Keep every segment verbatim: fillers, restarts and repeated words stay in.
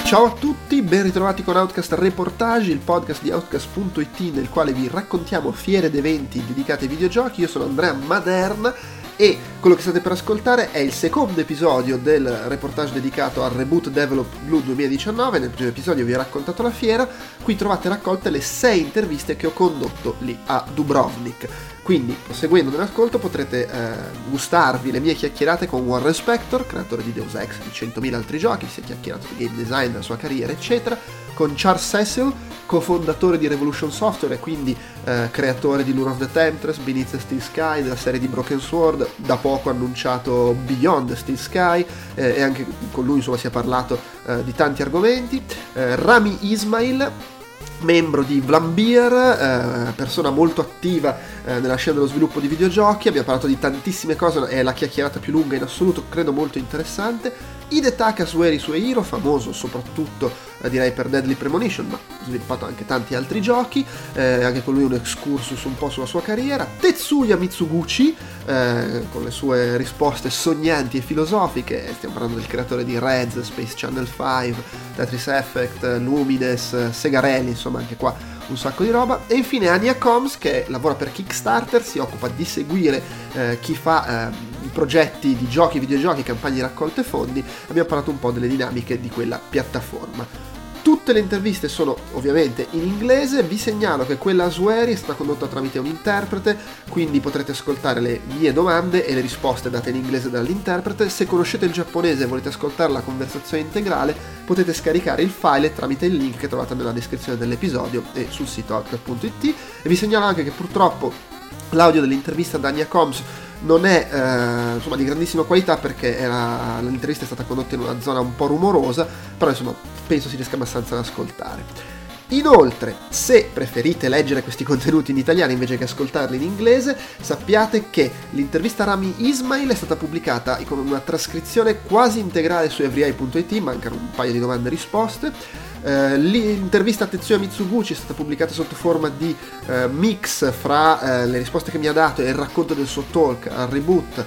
Ciao a tutti, ben ritrovati con Outcast Reportage, il podcast di Outcast punto it nel quale vi raccontiamo fiere ed eventi dedicati ai videogiochi. Io sono Andrea Maderna e quello che state per ascoltare è il secondo episodio del reportage dedicato al Reboot Develop Blue duemiladiciannove. Nel primo episodio vi ho raccontato la fiera, qui trovate raccolte le sei interviste che ho condotto lì a Dubrovnik. Quindi, proseguendo nell'ascolto, potrete eh, gustarvi le mie chiacchierate con Warren Spector, creatore di Deus Ex, di centomila altri giochi, si è chiacchierato di game design, della sua carriera, eccetera, con Charles Cecil, cofondatore di Revolution Software e quindi eh, creatore di Lure of the Temptress, Beneath the Steel Sky, della serie di Broken Sword, da poco annunciato Beyond the Steel Sky, eh, e anche con lui insomma si è parlato eh, di tanti argomenti. eh, Rami Ismail, membro di Vlambeer, eh, persona molto attiva eh, nella scena dello sviluppo di videogiochi. Abbiamo parlato di tantissime cose, è la chiacchierata più lunga in assoluto, credo molto interessante. Hidetaka Sueri Suehiro, famoso soprattutto eh, direi per Deadly Premonition, ma ha sviluppato anche tanti altri giochi, eh, anche con lui un excursus un po' sulla sua carriera. Tetsuya Mitsuguchi, eh, con le sue risposte sognanti e filosofiche, stiamo parlando del creatore di Rez, Space Channel cinque, Tetris Effect, Lumines, Segarelli, insomma anche qua un sacco di roba. E infine Anya Combs, che lavora per Kickstarter, si occupa di seguire eh, chi fa eh, i progetti di giochi, videogiochi, campagne di raccolte fondi. Abbiamo parlato un po' delle dinamiche di quella piattaforma. Tutte le interviste sono ovviamente in inglese, vi segnalo che quella a Sueri è stata condotta tramite un interprete, quindi potrete ascoltare le mie domande e le risposte date in inglese dall'interprete. Se conoscete il giapponese e volete ascoltare la conversazione integrale, potete scaricare il file tramite il link che trovate nella descrizione dell'episodio e sul sito outcast punto it. E vi segnalo anche che purtroppo l'audio dell'intervista da Anya Combs non è eh, insomma di grandissima qualità, perché era, l'intervista è stata condotta in una zona un po' rumorosa, però insomma penso si riesca abbastanza ad ascoltare. Inoltre, se preferite leggere questi contenuti in italiano invece che ascoltarli in inglese, sappiate che l'intervista a Rami Ismail è stata pubblicata con una trascrizione quasi integrale su everyeye punto it, mancano un paio di domande e risposte. Uh, l'intervista a Tetsuya Mitsuguchi è stata pubblicata sotto forma di uh, mix fra uh, le risposte che mi ha dato e il racconto del suo talk al Reboot,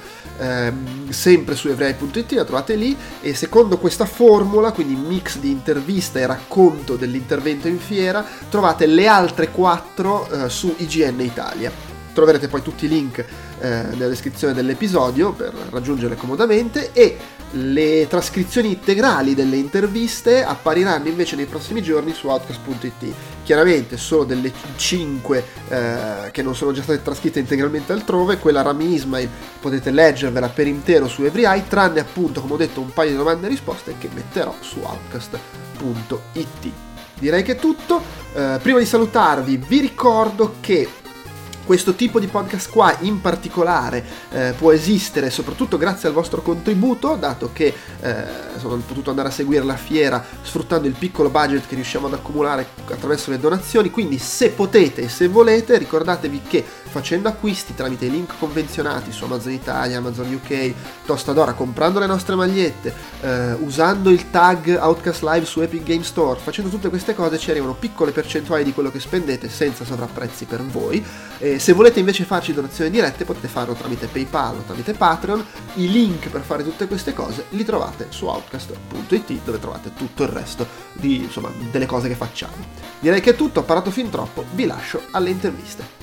uh, sempre su everyeye punto it, la trovate lì. E secondo questa formula, quindi mix di intervista e racconto dell'intervento in fiera, trovate le altre quattro uh, su I G N Italia. Troverete poi tutti i link uh, nella descrizione dell'episodio per raggiungerle comodamente, e le trascrizioni integrali delle interviste appariranno invece nei prossimi giorni su outcast punto it. Chiaramente solo delle cinque eh, che non sono già state trascritte integralmente altrove, quella Rami Ismail potete leggervela per intero su everyeye, tranne appunto, come ho detto, un paio di domande e risposte che metterò su outcast punto it. Direi che è tutto. Eh, prima di salutarvi vi ricordo che questo tipo di podcast qua in particolare eh, può esistere soprattutto grazie al vostro contributo, dato che eh, sono potuto andare a seguire la fiera sfruttando il piccolo budget che riusciamo ad accumulare attraverso le donazioni. Quindi se potete e se volete, ricordatevi che facendo acquisti tramite i link convenzionati su Amazon Italia, Amazon U K, Tostadora, comprando le nostre magliette, eh, usando il tag Outcast Live su Epic Game Store, facendo tutte queste cose ci arrivano piccole percentuali di quello che spendete senza sovrapprezzi per voi. E se volete invece farci donazioni dirette potete farlo tramite PayPal o tramite Patreon. I link per fare tutte queste cose li trovate su outcast punto it, dove trovate tutto il resto di, insomma, delle cose che facciamo. Direi che è tutto, ho parlato fin troppo, vi lascio alle interviste.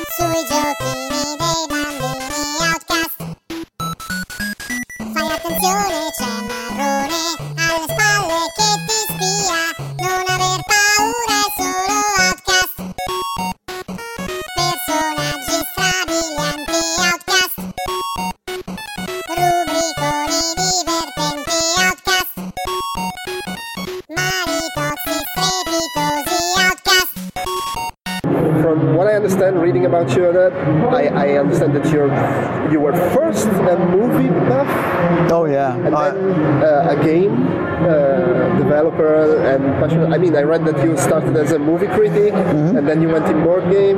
Attenzione! from what I understand, reading about you, that I, I understand that you're you were first a movie buff. Oh yeah, and uh, then uh, a game uh, developer and passionate. I mean, I read that you started as a movie critic, mm-hmm. and then you went in board game,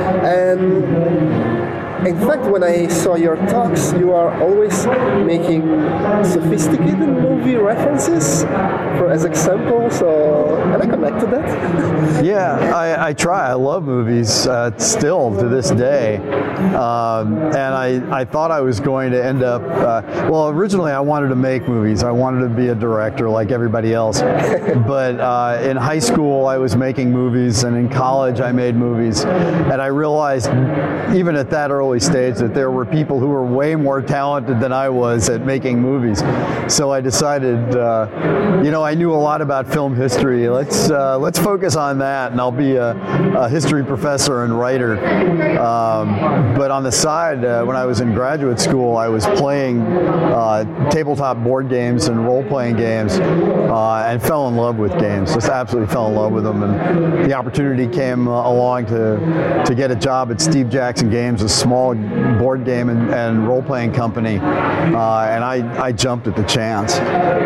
and. In fact, when I saw your talks, you are always making sophisticated movie references for, as example, so and I connect to that. Yeah, I, I try. I love movies uh, still to this day. Um, and I, I thought I was going to end up, uh, well, originally I wanted to make movies. I wanted to be a director like everybody else. But uh, in high school, I was making movies, and in college, I made movies. And I realized, even at that early stage, that there were people who were way more talented than I was at making movies. So I decided, uh, you know, I knew a lot about film history. Let's uh, let's focus on that, and I'll be a, a history professor and writer. Um, but on the side, uh, when I was in graduate school, I was playing uh, tabletop board games and role-playing games, uh, and fell in love with games. Just absolutely fell in love with them. And the opportunity came uh, along to to get a job at Steve Jackson Games, a small board game and, and role-playing company, uh, and I, I jumped at the chance.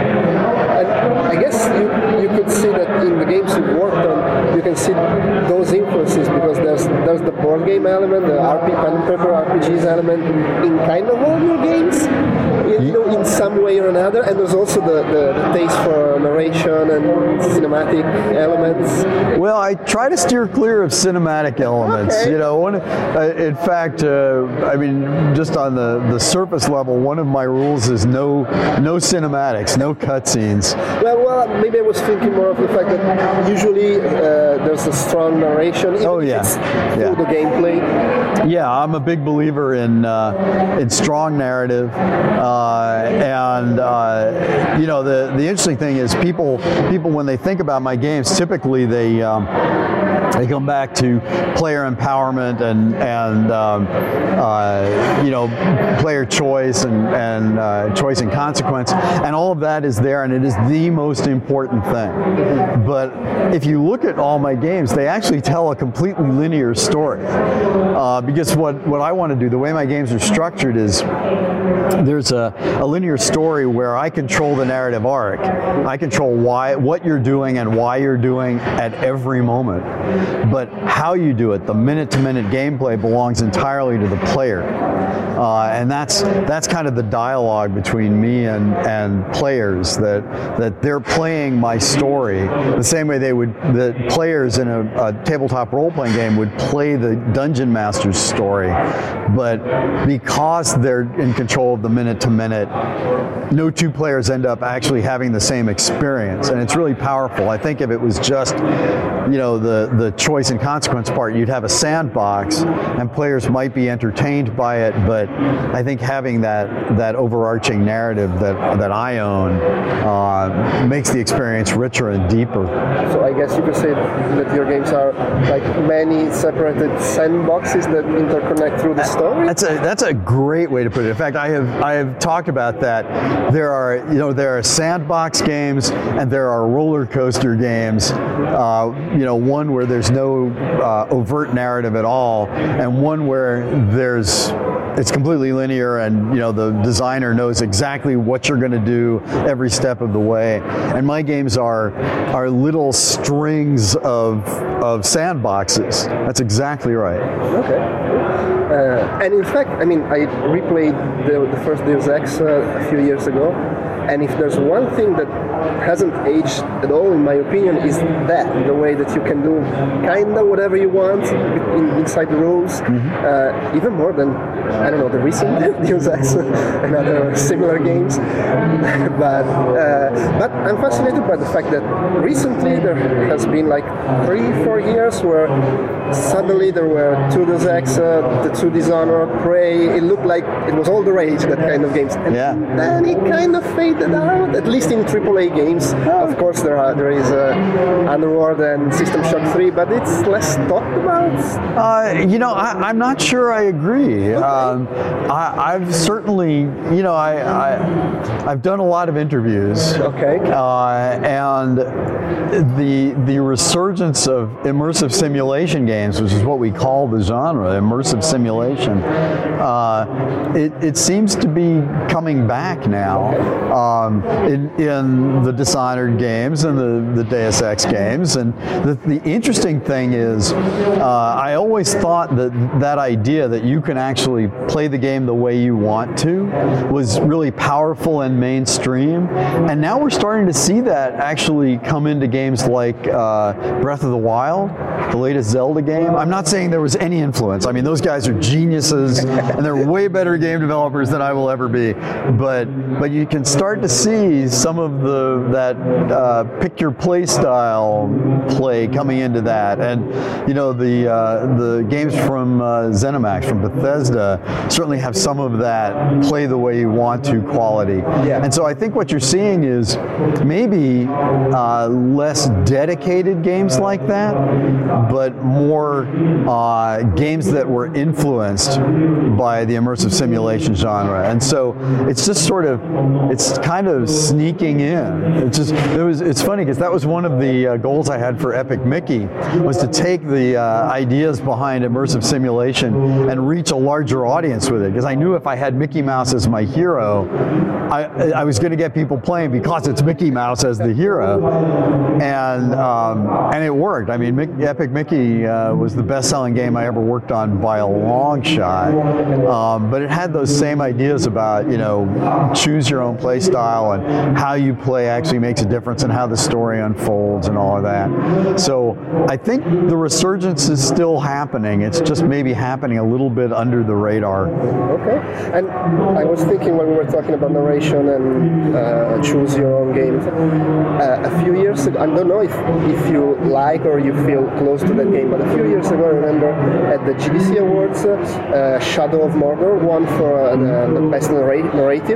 And I guess you, you could see that in the games you worked on, you can see those influences, because there's there's the board game element, the R P, pen and paper R P Gs element in kind of all your games, you know, in some way or another, and there's also the, the, the taste for narration and cinematic elements. Well, I try to steer clear of cinematic elements. Okay. You know, one, uh, in fact, uh, I mean, just on the, the surface level, one of my rules is no no cinematics, no cutscenes. Well, well, maybe I was thinking more of the fact that usually uh, there's a strong narration, even oh, if yeah. it's yeah. through the gameplay. Yeah, I'm a big believer in uh, in strong narrative, uh, and uh, you know, the the interesting thing is people people when they think about my games, typically they. Um, They come back to player empowerment and and um, uh, you know, player choice and and uh, choice and consequence, and all of that is there, and it is the most important thing. But if you look at all my games, they actually tell a completely linear story, uh, because what what I want to do, the way my games are structured, is there's a, a linear story where I control the narrative arc. I control why what you're doing and why you're doing at every moment. But how you do it, the minute-to-minute gameplay, belongs entirely to the player. Uh, and that's that's kind of the dialogue between me and, and players, that that they're playing my story the same way they would, the players in a, a tabletop role-playing game would play the Dungeon Master's story. But because they're in control of the minute-to-minute, no two players end up actually having the same experience, and it's really powerful. I think if it was just, you know, the, the choice and consequence part, you'd have a sandbox, and players might be entertained by it, but I think having that that overarching narrative that that I own uh, makes the experience richer and deeper. So I guess you could say that your games are like many separated sandboxes that interconnect through the story. That's a that's a great way to put it. In fact, I have I have talked about that. There are you know there are sandbox games and there are roller coaster games. Uh, you know, one where there's no uh, overt narrative at all, and one where there's it's completely linear, and you know the designer knows exactly what you're going to do every step of the way. And my games are are little strings of of sandboxes. That's exactly right. Okay. Uh, and in fact, I mean, I replayed the, the first Deus Ex uh, a few years ago, and if there's one thing that hasn't aged at all, in my opinion, is that the way that you can do kinda whatever you want in, inside the rules, mm-hmm. uh, even more than I don't know the recent Deus Ex and other similar games. but uh, but I'm fascinated by the fact that recently there has been like three, four years where suddenly there were two Deus Ex, uh, the two Dishonored, Prey. It looked like it was all the rage, that kind of games. And yeah. then it kind of faded out, at least in triple A games. Of course, there are there is uh, Underworld and System Shock three, but it's less talked about. Uh, you know, I, I'm not sure I agree. Okay. Um, I, I've certainly, you know, I, I I've done a lot of interviews. Okay. Uh, and the the resurgence of immersive simulation games, which is what we call the genre, immersive simulation, uh, it, it seems to be coming back now um, in, in the Dishonored games and the, the Deus Ex games. And the, the interesting thing is, uh, I always thought that that idea that you can actually play the game the way you want to was really powerful and mainstream. And now we're starting to see that actually come into games like uh, Breath of the Wild, the latest Zelda game. I'm not saying there was any influence. I mean, those guys are geniuses, and they're way better game developers than I will ever be. But but you can start to see some of the that uh, pick your play style play coming into that, and you know the uh, the games from uh, ZeniMax, from Bethesda, certainly have some of that play the way you want to quality. Yeah. And so I think what you're seeing is maybe uh, less dedicated games like that, but more uh, games that were influenced by the immersive simulation genre. And so it's just sort of, it's kind of sneaking in. It's just, it was, it's funny because that was one of the uh, goals I had for Epic Mickey, was to take the uh, ideas behind immersive simulation and reach a larger audience with it. Because I knew if I had Mickey Mouse as my hero, I, I was going to get people playing because it's Mickey Mouse as the hero. And um, and it worked. I mean, Mick, Epic Mickey uh, was the best-selling game I ever worked on by a long shot. Um, but it had those same ideas about, you know, choose your own play style and how you play actually makes a difference in how the story unfolds and all of that. So I think the resurgence is still happening. It's just maybe happening a little bit under the radar. Okay. And I was thinking when we were talking about narration and uh, choose your own games, uh, a few years ago, I don't know if, if you like or you feel close to that game, but a few years ago I remember at the G D C Awards, uh, Shadow of Mordor won for uh, the, the best narr- narrative,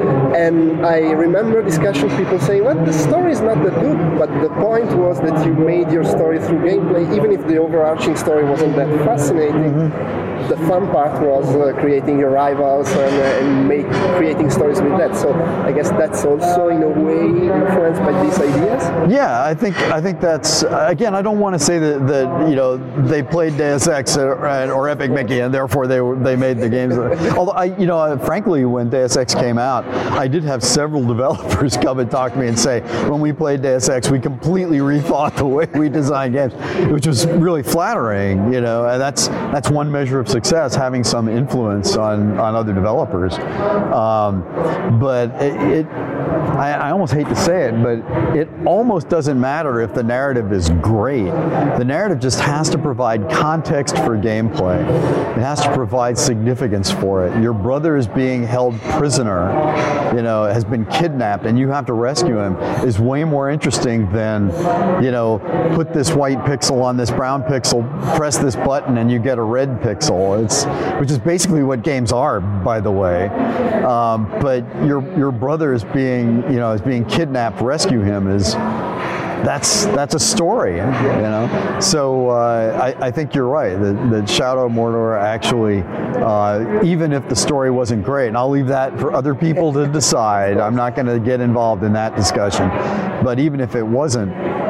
and I remember discussion people saying, well, the story is not that good, but the point was that you made your story through gameplay, even if the overarching story wasn't that fascinating. Mm-hmm. The fun part was uh, creating your rivals and, uh, and make, creating stories with that. So I guess that's also in a way influenced by these ideas. Yeah, I think I think that's, again, I don't want to say that, that you know they played Deus Ex or, or Epic Mickey and therefore they they made the games. Although I, you know, frankly, when Deus Ex came out, I did have several developers come and talk to me and say, when we played Deus Ex, we completely rethought the way we design games, which was really flattering, you know, and that's that's one measure of success, having some influence on, on other developers. Um, but it, it I, I almost hate to say it, but it almost doesn't matter if the narrative is great. The narrative just has to provide context for gameplay. It has to provide significance for it. Your brother is being held prisoner, you know, has been kidnapped, and you have to rescue him, is way more interesting than, you know, put this white pixel on this brown pixel, press this button, and you get a red pixel. It's, which is basically what games are, by the way. Um, but your your brother is being, you know, is being kidnapped. Rescue him is. That's that's a story, you know. So uh, I, I think you're right that, that Shadow of Mordor actually, uh, even if the story wasn't great, and I'll leave that for other people to decide. I'm not going to get involved in that discussion. But even if it wasn't,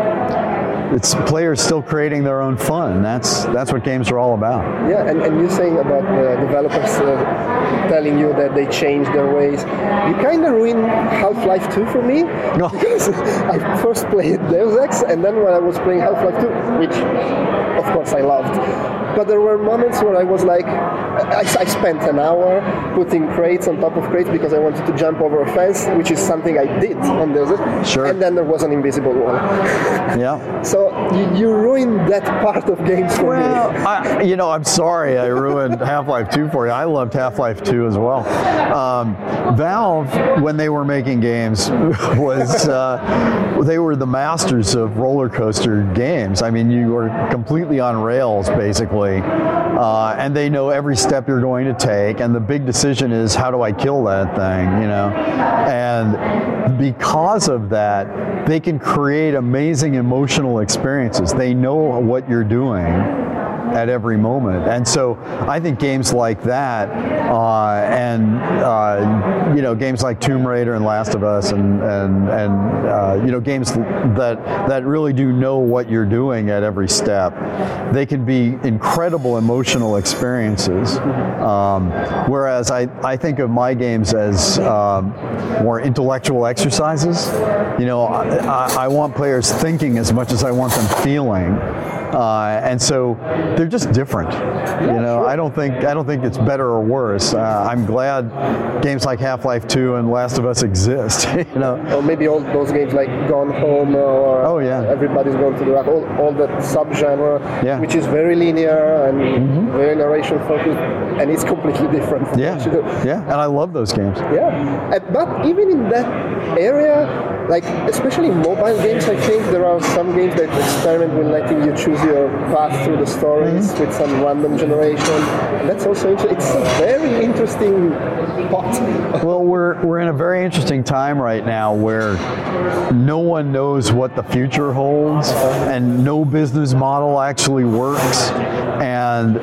it's players still creating their own fun. That's that's what games are all about. Yeah, and, and you're saying about the developers uh, telling you that they changed their ways. You kind of ruined Half-Life two for me. No. Because I first played Deus Ex, and then when I was playing Half-Life two, which of course I loved, but there were moments where I was like, I, I spent an hour putting crates on top of crates because I wanted to jump over a fence, which is something I did on Deus Ex. Sure. And then there was an invisible wall. Yeah. So you, you ruined that part of games for well, me. I, you know, I'm sorry I ruined Half-Life two for you. I loved Half-Life two as well. Um, Valve, when they were making games, was uh, they were the masters of roller coaster games. I mean, you were completely on rails, basically. Uh, and they know every step step you're going to take, and the big decision is, how do I kill that thing, you know? And because of that, they can create amazing emotional experiences. They know what you're doing at every moment. And so I think games like that, uh, and uh, you know, games like Tomb Raider and Last of Us, and and and uh, you know, games that that really do know what you're doing at every step, they can be incredible emotional experiences. Um, whereas I I think of my games as um, more intellectual exercises. You know, I, I want players thinking as much as I want them feeling. Uh, and so they're just different. You know, I don't think I don't think it's better or worse. Uh, I'm glad games like Half-Life two and Last of Us exist. You know, or maybe all those games like Gone Home or oh yeah, Everybody's Gone to the Rock, all, all that subgenre, yeah. which is very linear and mm-hmm. very narration focused, and it's completely different from yeah. what you do. Yeah, and I love those games. Yeah, and, but even in that area, like especially mobile games, I think there are some games that experiment with letting you choose your path through the stories mm-hmm. with some random generation. And that's also interesting. It's a very interesting pot. Well, we're we're in a very interesting time right now where no one knows what the future holds, and no business model actually works. And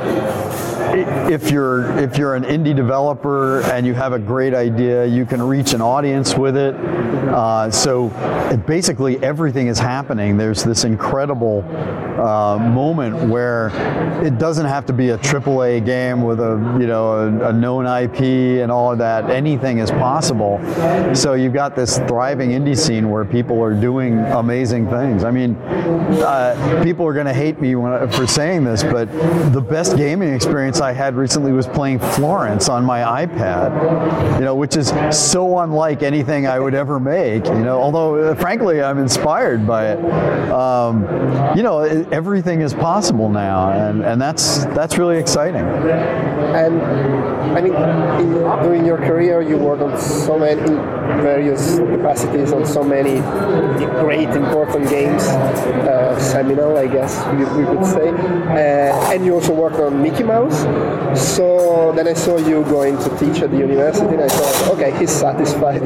if you're if you're an indie developer and you have a great idea, you can reach an audience with it. Uh, so it, basically everything is happening. There's this incredible uh, moment where it doesn't have to be a triple A game with a you know a, a known I P and all of that. Anything is possible. So you've got this thriving indie scene where people are doing amazing things. I mean, uh, people are going to hate me when, for saying this, but the best gaming experience I had recently was playing Florence on my iPad, you know, which is so unlike anything I would ever make, you know, although uh, frankly I'm inspired by it. Um, you know, it, everything is possible now, and, and that's that's really exciting. And I mean, in, during your career you worked on so many, in various capacities, on so many great important games, uh, seminal I guess we, we could say, uh, and you also worked on Mickey Mouse. So then I saw you going to teach at the university, and I thought, okay, he's satisfied.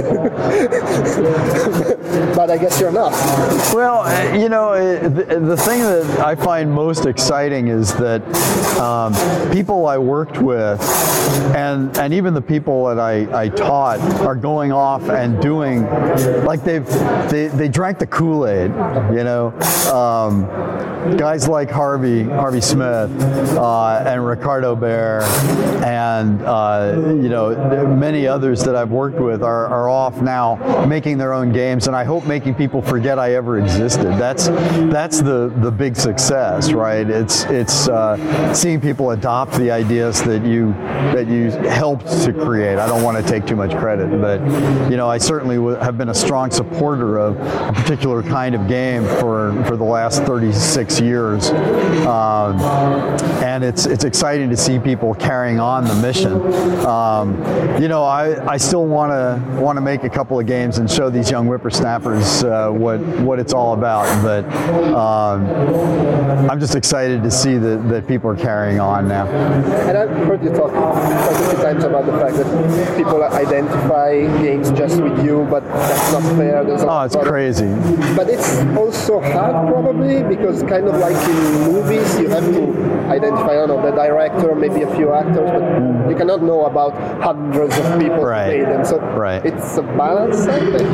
But I guess you're not. Well, uh, you know, uh, the, the thing that I find most exciting is that um, people I worked with, and and even the people that I, I taught, are going off and doing, like they've they, they drank the Kool-Aid, you know. Um, guys like Harvey Harvey Smith uh, and Ricardo Bear and uh, you know many others that I've worked with are, are off now making their own games, and I hope making people forget I ever existed. That's that's the the big success, right? It's it's uh, seeing people adopt the ideas that you that you helped to create. I don't want to take too much credit, but you know I certainly w- have been a strong supporter of a particular kind of game for for the last thirty-six years, um, and it's it's exciting to see people carrying on the mission. Um, you know, I, I still want to want to make a couple of games and show these young whippersnappers uh, what what it's all about. But um, I'm just excited to see that, that people are carrying on now. And I've heard you talk quite a few times about the fact that people identify games just with you, but that's not fair. There's oh, it's crazy. But it's also hard probably, because kind of like in movies, you have to identify, I don't know, the director, maybe a few actors, but mm. you cannot know about hundreds of people right. who made them. So right. it's a balance, I think.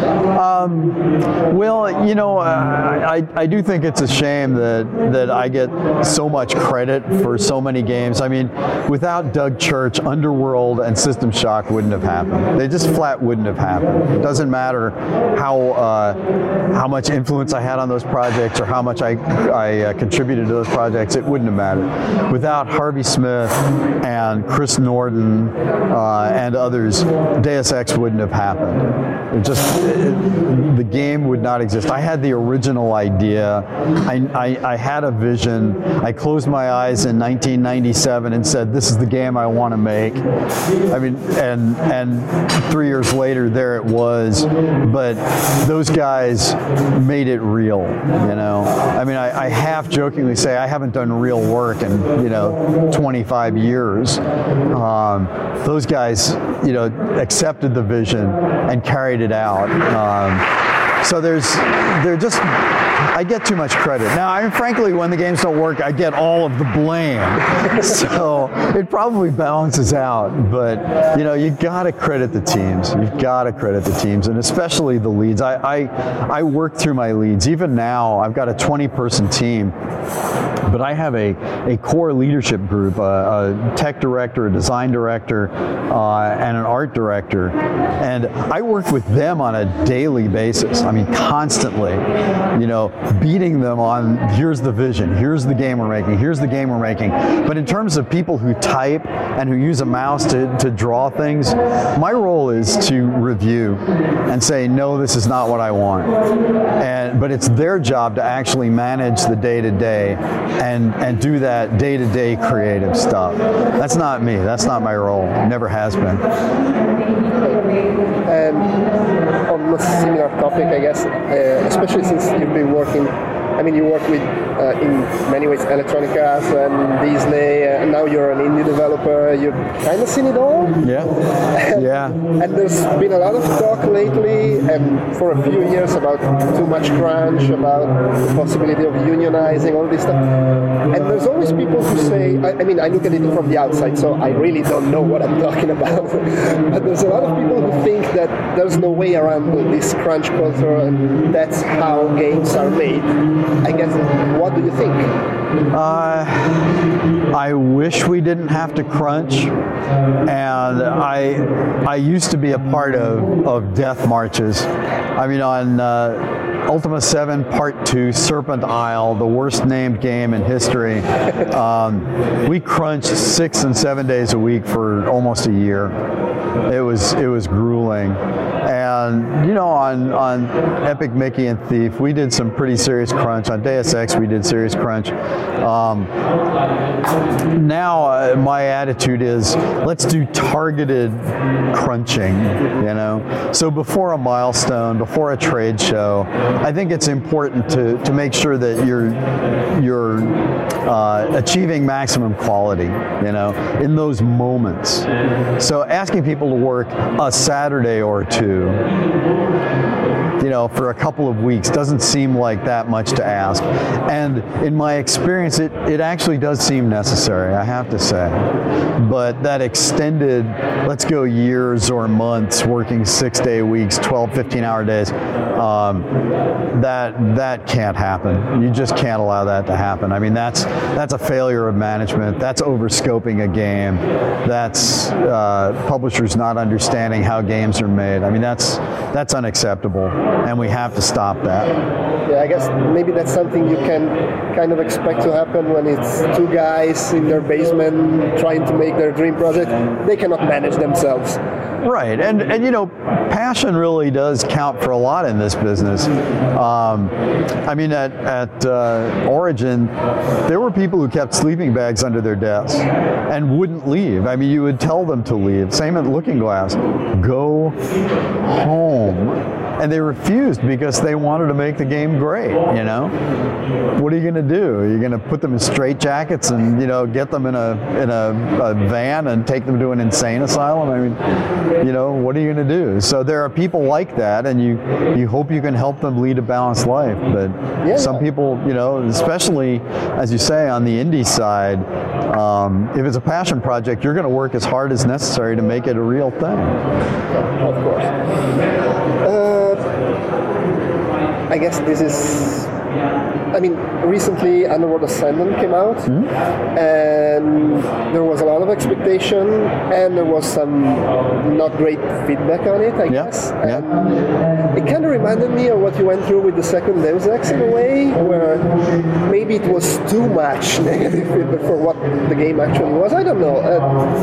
Um, well, you know, uh, I, I do think it's a shame that, that I get so much credit for so many games. I mean, without Doug Church, Underworld and System Shock wouldn't have happened. They just flat wouldn't have happened. It doesn't matter how uh, how much influence I had on those projects or how much I, I uh, contributed to those projects. It wouldn't have mattered. Without Harvey Smith and Chris Norton uh, and others, Deus Ex wouldn't have happened. It just it, the game would not exist. I had the original idea. I, I, I had a vision. I closed my eyes in nineteen ninety-seven and said, "This is the game I want to make." I mean, and and three years later, there it was. But those guys made it real. You know, I mean, I, I half jokingly say I haven't done real work in you know twenty-five years. Um, those guys, you know, accepted the vision and carried it out. Um, so there's, they're just, I get too much credit. Now, I mean, frankly, when the games don't work, I get all of the blame. So it probably balances out. But, you know, you got to credit the teams. You've got to credit the teams, and especially the leads. I, I, I work through my leads. Even now, I've got a twenty-person team. But I have a, a core leadership group, a, a tech director, a design director, uh, and an art director. And I work with them on a daily basis. I mean, constantly, you know, beating them on, here's the vision, here's the game we're making, here's the game we're making. But in terms of people who type and who use a mouse to, to draw things, my role is to review and say, no, this is not what I want. And, but it's their job to actually manage the day-to-day and, and do that day-to-day creative stuff. That's not me. That's not my role. It never has been. And on a similar topic, I guess, uh, especially since you've been working, I mean, you work with, uh, in many ways, Electronic Arts and Disney, uh, and now you're an indie developer. You've kind of seen it all. Yeah. Yeah. And there's been a lot of talk lately, and for a few years, about too much crunch, about the possibility of unionizing, all this stuff. And there's always people who say, I, I mean, I look at it from the outside, so I really don't know what I'm talking about. But there's a lot of people who think that there's no way around this crunch culture, and that's how games are made. I guess, what do you think? Uh, I wish we didn't have to crunch, and I I used to be a part of, of death marches. I mean, on uh, Ultima seven Part two, Serpent Isle, the worst named game in history, um, we crunched six and seven days a week for almost a year. It was it was grueling. And, you know, on, on Epic Mickey and Thief, we did some pretty serious crunch. On Deus Ex, we did serious crunch. Um, now, uh, my attitude is, let's do targeted crunching, you know? So before a milestone, before a trade show, I think it's important to, to make sure that you're, you're uh, achieving maximum quality, you know, in those moments. So asking people to work a Saturday or two, you know, for a couple of weeks doesn't seem like that much to ask. And in my experience, it, it actually does seem necessary, I have to say. But that extended, let's go years or months working six-day weeks, twelve, fifteen-hour days, um, that that can't happen. You just can't allow that to happen. I mean, that's that's a failure of management. That's overscoping a game. That's uh, publishers not understanding how games are made. I mean, that's that's unacceptable, and we have to stop that. Yeah, I guess maybe that's something you can kind of expect to happen when it's two guys in their basement trying to make their dream project. They cannot manage themselves. Right, and and you know, passion really does count for a lot in this business. Um, I mean, at at uh, Origin, there were people who kept sleeping bags under their desks and wouldn't leave. I mean, you would tell them to leave. Same at Looking Glass. Go home. And they refused because they wanted to make the game great, you know? What are you going to do? Are you going to put them in straitjackets and, you know, get them in a in a, a van and take them to an insane asylum? I mean, you know, what are you going to do? So there are people like that, and you, you hope you can help them lead a balanced life. But yeah. Some people, you know, especially, as you say, on the indie side, um, if it's a passion project, you're going to work as hard as necessary to make it a real thing. Yeah, of course. Uh, I guess this is, I mean, recently Underworld Ascendant came out, mm-hmm. and there was a lot of expectation, and there was some not great feedback on it, I yeah. guess. And yeah. it kind of reminded me of what you went through with the second Deus Ex in a way, where maybe maybe it was too much negative feedback for what the game actually was. I don't know. Uh,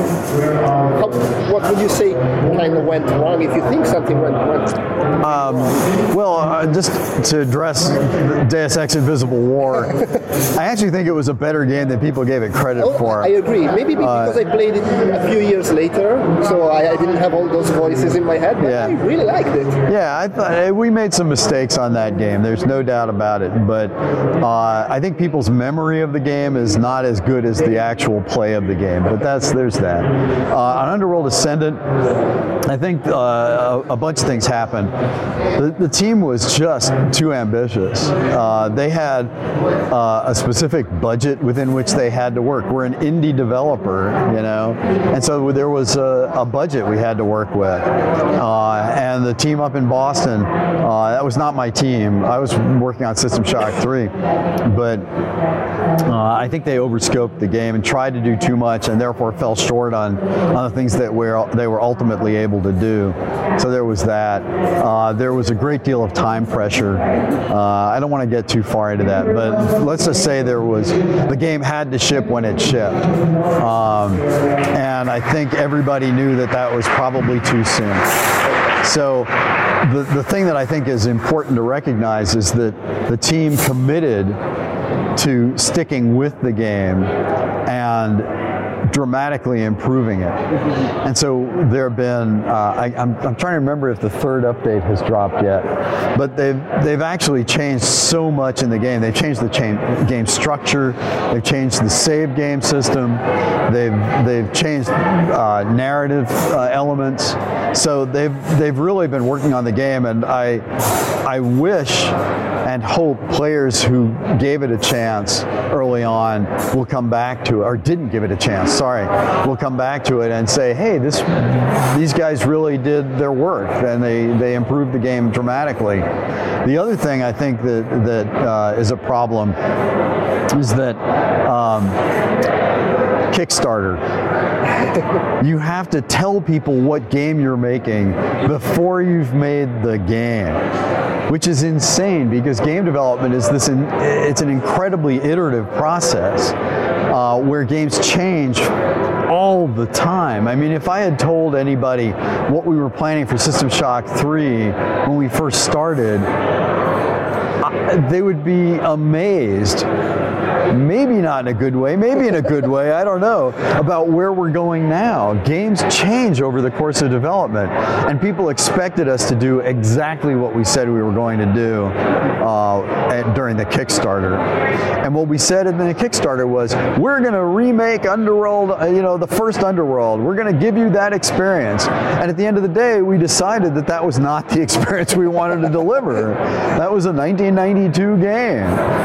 how, what would you say kind of went wrong, if you think something went wrong? Um, well, uh, just to address Deus Ex Invisible War, I actually think it was a better game than people gave it credit oh, for. I agree. Maybe because uh, I played it a few years later, so I, I didn't have all those voices in my head, but yeah. I really liked it. Yeah, I thought we made some mistakes on that game. There's no doubt about it, but uh, I think people's memory of the game is not as good as the actual play of the game. But that's there's that. Uh, on Underworld Ascendant, I think uh, a, a bunch of things happened. The, the team was just too ambitious. Uh, they had uh, a specific budget within which they had to work. We're an indie developer, you know, and so there was a, a budget we had to work with. Uh, and the team up in Boston, uh, that was not my team. I was working on System Shock three, but uh, I think they overscoped the game and tried to do too much, and therefore fell short on, on the things that we're, they were ultimately able to do. So there was that. Uh, there was a great deal of time pressure. Uh, I don't want to get too far into that, but let's just say there was, the game had to ship when it shipped. Um, and I think everybody knew that that was probably too soon. So the, the thing that I think is important to recognize is that the team committed to sticking with the game and dramatically improving it. And so there have been, uh, I, I'm, I'm trying to remember if the third update has dropped yet, but they've, they've actually changed so much in the game. They've changed the chain, game structure, they've changed the save game system, they've, they've changed uh, narrative uh, elements. So they've, they've really been working on the game, and I, I wish and hope players who gave it a chance early on will come back to it, or didn't give it a chance, sorry, will come back to it and say, hey, this, these guys really did their work, and they, they improved the game dramatically. The other thing I think that, that uh, is a problem is that um, Kickstarter. You have to tell people what game you're making before you've made the game, which is insane because game development is this, in, it's an incredibly iterative process uh, where games change all the time. I mean, if I had told anybody what we were planning for System Shock three when we first started, they would be amazed. Maybe not in a good way, maybe in a good way, I don't know, about where we're going now. Games change over the course of development, and people expected us to do exactly what we said we were going to do uh, at, during the Kickstarter. And what we said in the Kickstarter was, we're going to remake Underworld, uh, you know, the first Underworld. We're going to give you that experience. And at the end of the day, we decided that that was not the experience we wanted to deliver. That was a nineteen ninety-two game.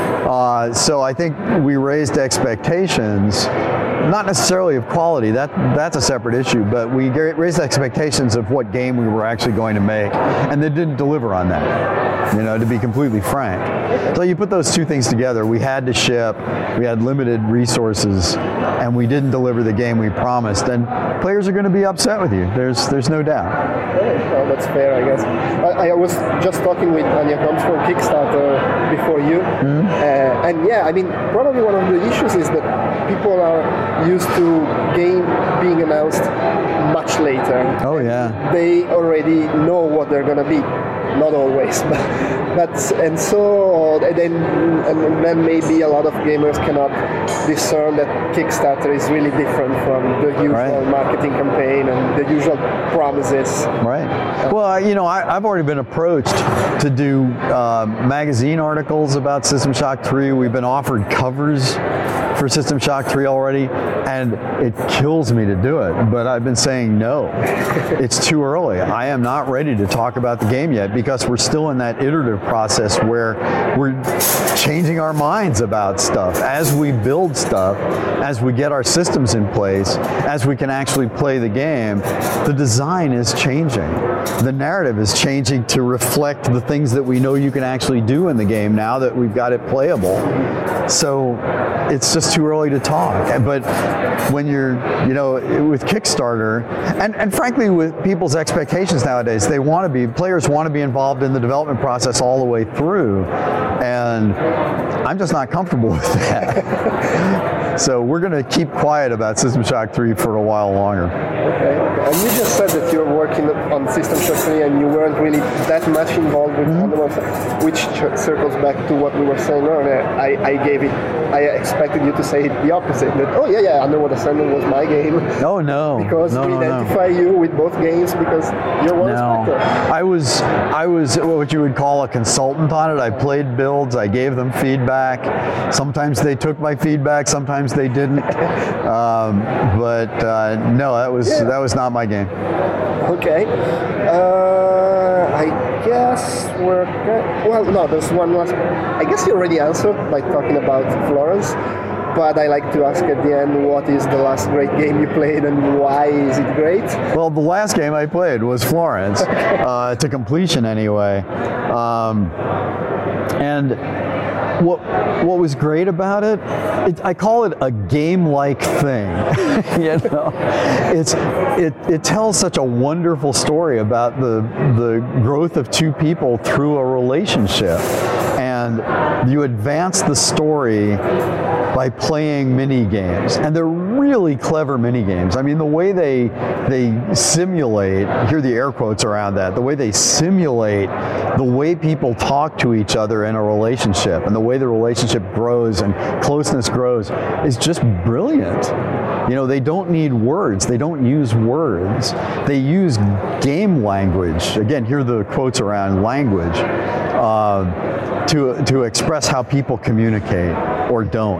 Uh, so I think we raised expectations, not necessarily of quality, that that's a separate issue, but we raised expectations of what game we were actually going to make, and they didn't deliver on that, you know, to be completely frank. So you put those two things together, we had to ship, we had limited resources, and we didn't deliver the game we promised, and players are going to be upset with you, there's there's no doubt. Well, that's fair, I guess. I, I was just talking with Anya Combs from Kickstarter before you, mm-hmm. uh, and yeah, I mean, probably one of the issues is that people are used to game being announced much later. Oh yeah. They already know what they're going to be. Not always, but, but and so and then and then maybe a lot of gamers cannot discern that Kickstarter is really different from the usual right. marketing campaign and the usual promises. Right. Well, you know, I, I've already been approached to do uh, magazine articles about System Shock three. We've been offered covers for System Shock three already, and it kills me to do it, but I've been saying no. It's too early. I am not ready to talk about the game yet because we're still in that iterative process where we're changing our minds about stuff. As we build stuff, as we get our systems in place, as we can actually play the game, the design is changing. The narrative is changing to reflect the things that we know you can actually do in the game now that we've got it playable. So it's just too early to talk. But when you're, you know, with Kickstarter, and, and frankly with people's expectations nowadays, they want to be, players want to be involved in the development process all all the way through, and I'm just not comfortable with that. So we're going to keep quiet about System Shock three for a while longer. Okay. And you just said that you're working on System Shock three and you weren't really that much involved with mm-hmm. Underworld, which circles back to what we were saying earlier. I, I gave it, I expected you to say the opposite, that, oh yeah, yeah, Underworld Ascendant was my game. Oh no. Because no, we no, identify no. you with both games because you're one no. inspector. I was, I was what you would call a consultant on it. I played builds, I gave them feedback. Sometimes they took my feedback, sometimes they didn't. um, but uh, no, that was yeah. that was not my game. Okay. Uh, I guess we're good. Well, no, there's one last. I guess you already answered by talking about Florence. But I like to ask at the end, what is the last great game you played and why is it great? Well, the last game I played was Florence, uh, to completion anyway. Um, and what what was great about it, it, I call it a game-like thing. You know, it's it it tells such a wonderful story about the the growth of two people through a relationship, and you advance the story by playing mini games, and they're really clever mini games. I mean, the way they they simulate, here are the air quotes around that, the way they simulate the way people talk to each other in a relationship and the way the relationship grows and closeness grows is just brilliant. You know, they don't need words. They don't use words. They use game language. Again, here are the quotes around language uh, to to express how people communicate or don't.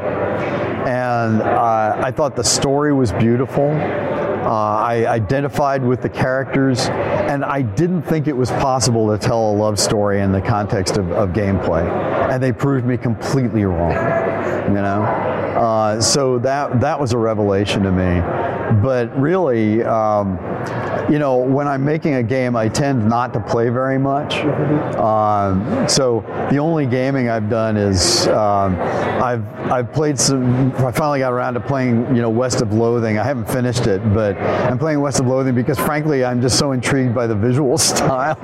And uh, I thought the story was beautiful. Uh, I identified with the characters, and I didn't think it was possible to tell a love story in the context of, of gameplay. And they proved me completely wrong, you know? Uh, so that that was a revelation to me. But really, um, you know, when I'm making a game, I tend not to play very much. Um, so the only gaming I've done is um, I've I've played some. I finally got around to playing, you know, West of Loathing. I haven't finished it, but I'm playing West of Loathing because, frankly, I'm just so intrigued by the visual style.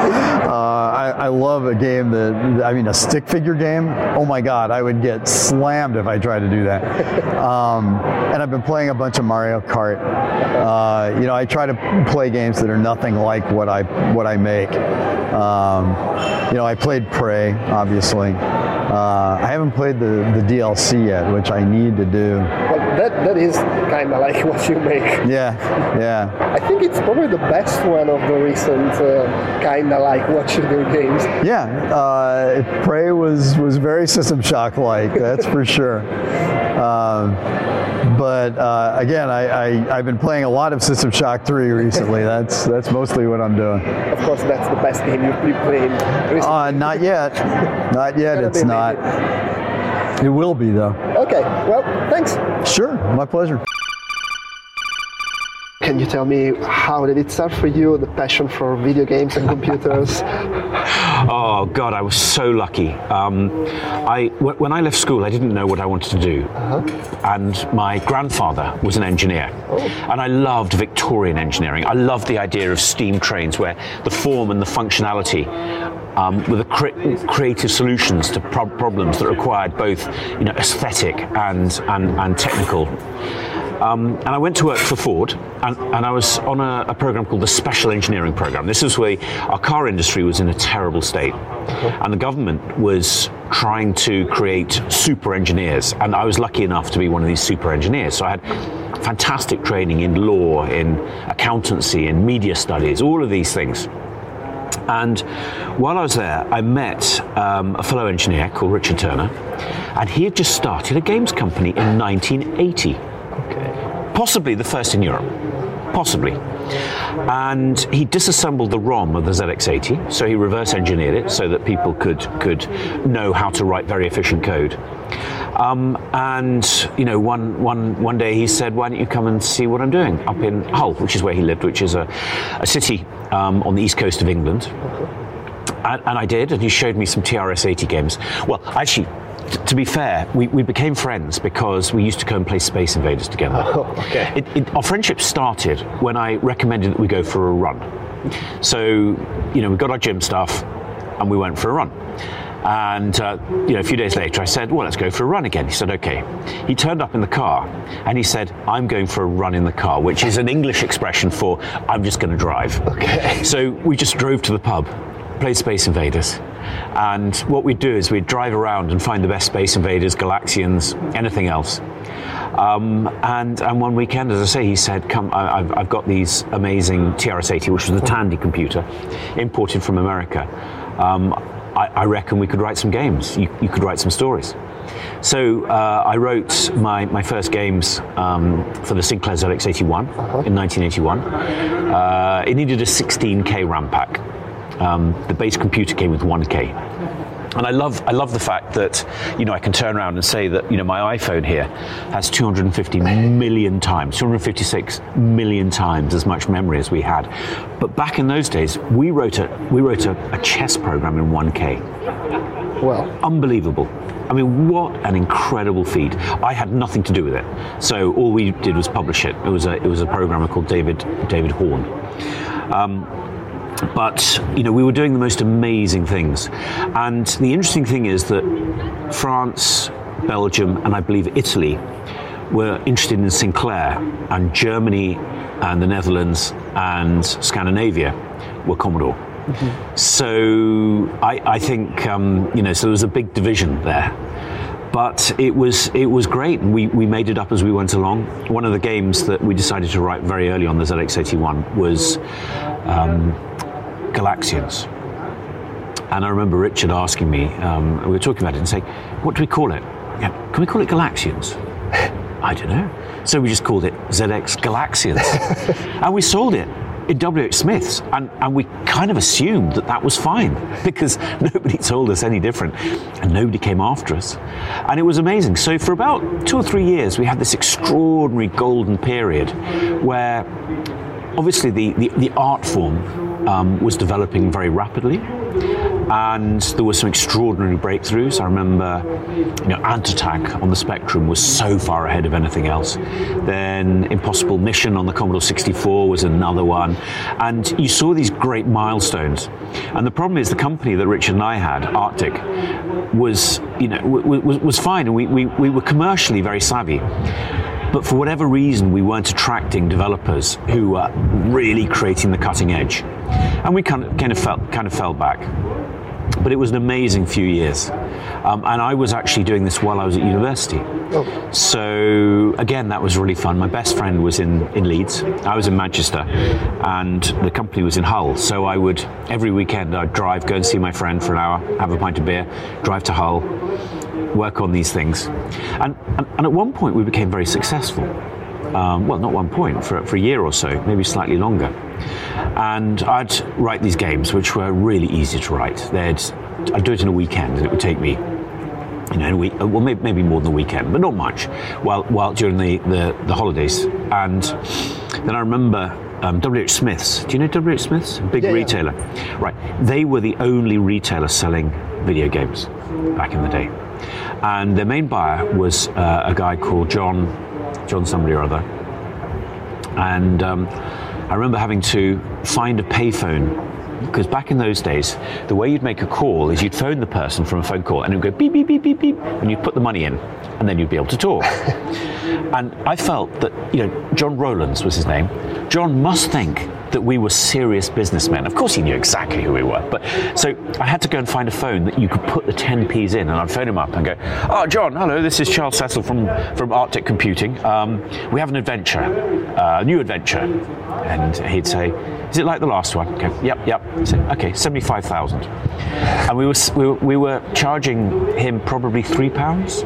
uh, I, I love a game that, I mean, a stick figure game. Oh my God, I would get slammed if I tried to do that. Um, and I've been playing a bunch of Mario Kart. Uh, you know, I try to play games that are nothing like what I what I make. Um, you know, I played Prey, obviously. Uh, I haven't played the, the D L C yet, which I need to do. Well, that that is kind of like what you make. Yeah, yeah. I think it's probably the best one of the recent uh, kind of like what you do games. Yeah, uh, Prey was was very System Shock like, that's for sure. Um, But uh, again, I, I, I've been playing a lot of System Shock three recently. That's that's mostly what I'm doing. Of course, that's the best game you've been playing recently. Uh, not yet. Not yet, it's not. It will be, though. Okay, well, thanks. Sure, my pleasure. Can you tell me how did it start for you, the passion for video games and computers? Oh God, I was so lucky. Um, I, w- when I left school, I didn't know what I wanted to do. Uh-huh. And my grandfather was an engineer. Oh. And I loved Victorian engineering. I loved the idea of steam trains where the form and the functionality um, were the cre- creative solutions to pro- problems that required both, you know, aesthetic and, and, and technical. Um, and I went to work for Ford, and, and I was on a, a program called the Special Engineering Program. This was where our car industry was in a terrible state, and the government was trying to create super engineers, and I was lucky enough to be one of these super engineers. So I had fantastic training in law, in accountancy, in media studies, all of these things. And while I was there, I met um, a fellow engineer called Richard Turner, and he had just started a games company in nineteen eighty. Okay. Possibly the first in Europe, possibly. And he disassembled the ROM of the Z X eighty, so he reverse engineered it so that people could could know how to write very efficient code. Um, and you know, one one one day he said, "Why don't you come and see what I'm doing up in Hull," which is where he lived, which is a, a city um, on the east coast of England. And, and I did, and he showed me some T R S eighty games. Well, actually, to be fair, we, we became friends because we used to go and play Space Invaders together. Oh, okay. It, it, our friendship started when I recommended that we go for a run. So, you know, we got our gym stuff, and we went for a run. And uh, you know, a few days later, I said, well, let's go for a run again. He said, okay. He turned up in the car, and he said, I'm going for a run in the car, which is an English expression for I'm just going to drive. Okay. So we just drove to the pub, played Space Invaders. And what we'd do is we'd drive around and find the best Space Invaders, Galaxians, anything else. Um, and, and one weekend, as I say, he said, come, I, I've, I've got these amazing T R S eighty, which was the Tandy computer, imported from America. Um, I, I reckon we could write some games. You, you could write some stories. So uh, I wrote my, my first games um, for the Sinclair Z X eighty-one uh-huh. in nineteen eighty-one. Uh, it needed a sixteen K RAM pack. Um, the base computer came with one K. And I love I love the fact that, you know, I can turn around and say that, you know, my iPhone here has two hundred fifty million times, two hundred fifty-six million times as much memory as we had. But back in those days, we wrote a we wrote a, a chess program in one K. Well, unbelievable. I mean, what an incredible feat. I had nothing to do with it. So all we did was publish it. It was a it was a programmer called David David Horn. Um, But, you know, we were doing the most amazing things. And the interesting thing is that France, Belgium, and I believe Italy were interested in Sinclair, and Germany and the Netherlands and Scandinavia were Commodore. Mm-hmm. So I, I think, um, you know, so there was a big division there. But it was it was great, and we, we made it up as we went along. One of the games that we decided to write very early on the Z X eighty-one was um, Galaxians. And I remember Richard asking me, um, we were talking about it and saying, what do we call it? Yeah, can we call it Galaxians? I don't know. So we just called it Z X Galaxians. And we sold it in W H Smith's, and, and we kind of assumed that that was fine because nobody told us any different, and nobody came after us. And it was amazing. So for about two or three years, we had this extraordinary golden period where obviously the, the, the art form um, was developing very rapidly, and there were some extraordinary breakthroughs. I remember, you know, Ant-Attack on the Spectrum was so far ahead of anything else. Then Impossible Mission on the Commodore sixty-four was another one. And you saw these great milestones. And the problem is the company that Richard and I had, Arctic, was, you know, was, was fine. And we, we, we were commercially very savvy. But for whatever reason, we weren't attracting developers who were really creating the cutting edge. And we kind of, kind of, felt, kind of fell back. But it was an amazing few years. Um, and I was actually doing this while I was at university. Oh. So, again, that was really fun. My best friend was in, in Leeds. I was in Manchester. And the company was in Hull. So I would, every weekend, I'd drive, go and see my friend for an hour, have a pint of beer, drive to Hull, work on these things. And, and, and at one point, we became very successful. Um, well, not one point, for, for a year or so, maybe slightly longer. And I'd write these games, which were really easy to write. They'd, I'd do it in a weekend, and it would take me, you know, in a week, well, maybe, maybe more than a weekend, but not much, while, while during the, the, the holidays. And then I remember um, W H Smith's. Do you know W H Smith's? Big yeah, retailer. Yeah. Right. They were the only retailer selling video games back in the day. And their main buyer was uh, a guy called John, John somebody or other. And um, I remember having to find a payphone, because back in those days, the way you'd make a call is you'd phone the person from a phone call, and it would go beep, beep, beep, beep, beep, and you'd put the money in, and then you'd be able to talk. And I felt that, you know, John Rowlands was his name. John must think that we were serious businessmen. Of course he knew exactly who we were. But so I had to go and find a phone that you could put the ten p's in, and I'd phone him up and go, oh, John, hello, this is Charles Cecil from, from Arctic Computing. Um, we have an adventure, a uh, new adventure. And he'd say, is it like the last one? Okay, yep, yep. I'd say, okay, seventy-five thousand. And we were, we were, we were charging him probably three pounds.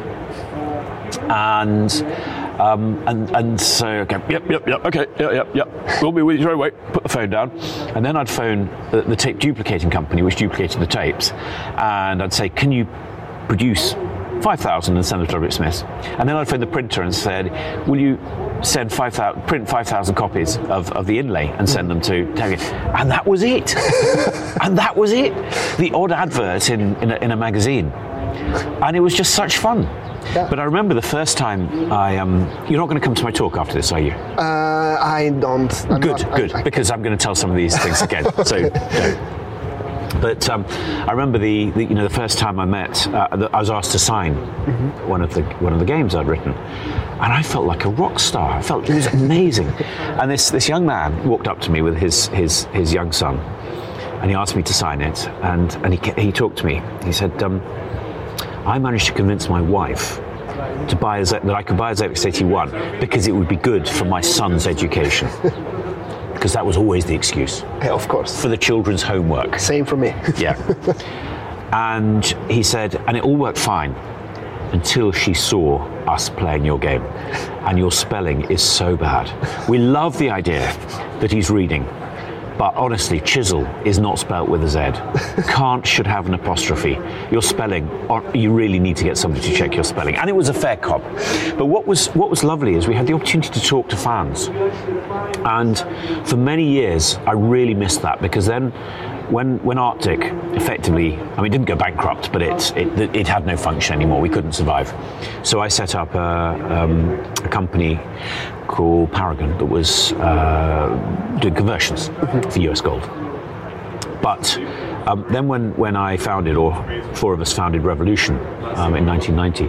And Um, and, and so, okay, yep, yep, yep, okay, yep, yep, yep, we'll be with you straight away, put the phone down. And then I'd phone the, the tape duplicating company, which duplicated the tapes, and I'd say, can you produce five thousand and send them to W H Smith's? And then I'd phone the printer and said, will you send five thousand, print five thousand copies of, of the inlay and send them to Terry? And that was it. And that was it. The odd advert in, in, a, in a magazine. And it was just such fun. Yeah. But I remember the first time I, um, you're not going to come to my talk after this, are you? Uh, I don't. I'm good, not, good, I, I, because I'm going to tell some of these things again. So, no. But um, I remember the, the you know the first time I met, uh, the, I was asked to sign mm-hmm. one of the one of the games I'd written, and I felt like a rock star. I felt it was amazing. And this this young man walked up to me with his his his young son, and he asked me to sign it. And and he he talked to me. He said, um, "I managed to convince my wife to buy a Z- that I could buy a Z X eighty-one because it would be good for my son's education." Because that was always the excuse. Yeah, of course. For the children's homework. Same for me. Yeah. And he said, and it all worked fine until she saw us playing your game. And your spelling is so bad. We love the idea that he's reading. But honestly, chisel is not spelt with a Z. Can't should have an apostrophe. Your spelling, or you really need to get somebody to check your spelling. And it was a fair cop. But what was what was lovely is we had the opportunity to talk to fans. And for many years, I really missed that, because then when when Arctic effectively, I mean, it didn't go bankrupt, but it it, it had no function anymore. We couldn't survive. So I set up a, um, a company called Paragon that was uh, doing conversions for U S Gold. But um, then when, when I founded, or four of us founded Revolution um, in nineteen ninety,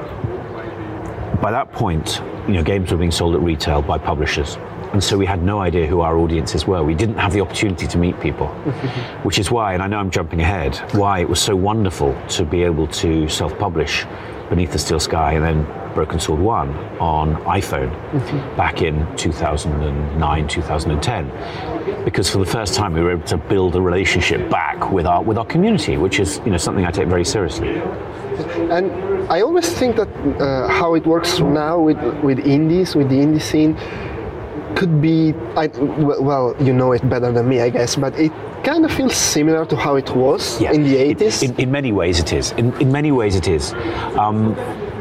by that point, you know, games were being sold at retail by publishers. And so we had no idea who our audiences were. We didn't have the opportunity to meet people, which is why, and I know I'm jumping ahead, why it was so wonderful to be able to self-publish Beneath the Steel Sky and then Broken Sword one on iPhone mm-hmm. back in two thousand nine, two thousand ten, because for the first time we were able to build a relationship back with our with our community, which is, you know, something I take very seriously. And I always think that uh, how it works now with with indies, with the indie scene, could be, I, well, you know it better than me, I guess, but it kind of feels similar to how it was yeah. in the eighties. In, in many ways it is. In, in many ways it is. Um,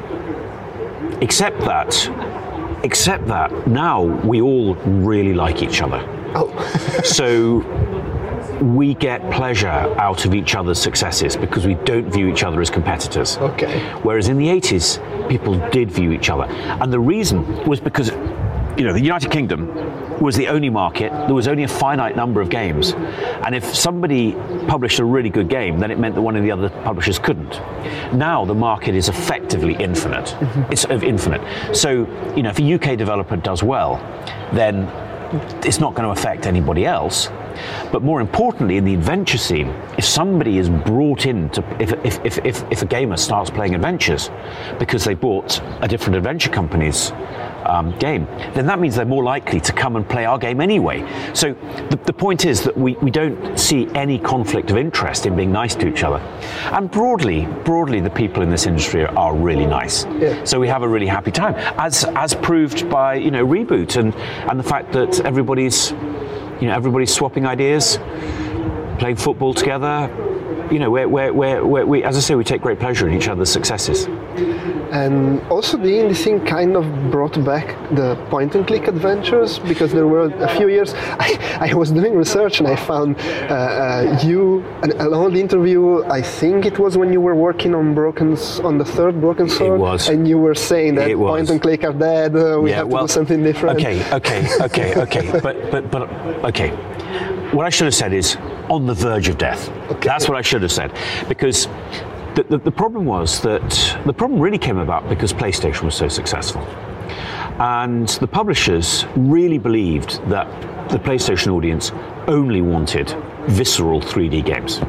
except that, except that now we all really like each other. Oh. So we get pleasure out of each other's successes because we don't view each other as competitors. Okay. Whereas in the eighties, people did view each other. And the reason was because, you know, the United Kingdom was the only market, there was only a finite number of games. And if somebody published a really good game, then it meant that one of the other publishers couldn't. Now the market is effectively infinite. Mm-hmm. It's infinite. So, you know, if a U K developer does well, then it's not going to affect anybody else. But more importantly, in the adventure scene, if somebody is brought in to, if, if, if, if, if a gamer starts playing adventures because they bought a different adventure company's um, game, then that means they're more likely to come and play our game anyway. So the, the point is that we, we don't see any conflict of interest in being nice to each other. And broadly, broadly, the people in this industry are, are really nice. Yeah. So we have a really happy time, as as proved by, you know, Reboot and, and the fact that everybody's You know, everybody's swapping ideas, playing football together. You know, we're, we're, we're, we're, we, as I say, we take great pleasure in each other's successes. And also the indie scene kind of brought back the point-and-click adventures, because there were a few years, I, I was doing research and I found uh, uh, you, an, an old interview, I think it was when you were working on Broken, on the third Broken Sword. It was. And you were saying that point-and-click are dead, uh, we yeah, have to well, do something different. Okay, okay, okay, okay, but, but, but, okay. What I should have said is, on the verge of death. Okay. That's what I should have said, because The, the, the problem was that the problem really came about because PlayStation was so successful, and the publishers really believed that the PlayStation audience only wanted visceral three D games,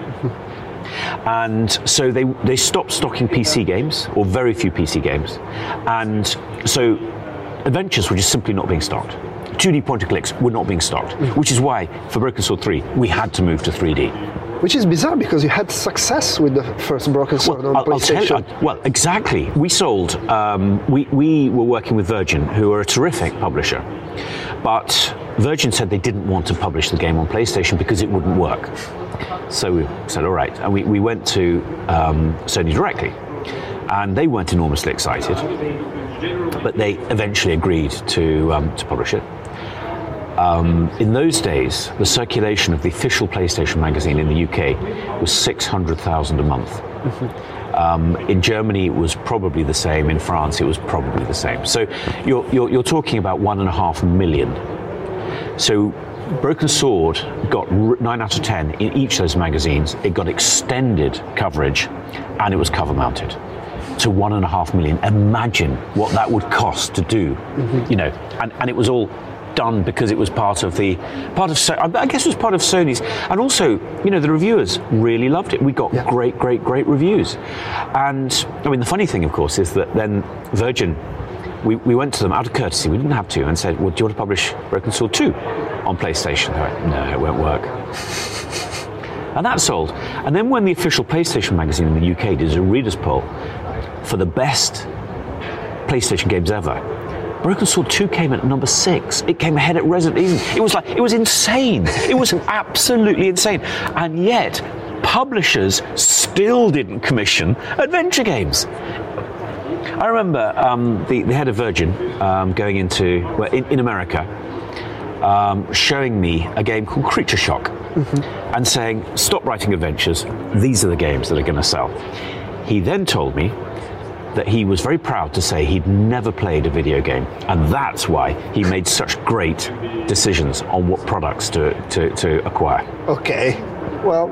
and so they they stopped stocking P C games, or very few P C games, and so adventures were just simply not being stocked. two D point and clicks were not being stocked, which is why for Broken Sword three we had to move to three D. Which is bizarre, because you had success with the first Broken Sword well, on I'll, PlayStation. I'll tell you, well, exactly. We sold, um, we, we were working with Virgin, who are a terrific publisher, but Virgin said they didn't want to publish the game on PlayStation because it wouldn't work. So we said, all right, and we, we went to um, Sony directly, and they weren't enormously excited, but they eventually agreed to, um, to publish it. Um, in those days, the circulation of the official PlayStation magazine in the U K was six hundred thousand a month. Mm-hmm. Um, in Germany, it was probably the same. In France, it was probably the same. So you're, you're, you're talking about one and a half million. So Broken Sword got nine out of ten in each of those magazines. It got extended coverage, and it was cover mounted to one and a half million. Imagine what that would cost to do, mm-hmm. you know, and, and it was all done because it was part of the part of so I guess it was part of Sony's, and also, you know, the reviewers really loved it. We got yeah. great, great, great reviews. And I mean, the funny thing, of course, is that then Virgin, we, we went to them out of courtesy, we didn't have to, and said, well, do you want to publish Broken Sword two on PlayStation? They went, no, it won't work. And that sold. And then when the official PlayStation magazine in the U K did a readers poll for the best PlayStation games ever, Broken Sword two came at number six. It came ahead at Resident Evil. It was like, it was insane. It was absolutely insane. And yet, publishers still didn't commission adventure games. I remember um, the, the head of Virgin um, going into, well, in, in America, um, showing me a game called Creature Shock, mm-hmm. and saying, stop writing adventures, these are the games that are going to sell. He then told me that he was very proud to say he'd never played a video game, and that's why he made such great decisions on what products to, to, to acquire. Okay, well,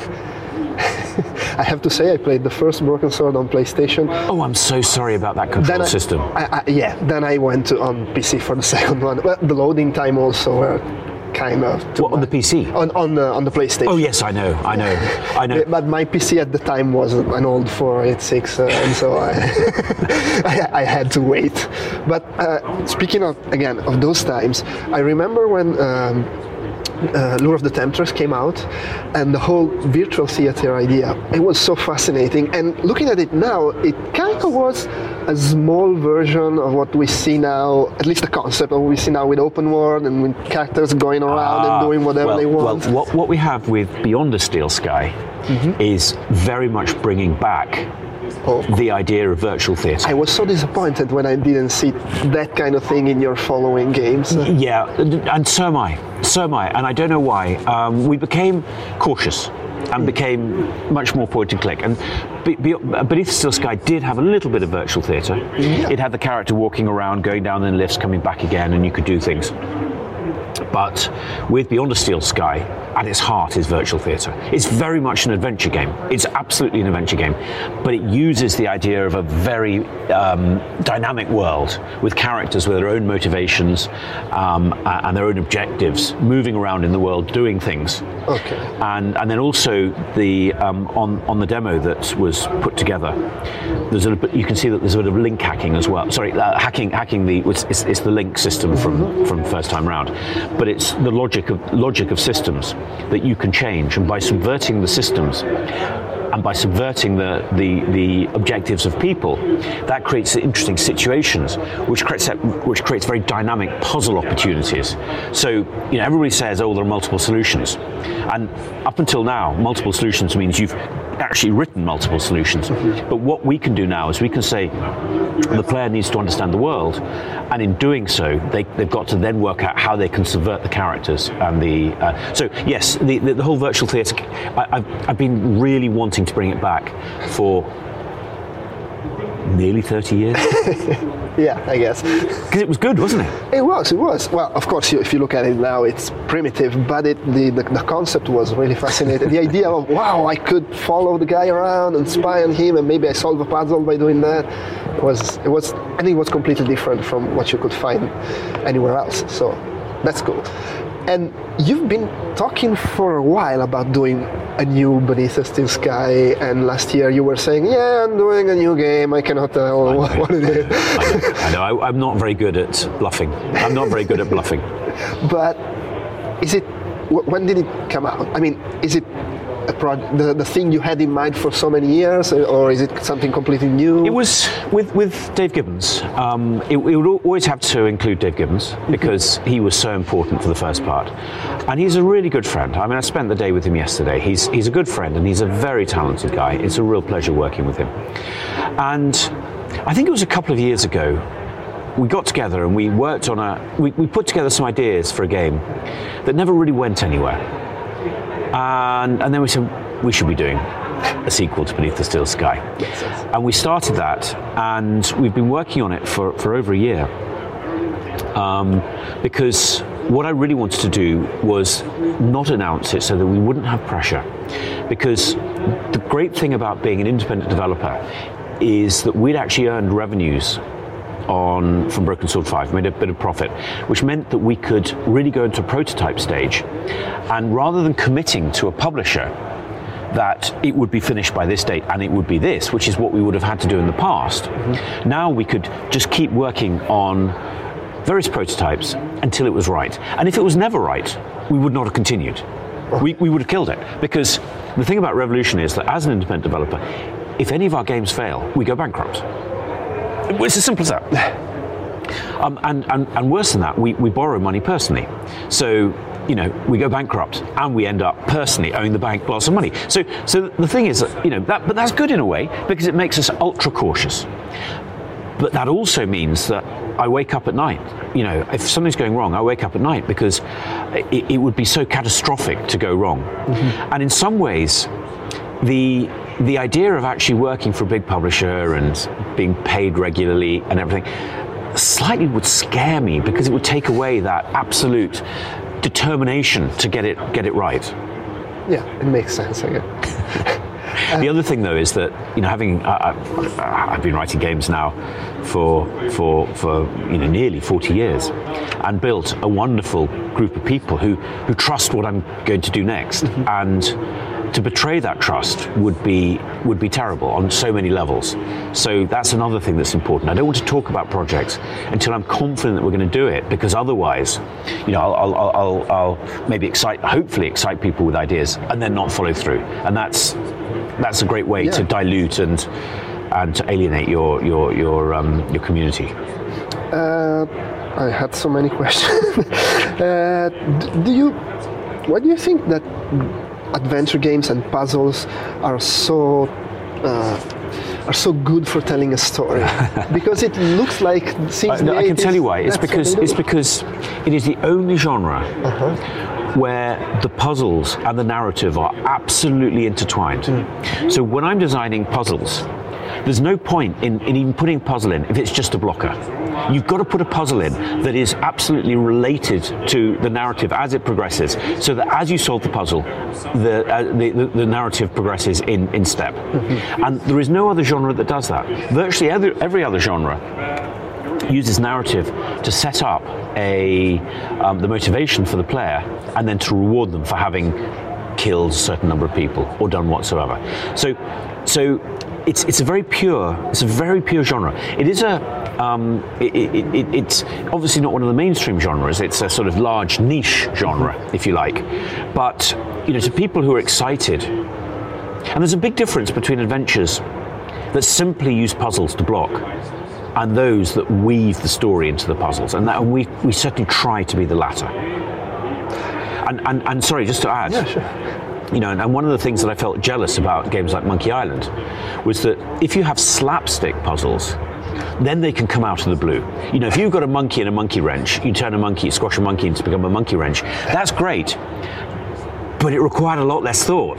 I have to say I played the first Broken Sword on PlayStation. Oh, I'm so sorry about that control I, system. I, I, yeah, then I went to, on P C for the second one. Well, the loading time also uh, kind of. What, on the P C? On on the, on the PlayStation. Oh yes, I know, I know, I know. But my P C at the time was an old four eighty-six, uh, and so I, I I had to wait. But uh, speaking of again of those times, I remember when. Um, Uh, Lure of the Temptress came out, and the whole virtual theater idea, it was so fascinating. And looking at it now, it kind of was a small version of what we see now, at least the concept of what we see now with open world and with characters going around ah, and doing whatever well, they want. Well, what, what we have with Beyond a Steel Sky mm-hmm. is very much bringing back Oh. the idea of virtual theatre. I was so disappointed when I didn't see that kind of thing in your following games. Yeah, and so am I. So am I, and I don't know why. Um, we became cautious and became much more point and click. And Be- Be- Beneath the Steel Sky did have a little bit of virtual theatre. Yeah. It had the character walking around, going down in lifts, coming back again, and you could do things. But with Beyond a Steel Sky, at its heart is virtual theatre. It's very much an adventure game. It's absolutely an adventure game, but it uses the idea of a very um, dynamic world with characters with their own motivations um, and their own objectives, moving around in the world, doing things. Okay. And and then also the um, on on the demo that was put together, there's a you can see that there's a bit of link hacking as well. Sorry, uh, hacking hacking the it's, it's, it's the link system from mm-hmm. from first time round, but it's the logic of logic of systems that you can change, and by subverting the systems and by subverting the, the, the objectives of people, that creates interesting situations, which creates which creates very dynamic puzzle opportunities. So, you know, everybody says, oh, there are multiple solutions, and up until now, multiple solutions means you've actually written multiple solutions. Mm-hmm. But what we can do now is we can say the player needs to understand the world, and in doing so, they, they've got to then work out how they can subvert the characters and the. Uh, so yes, the, the, the whole virtual theatre. I've I've been really wanting to bring it back for nearly thirty years. Yeah, I guess. Because it was good, wasn't it? It was, it was. Well, of course, if you look at it now, it's primitive, but it, the, the, the concept was really fascinating. The idea of, wow, I could follow the guy around and spy on him, and maybe I solve a puzzle by doing that, was, it was, I think it was completely different from what you could find anywhere else. So that's cool. And you've been talking for a while about doing a new Beneath the Steel Sky, and last year you were saying, yeah, I'm doing a new game, I cannot tell I what, what it is. I know, I know. I, I'm not very good at bluffing. I'm not very good at bluffing. But is it, when did it come out? I mean, is it a pro- the, the thing you had in mind for so many years, or is it something completely new? It was with, with Dave Gibbons. Um, it, it would always have to include Dave Gibbons because he was so important for the first part. And he's a really good friend. I mean, I spent the day with him yesterday. He's, he's a good friend, and he's a very talented guy. It's a real pleasure working with him. And I think it was a couple of years ago, we got together and we worked on a, we, we put together some ideas for a game that never really went anywhere. And, and then we said, we should be doing a sequel to Beneath the Steel Sky. And we started that, and we've been working on it for, for over a year. um, because what I really wanted to do was not announce it so that we wouldn't have pressure. Because the great thing about being an independent developer is that we'd actually earned revenues on from Broken Sword five, made a bit of profit, which meant that we could really go into a prototype stage, and rather than committing to a publisher that it would be finished by this date and it would be this, which is what we would have had to do in the past, mm-hmm. now we could just keep working on various prototypes until it was right. And if it was never right, we would not have continued. We, we would have killed it. Because the thing about Revolution is that as an independent developer, if any of our games fail, we go bankrupt. It's as simple as that. Um, and, and, and worse than that, we, we borrow money personally. So, you know, we go bankrupt and we end up personally owing the bank lots of money. So, so the thing is that, you know, that, but that's good in a way because it makes us ultra cautious. But that also means that I wake up at night. You know, if something's going wrong, I wake up at night because it, it would be so catastrophic to go wrong. Mm-hmm. And in some ways, the the idea of actually working for a big publisher and being paid regularly and everything slightly would scare me because it would take away that absolute determination to get it get it right. Yeah, it makes sense, I guess. The other thing, though, is that, you know, having uh, I've been writing games now for for for you know nearly forty years, and built a wonderful group of people who who trust what I'm going to do next, mm-hmm. and to betray that trust would be would be terrible on so many levels. So that's another thing that's important. I don't want to talk about projects until I'm confident that we're going to do it, because otherwise, you know, I'll, I'll, I'll, I'll maybe excite, hopefully excite people with ideas, and then not follow through. And that's that's a great way yeah. to dilute and and to alienate your your your um, your community. Uh, I had so many questions. uh, do you? Why do you think that adventure games and puzzles are so uh, are so good for telling a story? Because it looks like since uh, no, I can tell you why. It's because it's do. because it is the only genre uh-huh. where the puzzles and the narrative are absolutely intertwined. Mm. So when I'm designing puzzles, there's no point in, in even putting a puzzle in if it's just a blocker. You've got to put a puzzle in that is absolutely related to the narrative as it progresses, so that as you solve the puzzle, the uh, the, the, the narrative progresses in, in step. Mm-hmm. And there is no other genre that does that. Virtually every, every other genre uses narrative to set up a um, the motivation for the player, and then to reward them for having killed a certain number of people or done whatsoever. So, so. It's it's a very pure it's a very pure genre. It is a um, it, it, it, it's obviously not one of the mainstream genres. It's a sort of large niche genre, if you like. But you know, to people who are excited, and there's a big difference between adventures that simply use puzzles to block, and those that weave the story into the puzzles. And that and we we certainly try to be the latter. And and, and sorry, just to add. Yeah, sure. You know, and one of the things that I felt jealous about games like Monkey Island was that if you have slapstick puzzles, then they can come out of the blue. You know, if you've got a monkey and a monkey wrench, you turn a monkey, squash a monkey into become a monkey wrench. That's great, but it required a lot less thought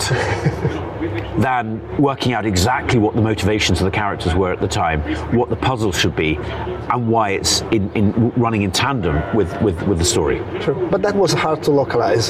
than working out exactly what the motivations of the characters were at the time, what the puzzle should be, and why it's in, in running in tandem with, with, with the story. Sure, but that was hard to localize.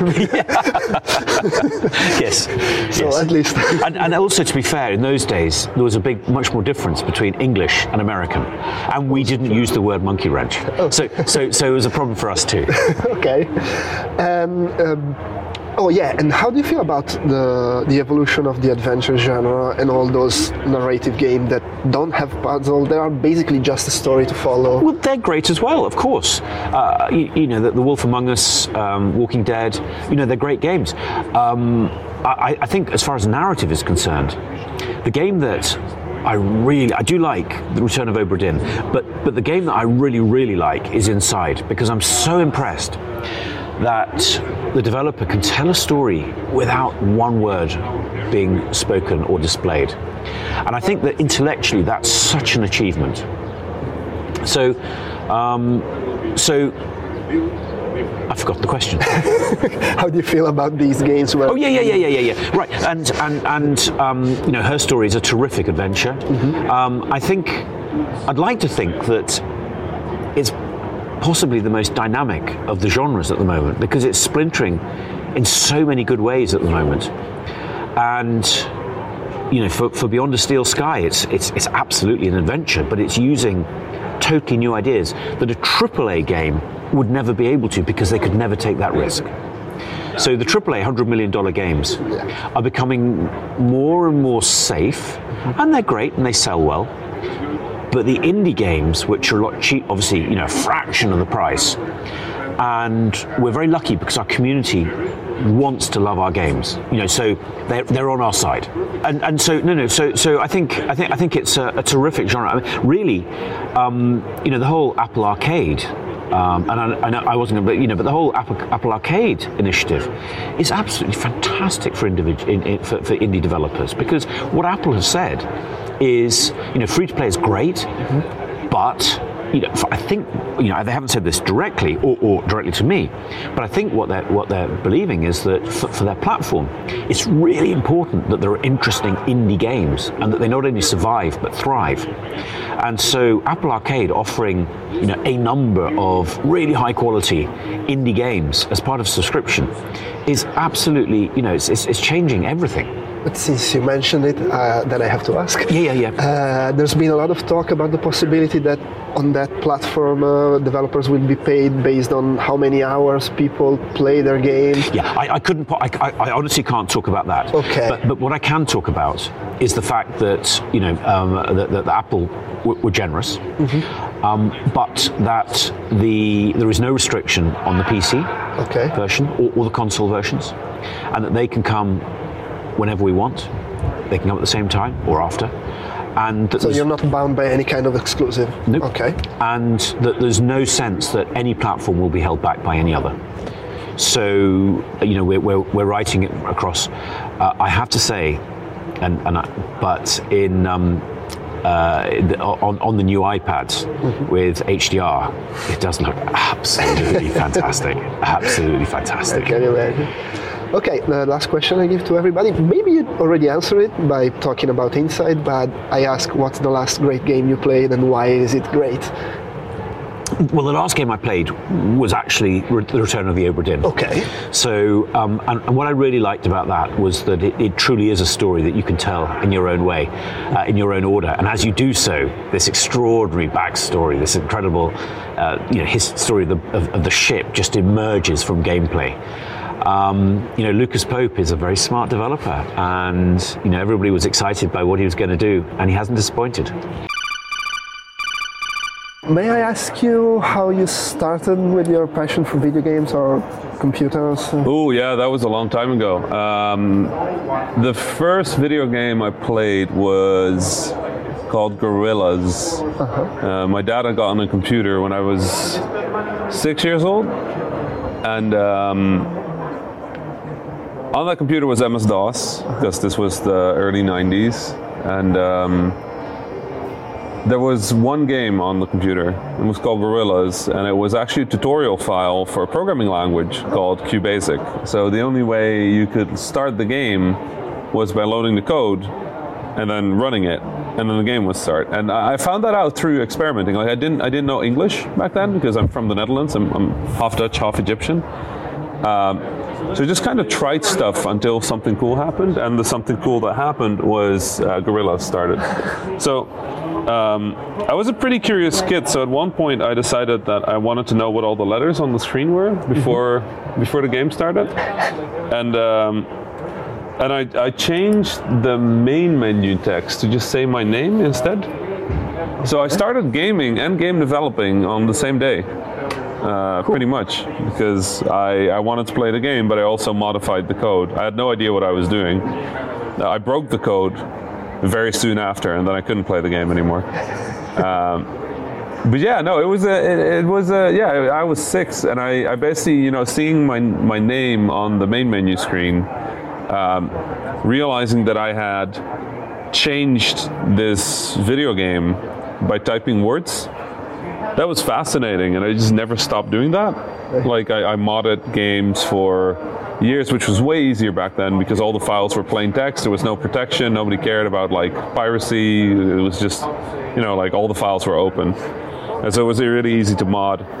Yes. So yes. At least. and, and also, to be fair, in those days there was a big, much more difference between English and American, and we didn't use the word monkey wrench. Oh. So, so, so it was a problem for us too. Okay. Um, um, Oh yeah, and how do you feel about the the evolution of the adventure genre and all those narrative games that don't have puzzle? They are basically just a story to follow. Well, they're great as well, of course. Uh, you, you know, the, the Wolf Among Us, um, Walking Dead. You know, they're great games. Um, I, I think, as far as narrative is concerned, the game that I really, I do like The Return of Obra Dinn, but but the game that I really, really like is Inside, because I'm so impressed that the developer can tell a story without one word being spoken or displayed. And I think that intellectually that's such an achievement. So, um, so I forgot the question. How do you feel about these games? Where oh yeah, yeah, yeah, yeah, yeah, yeah. Right, and and and um, you know, Her Story is a terrific adventure. Mm-hmm. Um, I think I'd like to think that it's possibly the most dynamic of the genres at the moment, because it's splintering in so many good ways at the moment. And you know, for, for Beyond a Steel Sky, it's it's it's absolutely an adventure, but it's using totally new ideas that a triple A game would never be able to, because they could never take that risk. So the triple A one hundred million dollars games are becoming more and more safe, and they're great and they sell well. But the indie games, which are a lot cheap, obviously, you know, a fraction of the price, and we're very lucky because our community wants to love our games, you know, so they're, they're on our side, and and so no no so so I think I think I think it's a, a terrific genre. I mean, really, um, you know, the whole Apple Arcade, um, and I, I know I wasn't, but you know, but the whole Apple, Apple Arcade initiative is absolutely fantastic for individ, in, in, for, for indie developers, because what Apple has said is, you know, free to play is great, mm-hmm. but you know, I think, you know, they haven't said this directly or, or directly to me, but I think what they're what they're believing is that for, for their platform, it's really important that there are interesting indie games and that they not only survive but thrive. And so Apple Arcade offering, you know, a number of really high quality indie games as part of subscription is absolutely, you know, it's it's, it's changing everything. But since you mentioned it, uh, then I have to ask. Yeah, yeah, yeah. Uh, there's been a lot of talk about the possibility that on that platform, uh, developers will be paid based on how many hours people play their game. Yeah, I, I couldn't. I, I, I honestly can't talk about that. Okay. But, but what I can talk about is the fact that, you know, um, that, that Apple w- were generous, mm-hmm. um, but that the there is no restriction on the P C okay. version or, or the console versions, and that they can come whenever we want. They can come at the same time or after. And so you're not bound by any kind of exclusive? Nope. Okay. And that there's no sense that any platform will be held back by any other. So, you know, we're, we're, we're writing it across, uh, I have to say, and, and I, but in um, uh, on, on the new iPads mm-hmm. with H D R, it does look absolutely fantastic. Absolutely fantastic. I can imagine. Okay, the last question I give to everybody. Maybe you already answered it by talking about Inside, but I ask, what's the last great game you played and why is it great? Well, the last game I played was actually Re- The Return of the Obra Dinn. Okay. So, um, and, and what I really liked about that was that it, it truly is a story that you can tell in your own way, uh, in your own order. And as you do so, this extraordinary backstory, this incredible, uh, you know, his story of the, of, of the ship just emerges from gameplay. Um, you know, Lucas Pope is a very smart developer, and you know, everybody was excited by what he was going to do, and he hasn't disappointed. May I ask you how you started with your passion for video games or computers? Oh yeah, that was a long time ago. Um, the first video game I played was called Gorillas. Uh-huh. Uh, my dad had gotten a computer when I was six years old, and um, on that computer was M S DOS, because this was the early nineties, and um, there was one game on the computer. It was called Gorillas, and it was actually a tutorial file for a programming language called QBasic. So the only way you could start the game was by loading the code and then running it, and then the game would start. And I found that out through experimenting. Like I didn't, I didn't know English back then because I'm from the Netherlands. I'm, I'm half Dutch, half Egyptian. Um, so I just kind of tried stuff until something cool happened, and the something cool that happened was uh, Gorillas started. So um, I was a pretty curious kid. So at one point I decided that I wanted to know what all the letters on the screen were before before the game started, and. Um, And I, I changed the main menu text to just say my name instead. So I started gaming and game developing on the same day, uh, pretty much, because I, I wanted to play the game, but I also modified the code. I had no idea what I was doing. I broke the code very soon after, and then I couldn't play the game anymore. Um, But yeah, no, it was a, it, it was a, yeah, I was six, and I, I basically, you know, seeing my my name on the main menu screen, um, realizing that I had changed this video game by typing words, that was fascinating, and I just never stopped doing that. Like I, I modded games for years, which was way easier back then because all the files were plain text. There was no protection. Nobody cared about like piracy. It was just, you know, like all the files were open. And so it was really easy to mod.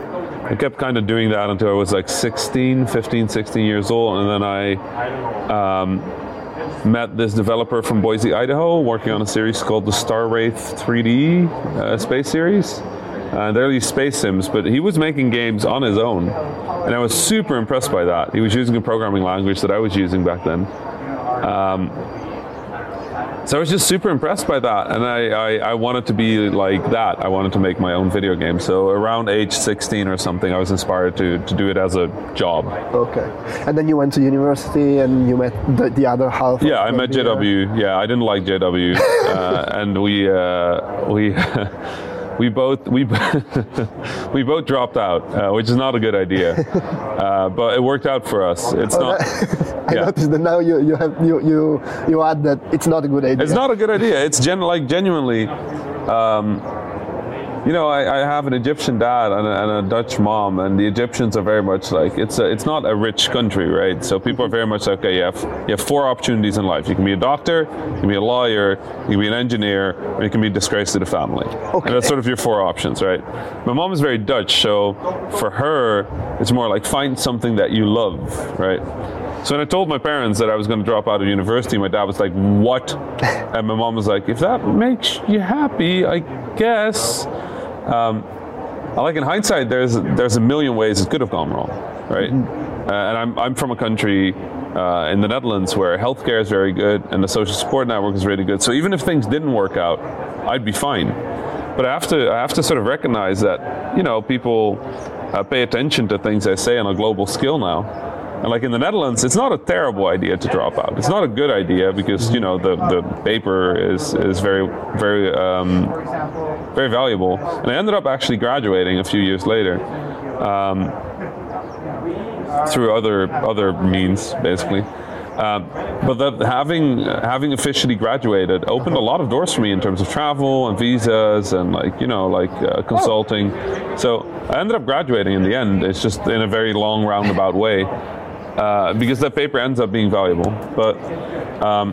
I kept kind of doing that until I was like sixteen, fifteen, sixteen years old, and then I um, met this developer from Boise, Idaho, working on a series called the Star Wraith three D uh, space series. Uh, they're these space sims, but he was making games on his own, and I was super impressed by that. He was using a programming language that I was using back then. Um, so I was just super impressed by that, and I, I, I wanted to be like that. I wanted to make my own video game. So around age sixteen or something, I was inspired to, to do it as a job. Okay. And then you went to university and you met the, the other half. Yeah, I met J W. Yeah, I didn't like J W, uh, and we uh, we. We both we we both dropped out, uh, which is not a good idea, uh, but it worked out for us. It's oh, not. That, I yeah. noticed that now you you have you you you add that it's not a good idea. It's not a good idea. It's gen like genuinely. Um, You know, I, I have an Egyptian dad and a, and a Dutch mom, and the Egyptians are very much like, it's a, it's not a rich country, right? So people are very much like, okay, you have, you have four opportunities in life. You can be a doctor, you can be a lawyer, you can be an engineer, or you can be a disgrace to the family. Okay. And that's sort of your four options, right? My mom is very Dutch, so for her, it's more like find something that you love, right? So when I told my parents that I was going to drop out of university, my dad was like, what? And my mom was like, if that makes you happy, I guess. Um, like in hindsight, there's there's a million ways it could have gone wrong, right? Mm-hmm. Uh, and I'm I'm from a country uh, in the Netherlands where healthcare is very good and the social support network is really good. So even if things didn't work out, I'd be fine. But I have to I have to sort of recognize that, you know, people uh, pay attention to things I say on a global scale now. And like in the Netherlands, it's not a terrible idea to drop out. It's not a good idea because, you know, the, the paper is, is very, very, um, very valuable. And I ended up actually graduating a few years later um, through other other means, basically. Uh, but that having having officially graduated opened a lot of doors for me in terms of travel and visas and like you know like uh, consulting. So I ended up graduating in the end. It's just in a very long roundabout way. Uh, because that paper ends up being valuable. But um,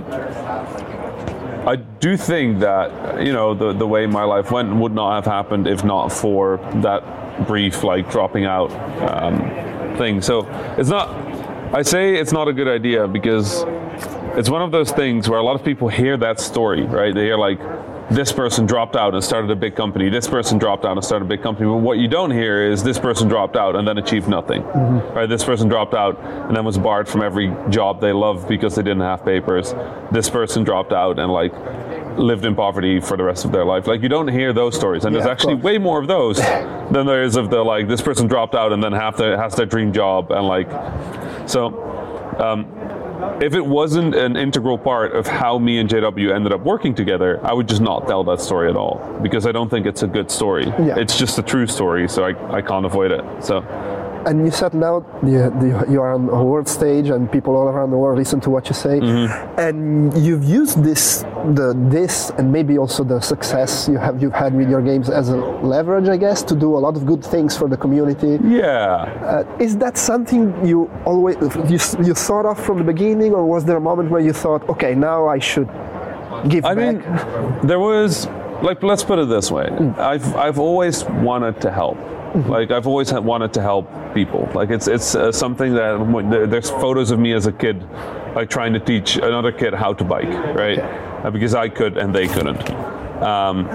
I do think that, you know, the, the way my life went would not have happened if not for that brief, like, dropping out um, thing. So it's not, I say it's not a good idea because it's one of those things where a lot of people hear that story, right? They hear, like, this person dropped out and started a big company. This person dropped out and started a big company. But what you don't hear is this person dropped out and then achieved nothing. Mm-hmm. Right? This person dropped out and then was barred from every job they loved because they didn't have papers. This person dropped out and like lived in poverty for the rest of their life. Like you don't hear those stories, and yeah, there's actually way more of those than there is of the like this person dropped out and then have their, has their dream job and like so. Um, If it wasn't an integral part of how me and J W ended up working together, I would just not tell that story at all because I don't think it's a good story. Yeah. It's just a true story, so I, I can't avoid it. So. And you said now you, you are on a world stage and people all around the world listen to what you say. Mm-hmm. And you've used this, the this, and maybe also the success you have you've had with your games as a leverage, I guess, to do a lot of good things for the community. Yeah. Uh, is that something you always you you thought of from the beginning, or was there a moment where you thought, okay, now I should give I back? mean, there was like let's put it this way. Mm. I've I've always wanted to help. Like I've always had wanted to help people. Like it's it's uh, something that there's photos of me as a kid, like trying to teach another kid how to bike, right? Uh, because I could and they couldn't. Um,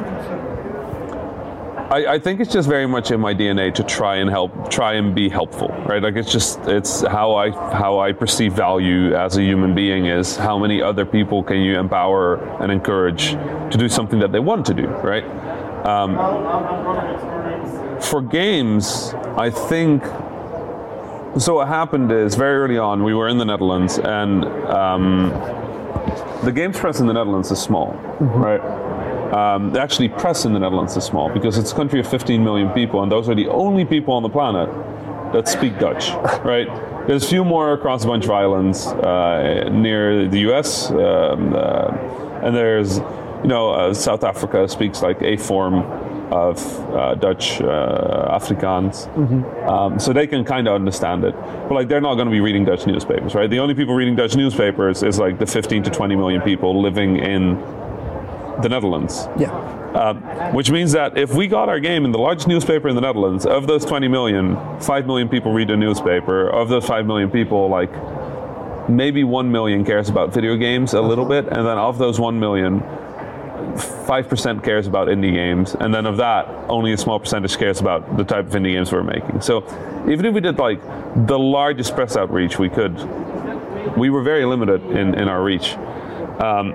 I, I think it's just very much in my D N A to try and help, try and be helpful, right? Like it's just it's how I how I perceive value as a human being is how many other people can you empower and encourage to do something that they want to do, right? Um, For games, I think, so what happened is very early on, we were in the Netherlands and um, the games press in the Netherlands is small, mm-hmm. right? Um, actually, press in the Netherlands is small because it's a country of fifteen million people and those are the only people on the planet that speak Dutch, right? There's a few more across a bunch of islands uh, near the U S um, uh, and there's, you know, uh, South Africa speaks like a form of uh, Dutch uh, Afrikaans, mm-hmm. um, so they can kind of understand it. But like, they're not going to be reading Dutch newspapers, right? The only people reading Dutch newspapers is like the fifteen to twenty million people living in the Netherlands. Yeah. Uh, which means that if we got our game in the largest newspaper in the Netherlands, of those twenty million, five million people read a newspaper. Of those five million people, like maybe one million cares about video games a little bit, and then of those one million, five percent cares about indie games, and then of that, only a small percentage cares about the type of indie games we're making. So even if we did like the largest press outreach we could, we were very limited in, in our reach. Um,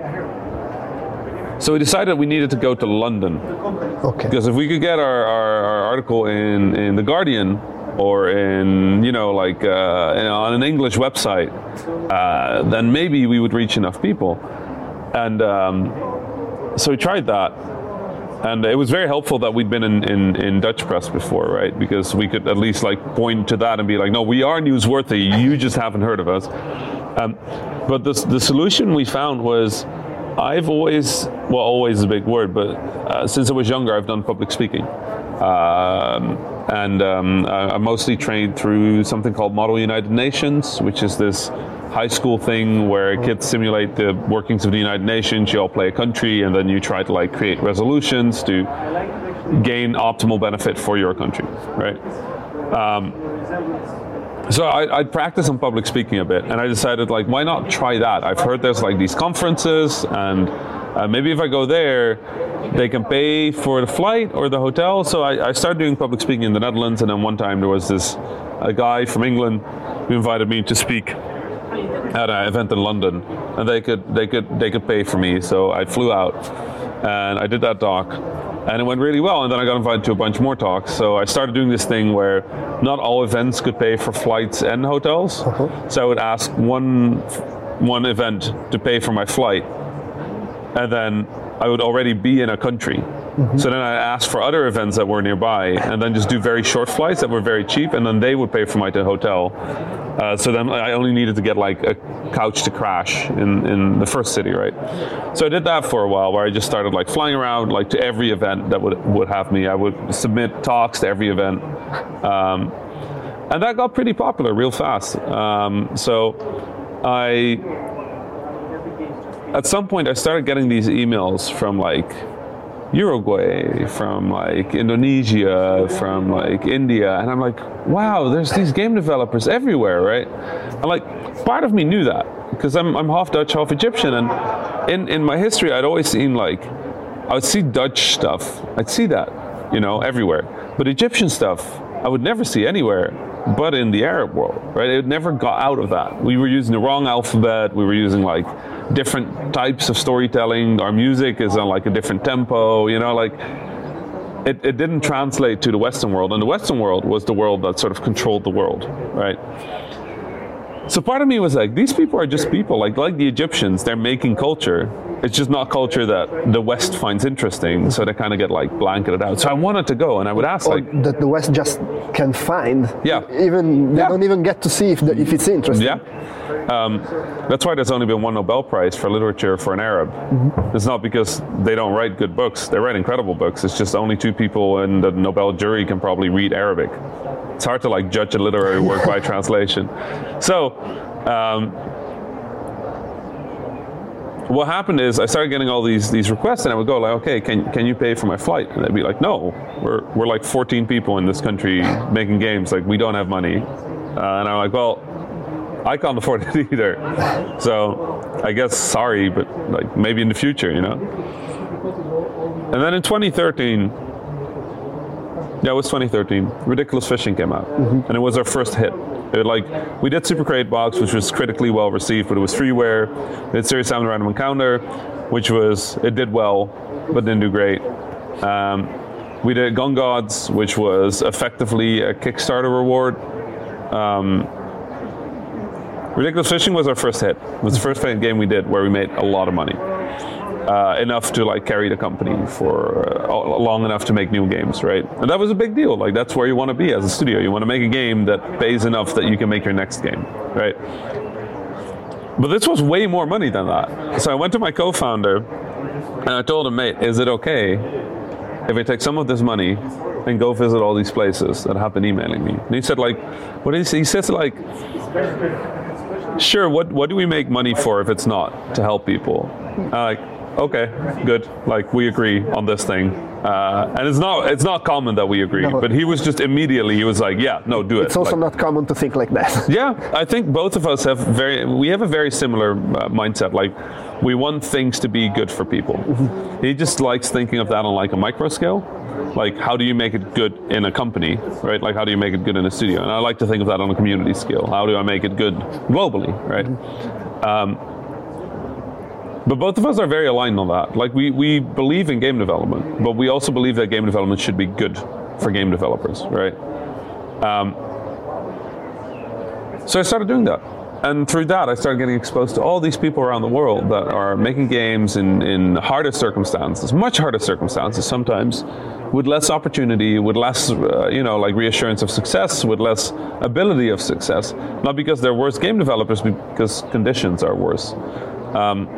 So we decided we needed to go to London. Okay. Because if we could get our, our, our article in, in The Guardian or in, you know, like uh, in, on an English website, uh, then maybe we would reach enough people. And um, so we tried that. And it was very helpful that we'd been in, in, in Dutch press before, right? Because we could at least like point to that and be like, no, we are newsworthy, you just haven't heard of us. Um, but the, the solution we found was, I've always, well, always is a big word, but uh, since I was younger, I've done public speaking. Um, and um, I, I'm mostly trained through something called Model United Nations, which is this high school thing where kids simulate the workings of the United Nations. You all play a country, and then you try to like create resolutions to gain optimal benefit for your country, right? Um, So I, I'd practice on public speaking a bit, and I decided, like, why not try that? I've heard there's like these conferences, and uh, maybe if I go there, they can pay for the flight or the hotel. So I, I started doing public speaking in the Netherlands, and then one time there was this a guy from England who invited me to speak at an event in London, and they could they could they could pay for me. So I flew out, and I did that talk. And it went really well, and then I got invited to a bunch more talks. So I started doing this thing where not all events could pay for flights and hotels. Uh-huh. So I would ask one one event to pay for my flight, and then I would already be in a country. Mm-hmm. So then I asked for other events that were nearby, and then just do very short flights that were very cheap, and then they would pay for my hotel. Uh, so then I only needed to get like a couch to crash in, in the first city, right? So I did that for a while, where I just started like flying around like to every event that would would have me. I would submit talks to every event, um, and that got pretty popular real fast. Um, so I, at some point, I started getting these emails from like Uruguay, from like Indonesia, from like India, and I'm like, wow, there's these game developers everywhere, right? And like, part of me knew that because I'm I'm half Dutch, half Egyptian, and in in my history, I'd always seen like, I would see Dutch stuff, I'd see that, you know, everywhere, but Egyptian stuff I would never see anywhere but in the Arab world, right? It never got out of that. We were using the wrong alphabet. We were using like different types of storytelling. Our music is on like a different tempo, you know, like it, it didn't translate to the Western world. And the Western world was the world that sort of controlled the world, right? So part of me was like, these people are just people, like like the Egyptians, they're making culture. It's just not culture that the West finds interesting, so they kind of get like blanketed out. So I wanted to go, and I would ask, or like, that the West just can find. Yeah. Even they yeah. don't even get to see if the, if it's interesting. Yeah. Um, that's why there's only been one Nobel Prize for literature for an Arab. Mm-hmm. It's not because they don't write good books. They write incredible books. It's just only two people in the Nobel jury can probably read Arabic. It's hard to like judge a literary work by translation. So. Um, What happened is I started getting all these these requests, and I would go like, okay, can can you pay for my flight? And they'd be like, no, we're we're like fourteen people in this country making games, like we don't have money. Uh, and I'm like, well, I can't afford it either. So I guess sorry, but like maybe in the future, you know. And then in twenty thirteen, yeah, it was twenty thirteen. Ridiculous Fishing came out, mm-hmm. and it was our first hit. It, like we did Super Crate Box, which was critically well received, but it was freeware. We did Serious Sam the Random Encounter, which was it did well, but didn't do great. Um, we did Gun Gods, which was effectively a Kickstarter reward. Um, Ridiculous Fishing was our first hit. It was the first game we did where we made a lot of money. Uh, enough to like carry the company for uh, long enough to make new games, right? And that was a big deal. Like that's where you want to be as a studio. You want to make a game that pays enough that you can make your next game, right? But this was way more money than that. So I went to my co-founder and I told him, mate, is it okay if I take some of this money and go visit all these places that have been emailing me? And he said, like, what did he say? He says, like, sure, what what do we make money for if it's not to help people? Uh, like, okay, good. Like we agree on this thing, uh, and it's not it's not common that we agree. No. But he was just immediately he was like, yeah, no, do it. It's also like, not common to think like that. Yeah, I think both of us have very we have a very similar uh, mindset. Like we want things to be good for people. Mm-hmm. He just likes thinking of that on like a micro scale. Like how do you make it good in a company, right? Like how do you make it good in a studio? And I like to think of that on a community scale. How do I make it good globally, right? Mm-hmm. Um, But both of us are very aligned on that. Like we, we believe in game development, but we also believe that game development should be good for game developers, right? Um, so I started doing that. And through that, I started getting exposed to all these people around the world that are making games in, in harder circumstances, much harder circumstances sometimes, with less opportunity, with less, uh, you know, like reassurance of success, with less ability of success. Not because they're worse game developers, but because conditions are worse. Um,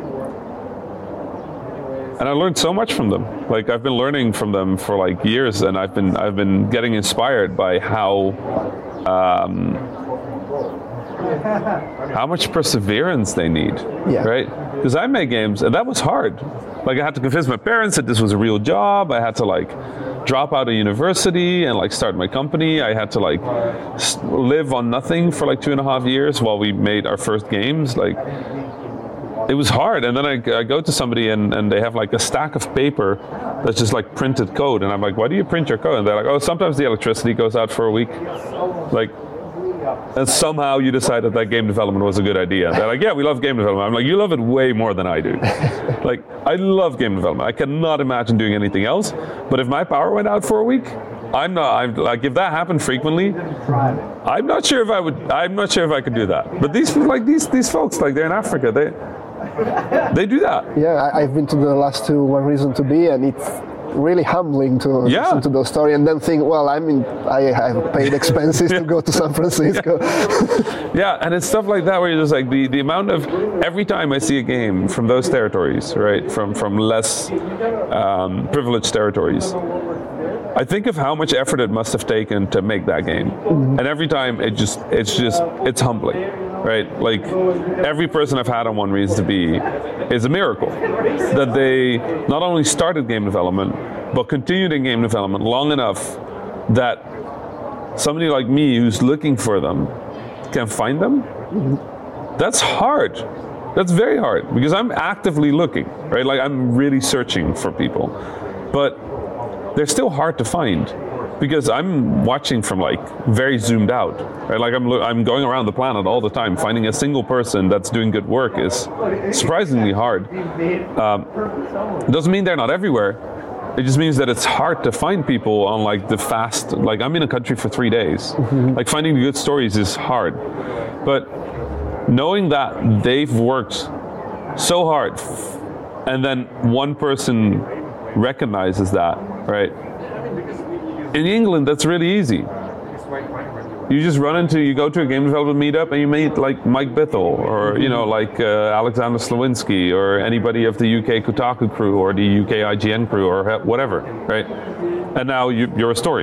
And I learned so much from them. Like I've been learning from them for like years, and I've been I've been getting inspired by how um, how much perseverance they need. Yeah. Right? Because I made games, and that was hard. Like I had to convince my parents that this was a real job. I had to like drop out of university and like start my company. I had to like live on nothing for like two and a half years while we made our first games. Like. It was hard, and then I, I go to somebody and, and they have like a stack of paper that's just like printed code, and I'm like, why do you print your code? And they're like, oh, sometimes the electricity goes out for a week. Like, and somehow you decided that game development was a good idea. They're like, yeah, we love game development. I'm like, you love it way more than I do. Like, I love game development. I cannot imagine doing anything else, but if my power went out for a week, I'm not, I'm like, if that happened frequently, I'm not sure if I would, I'm not sure if I could do that. But these, like, these, these folks, like, they're in Africa, they, They do that. Yeah, I, I've been to the last two One Reason to Be, and it's really humbling to yeah. listen to those stories and then think, well, I mean, I have paid expenses to go to San Francisco. Yeah. Yeah, and it's stuff like that where you're just like, the, the amount of, every time I see a game from those territories, right, from, from less um, privileged territories, I think of how much effort it must have taken to make that game. Mm-hmm. And every time it just, it's just, it's humbling. Right, like every person I've had on One Reason to Be is a miracle that they not only started game development but continued in game development long enough that somebody like me who's looking for them can find them. That's hard. That's very hard because I'm actively looking, right? Like I'm really searching for people, but they're still hard to find. Because I'm watching from like very zoomed out, right? Like I'm I'm going around the planet all the time. Finding a single person that's doing good work is surprisingly hard. Um, it doesn't mean they're not everywhere. It just means that it's hard to find people on like the fast. Like I'm in a country for three days. Mm-hmm. Like finding the good stories is hard, but knowing that they've worked so hard, and then one person recognizes that, right? In England, that's really easy. You just run into, you go to a game development meetup and you meet like Mike Bithell or, you know, like uh, Alexander Slawinski or anybody of the U K Kotaku crew or the U K I G N crew or whatever, right? And now you, you're a story.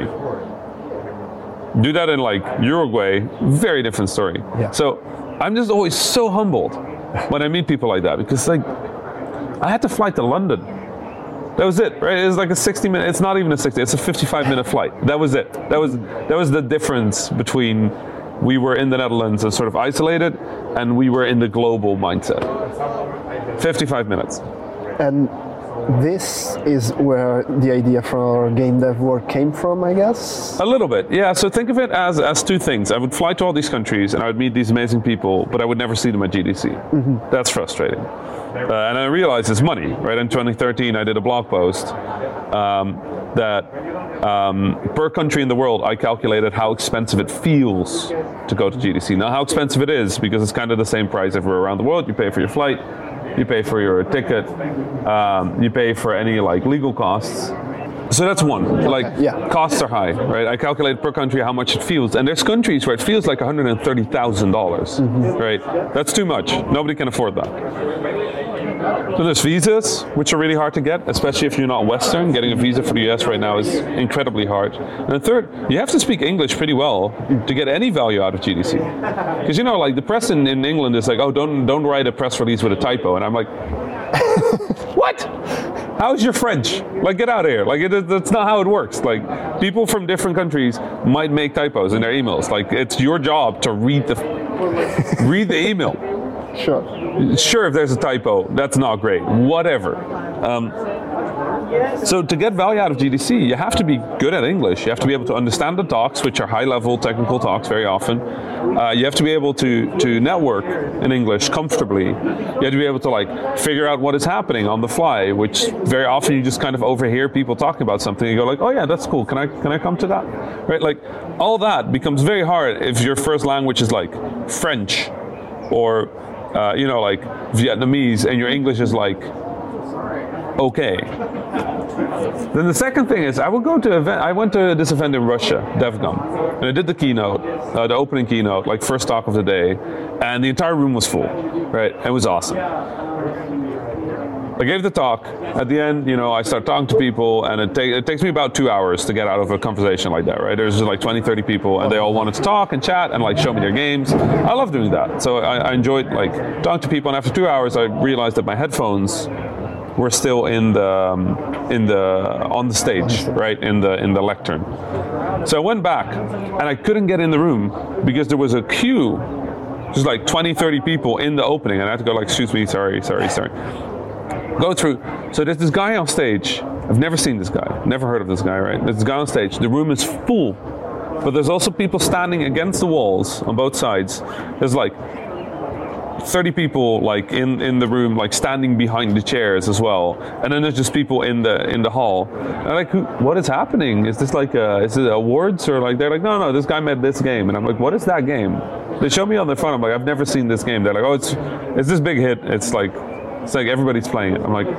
Do that in like Uruguay, very different story. Yeah. So I'm just always so humbled when I meet people like that because like, I had to fly to London. That was it, right? It was like a sixty minute, it's not even a sixty, it's a fifty-five minute flight. That was it. That was that was the difference between we were in the Netherlands and sort of isolated and we were in the global mindset. fifty-five minutes. And this is where the idea for game dev work came from, I guess? A little bit, yeah. So think of it as, as two things. I would fly to all these countries and I would meet these amazing people, but I would never see them at G D C. Mm-hmm. That's frustrating. Uh, and I realized it's money, right? In twenty thirteen, I did a blog post um, that um, per country in the world, I calculated how expensive it feels to go to G D C. Now, how expensive it is, because it's kind of the same price everywhere around the world. You pay for your flight, you pay for your ticket, um, you pay for any like legal costs. So that's one, like yeah. Costs are high, right? I calculate per country how much it feels. And there's countries where it feels like one hundred thirty thousand dollars, mm-hmm. right? That's too much. Nobody can afford that. So there's visas, which are really hard to get, especially if you're not Western. Getting a visa for the U S right now is incredibly hard. And the third, you have to speak English pretty well to get any value out of G D C. Because, you know, like the press in, in England is like, oh, don't don't write a press release with a typo. And I'm like, What? How's your French? Like, get out of here. Like, it, that's not how it works. Like, people from different countries might make typos in their emails. Like, it's your job to read the read the email. Sure. Sure, if there's a typo, that's not great. Whatever. Um, So to get value out of G D C, you have to be good at English. You have to be able to understand the talks, which are high-level technical talks very often. Uh, you have to be able to, to network in English comfortably. You have to be able to like figure out what is happening on the fly, which very often you just kind of overhear people talking about something. You go like, oh yeah, that's cool. Can I can I come to that? Right? Like all that becomes very hard if your first language is like French or uh, you know like Vietnamese, and your English is like okay. Then the second thing is, I would go to event. I went to this event in Russia, DevCon, and I did the keynote, uh, the opening keynote, like first talk of the day, and the entire room was full. Right, it was awesome. I gave the talk. At the end, you know, I start talking to people, and it, ta- it takes me about two hours to get out of a conversation like that. Right, there's just like twenty, thirty people, and they all wanted to talk and chat and like show me their games. I love doing that, so I, I enjoyed like talking to people. And after two hours, I realized that my headphones were still in the um, in the on the stage, right, in the in the lectern. So I went back, and I couldn't get in the room because there was a queue, just like twenty, thirty people in the opening, and I had to go like, excuse me, sorry, sorry, sorry. Go through. So there's this guy on stage. I've never seen this guy, never heard of this guy, right? There's this guy on stage. The room is full, but there's also people standing against the walls on both sides. There's like thirty people like in, in the room, like standing behind the chairs as well, and then there's just people in the in the hall. And I'm like, who, what is happening? Is this like a, is it awards or like they're like, no, no, this guy made this game, and I'm like, what is that game? They show me on their phone. I'm like, I've never seen this game. They're like, oh, it's it's this big hit. It's like it's like everybody's playing it. I'm like,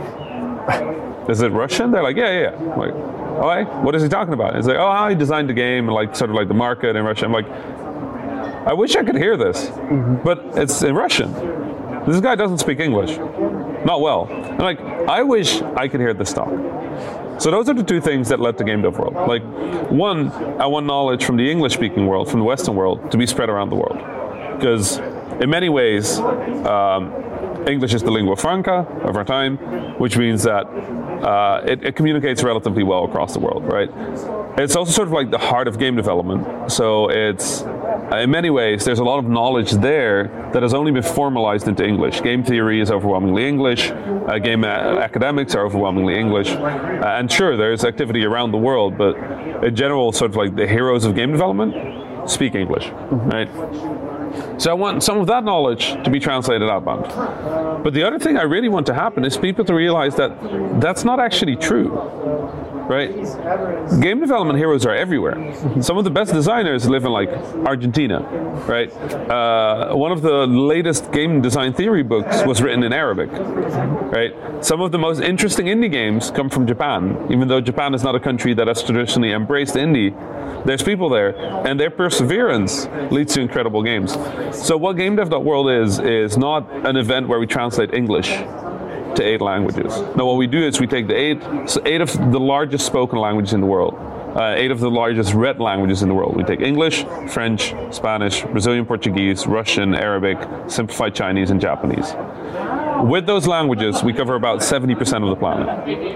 is it Russian? They're like, yeah, yeah. yeah. I'm like, all right, what is he talking about? It's like, oh, how he designed the game and like sort of like the market in Russia. I'm like, I wish I could hear this, mm-hmm. but it's in Russian. This guy doesn't speak English, not well. And like, I wish I could hear this talk. So those are the two things that led to Game Dev World. Like, one, I want knowledge from the English-speaking world, from the Western world, to be spread around the world. Because in many ways, um, English is the lingua franca of our time, which means that uh, it, it communicates relatively well across the world, right? It's also sort of like the heart of game development. So it's, uh, in many ways, there's a lot of knowledge there that has only been formalized into English. Game theory is overwhelmingly English. Uh, game a- academics are overwhelmingly English. Uh, and sure, there's activity around the world, but in general, sort of like the heroes of game development speak English, mm-hmm. right? So I want some of that knowledge to be translated outbound. But the other thing I really want to happen is people to realize that that's not actually true, right? Game development heroes are everywhere. Some of the best designers live in like Argentina, right? Uh, one of the latest game design theory books was written in Arabic, right? Some of the most interesting indie games come from Japan, even though Japan is not a country that has traditionally embraced indie. There's people there, and their perseverance leads to incredible games. So what GameDev.World is, is not an event where we translate English to eight languages. No, what we do is we take the eight, so eight of the largest spoken languages in the world, uh, eight of the largest read languages in the world. We take English, French, Spanish, Brazilian Portuguese, Russian, Arabic, simplified Chinese, and Japanese. With those languages, we cover about seventy percent of the planet.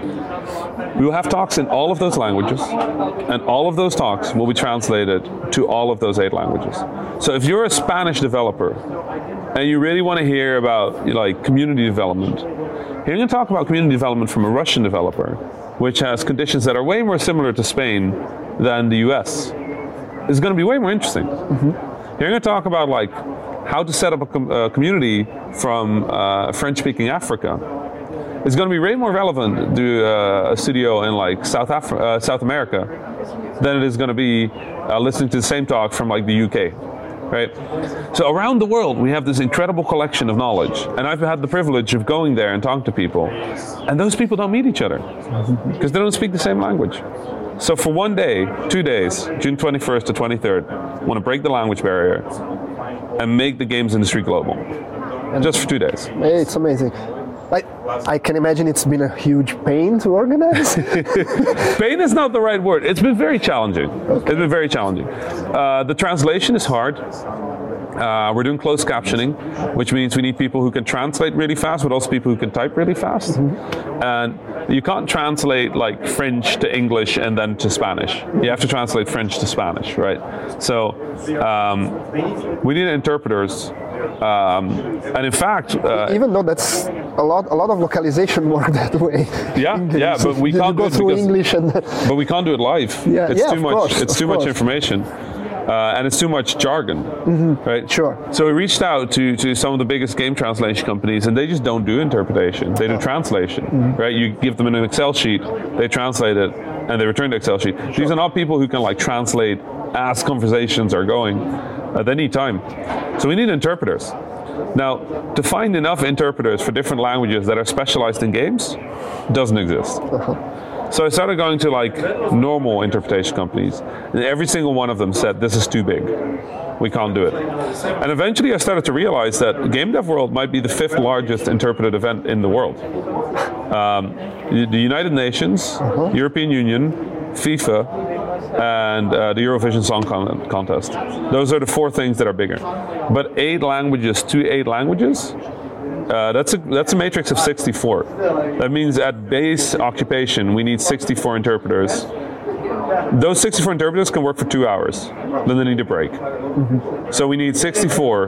We will have talks in all of those languages, and all of those talks will be translated to all of those eight languages. So if you're a Spanish developer, and you really want to hear about like community development, hearing a talk about community development from a Russian developer, which has conditions that are way more similar to Spain than the U S, is going to be way more interesting. Mm-hmm. Hearing a talk about like how to set up a com- uh, community from uh, French-speaking Africa is going to be way more relevant to uh, a studio in like South Af- uh, South America than it is going to be uh, listening to the same talk from like the U K, right? So around the world, we have this incredible collection of knowledge, and I've had the privilege of going there and talking to people, and those people don't meet each other because they don't speak the same language. So for one day, two days, June twenty-first to twenty-third, I want to break the language barrier and make the games industry global. And just for two days. It's amazing. I, I can imagine it's been a huge pain to organize. Pain is not the right word. It's been very challenging. Okay. It's been very challenging. Uh, the translation is hard. Uh, we're doing closed captioning, which means we need people who can translate really fast, but also people who can type really fast. Mm-hmm. And you can't translate like French to English and then to Spanish. You have to translate French to Spanish, right? So um, we need interpreters. Um, and in fact, uh, even though that's a lot, a lot of localization work that way. Yeah, English. yeah, but we you can't go do it through because, English and. But we can't do it live. Yeah, it's yeah, too of much. course, it's of too course. much information. Uh, and it's too much jargon, mm-hmm. right? Sure. So we reached out to, to some of the biggest game translation companies, and they just don't do interpretation. They do translation, mm-hmm. right? You give them an Excel sheet, they translate it, and they return the Excel sheet. Sure. These are not people who can like translate as conversations are going. Uh, they need time. So we need interpreters. Now, to find enough interpreters for different languages that are specialized in games doesn't exist. Uh-huh. So I started going to like normal interpretation companies, and every single one of them said, this is too big. We can't do it. And eventually I started to realize that Game Dev World might be the fifth largest interpreted event in the world. Um, the United Nations, uh-huh. European Union, FIFA, and uh, the Eurovision Song Con- Contest. Those are the four things that are bigger. But eight languages to eight languages, Uh, that's a that's a matrix of sixty-four. That means at base occupation we need sixty-four interpreters. Those sixty-four interpreters can work for two hours. Then they need a break. Mm-hmm. So we need sixty-four,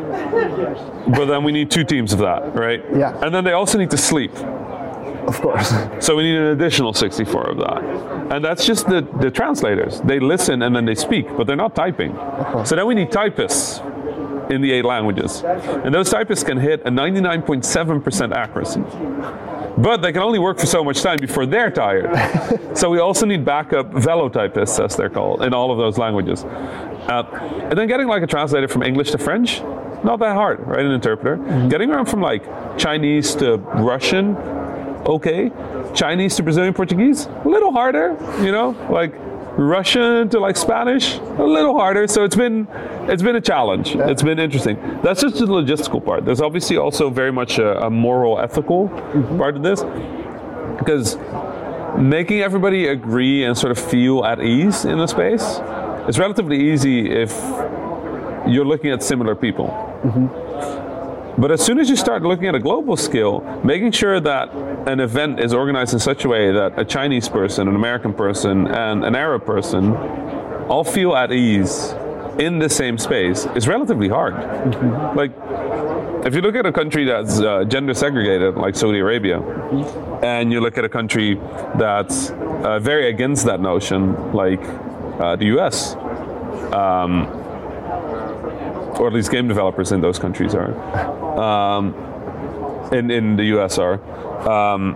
but then we need two teams of that, right? Yeah. And then they also need to sleep. Of course. So we need an additional sixty-four of that. And that's just the, the translators. They listen and then they speak, but they're not typing. Uh-huh. So then we need typists in the eight languages. And those typists can hit a ninety-nine point seven percent accuracy. But they can only work for so much time before they're tired. So we also need backup velo typists, as they're called, in all of those languages. Uh, and then getting like a translator from English to French, not that hard, right? An interpreter. Mm-hmm. Getting around from like Chinese to Russian, okay. Chinese to Brazilian Portuguese, a little harder, you know, like Russian to like Spanish, a little harder. So it's been it's been a challenge. Yeah. It's been interesting. That's just the logistical part. There's obviously also very much a, a moral, ethical mm-hmm. part of this, because making everybody agree and sort of feel at ease in the space is relatively easy if you're looking at similar people. Mm-hmm. But as soon as you start looking at a global scale, making sure that an event is organized in such a way that a Chinese person, an American person, and an Arab person all feel at ease in the same space is relatively hard. Mm-hmm. Like, if you look at a country that's uh, gender segregated, like Saudi Arabia, mm-hmm. and you look at a country that's uh, very against that notion, like uh, the U S, um, or at least game developers in those countries are, um, in, in the U S are, um,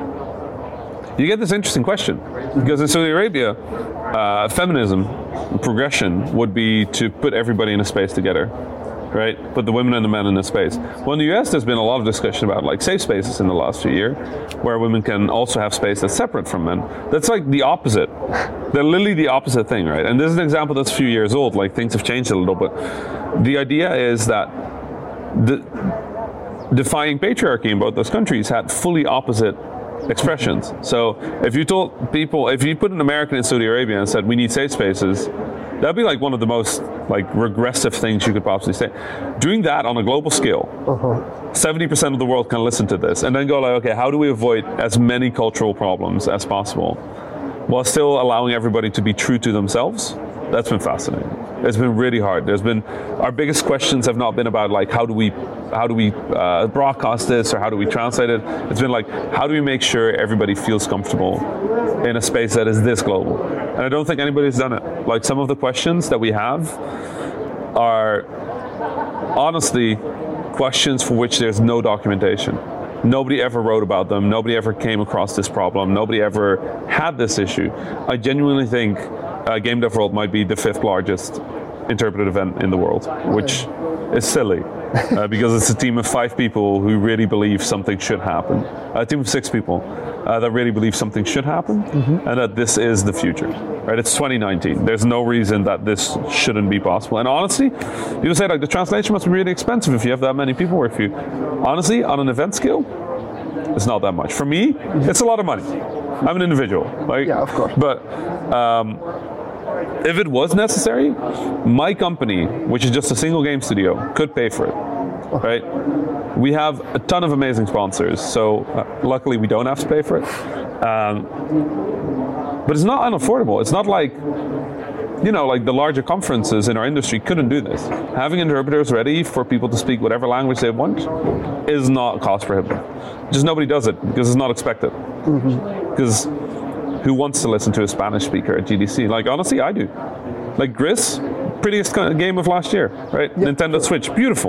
you get this interesting question. Because in Saudi Arabia, uh, feminism, progression would be to put everybody in a space together, right? Put the women and the men in a space. Well, in the U S, there's been a lot of discussion about like safe spaces in the last few years, where women can also have space that's separate from men. That's like the opposite. They're literally the opposite thing, right? And this is an example that's a few years old, like things have changed a little bit. The idea is that the defying patriarchy in both those countries had fully opposite expressions. So if you told people, if you put an American in Saudi Arabia and said we need safe spaces, that'd be like one of the most like regressive things you could possibly say. Doing that on a global scale, uh-huh. seventy percent of the world can listen to this and then go like, okay, how do we avoid as many cultural problems as possible while still allowing everybody to be true to themselves? That's been fascinating. It's been really hard. There's been, our biggest questions have not been about like how do we how do we uh, broadcast this or how do we translate it. It's been like, how do we make sure everybody feels comfortable in a space that is this global? And I don't think anybody's done it. Like, some of the questions that we have are honestly questions for which there's no documentation. Nobody ever wrote about them. Nobody ever came across this problem. Nobody ever had this issue. I genuinely think uh, Game Dev World might be the fifth largest interpreted event in the world, which is silly uh, because it's a team of five people who really believe something should happen. A team of six people uh, that really believe something should happen, mm-hmm. and that this is the future. Right? It's twenty nineteen. There's no reason that this shouldn't be possible. And honestly, you say like the translation must be really expensive if you have that many people work for you. Honestly, on an event scale, it's not that much. For me, it's a lot of money. I'm an individual. Like, yeah, of course. But um, if it was necessary, my company, which is just a single game studio, could pay for it, right? We have a ton of amazing sponsors, so uh, luckily we don't have to pay for it. Um, but it's not unaffordable. It's not like, you know, like the larger conferences in our industry couldn't do this. Having interpreters ready for people to speak whatever language they want is not cost prohibitive. Just nobody does it because it's not expected. Because mm-hmm. who wants to listen to a Spanish speaker at G D C? Like, honestly, I do. Like Gris, prettiest game of last year, right? Yep. Nintendo Switch, beautiful.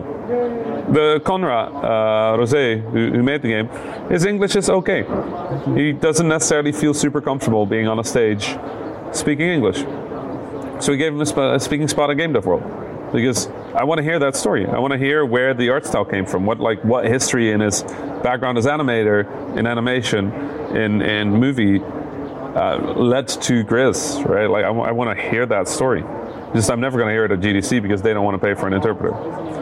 The Conrad uh, Rosé, who, who made the game, his English is okay. He doesn't necessarily feel super comfortable being on a stage speaking English. So we gave him a, sp- a speaking spot at Game Dev World because I want to hear that story. I want to hear where the art style came from, what like what history in his background as animator, in animation, in in movie uh, led to Gris, right? Like I, w- I want to hear that story. Just I'm never going to hear it at G D C because they don't want to pay for an interpreter.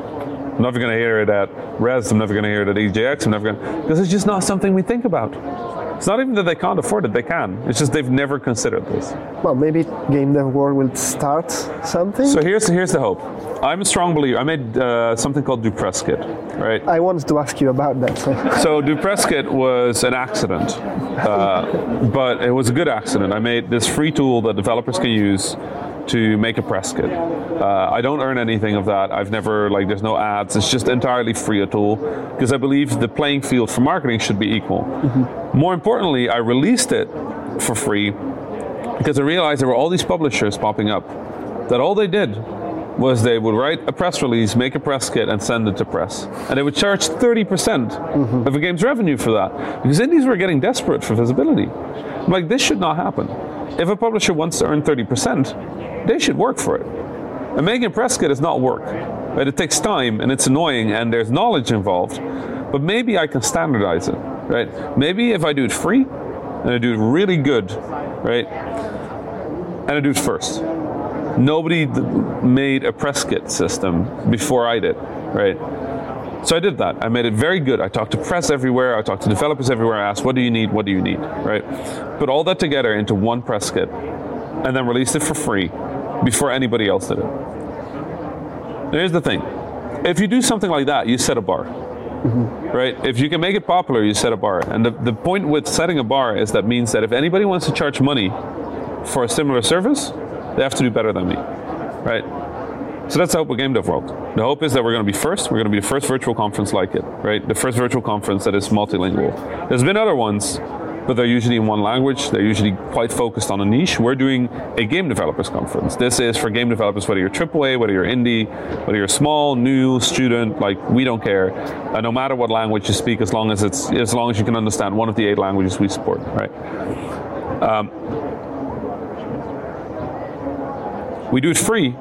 I'm never going to hear it at Res. I'm never going to hear it at E J X. I'm never going to because it's just not something we think about. It's not even that they can't afford it, they can. It's just they've never considered this. Well, maybe Game Dev World will start something. So here's here's the hope. I'm a strong believer. I made uh, something called DuPresskit, right? I wanted to ask you about that. So, so DuPresskit was an accident, uh, but it was a good accident. I made this free tool that developers can use to make a press kit. Uh, I don't earn anything of that. I've never, like, there's no ads. It's just entirely free a tool because I believe the playing field for marketing should be equal. Mm-hmm. More importantly, I released it for free because I realized there were all these publishers popping up that all they did was they would write a press release, make a press kit, and send it to press. And they would charge thirty percent mm-hmm. of a game's revenue for that because indies were getting desperate for visibility. I'm like, this should not happen. If a publisher wants to earn thirty percent, they should work for it. And making a press kit is not work. Right? It takes time and it's annoying and there's knowledge involved. But maybe I can standardize it. Right? Maybe if I do it free and I do it really good, right? And I do it first. Nobody d- made a press kit system before I did, right? So I did that. I made it very good. I talked to press everywhere. I talked to developers everywhere. I asked, what do you need? What do you need? Right? Put all that together into one press kit and then released it for free before anybody else did it. Now, here's the thing. If you do something like that, you set a bar. Mm-hmm. Right? If you can make it popular, you set a bar. And the, the point with setting a bar is that means that if anybody wants to charge money for a similar service, they have to do better than me. Right? So that's the hope with Game Dev World. The hope is that we're going to be first. We're going to be the first virtual conference like it, right? The first virtual conference that is multilingual. There's been other ones, but they're usually in one language. They're usually quite focused on a niche. We're doing a game developers conference. This is for game developers, whether you're triple A, whether you're indie, whether you're small, new, student, like we don't care. Uh, no matter what language you speak, as long as it's as long as you can understand one of the eight languages we support, right? Um, we do it free.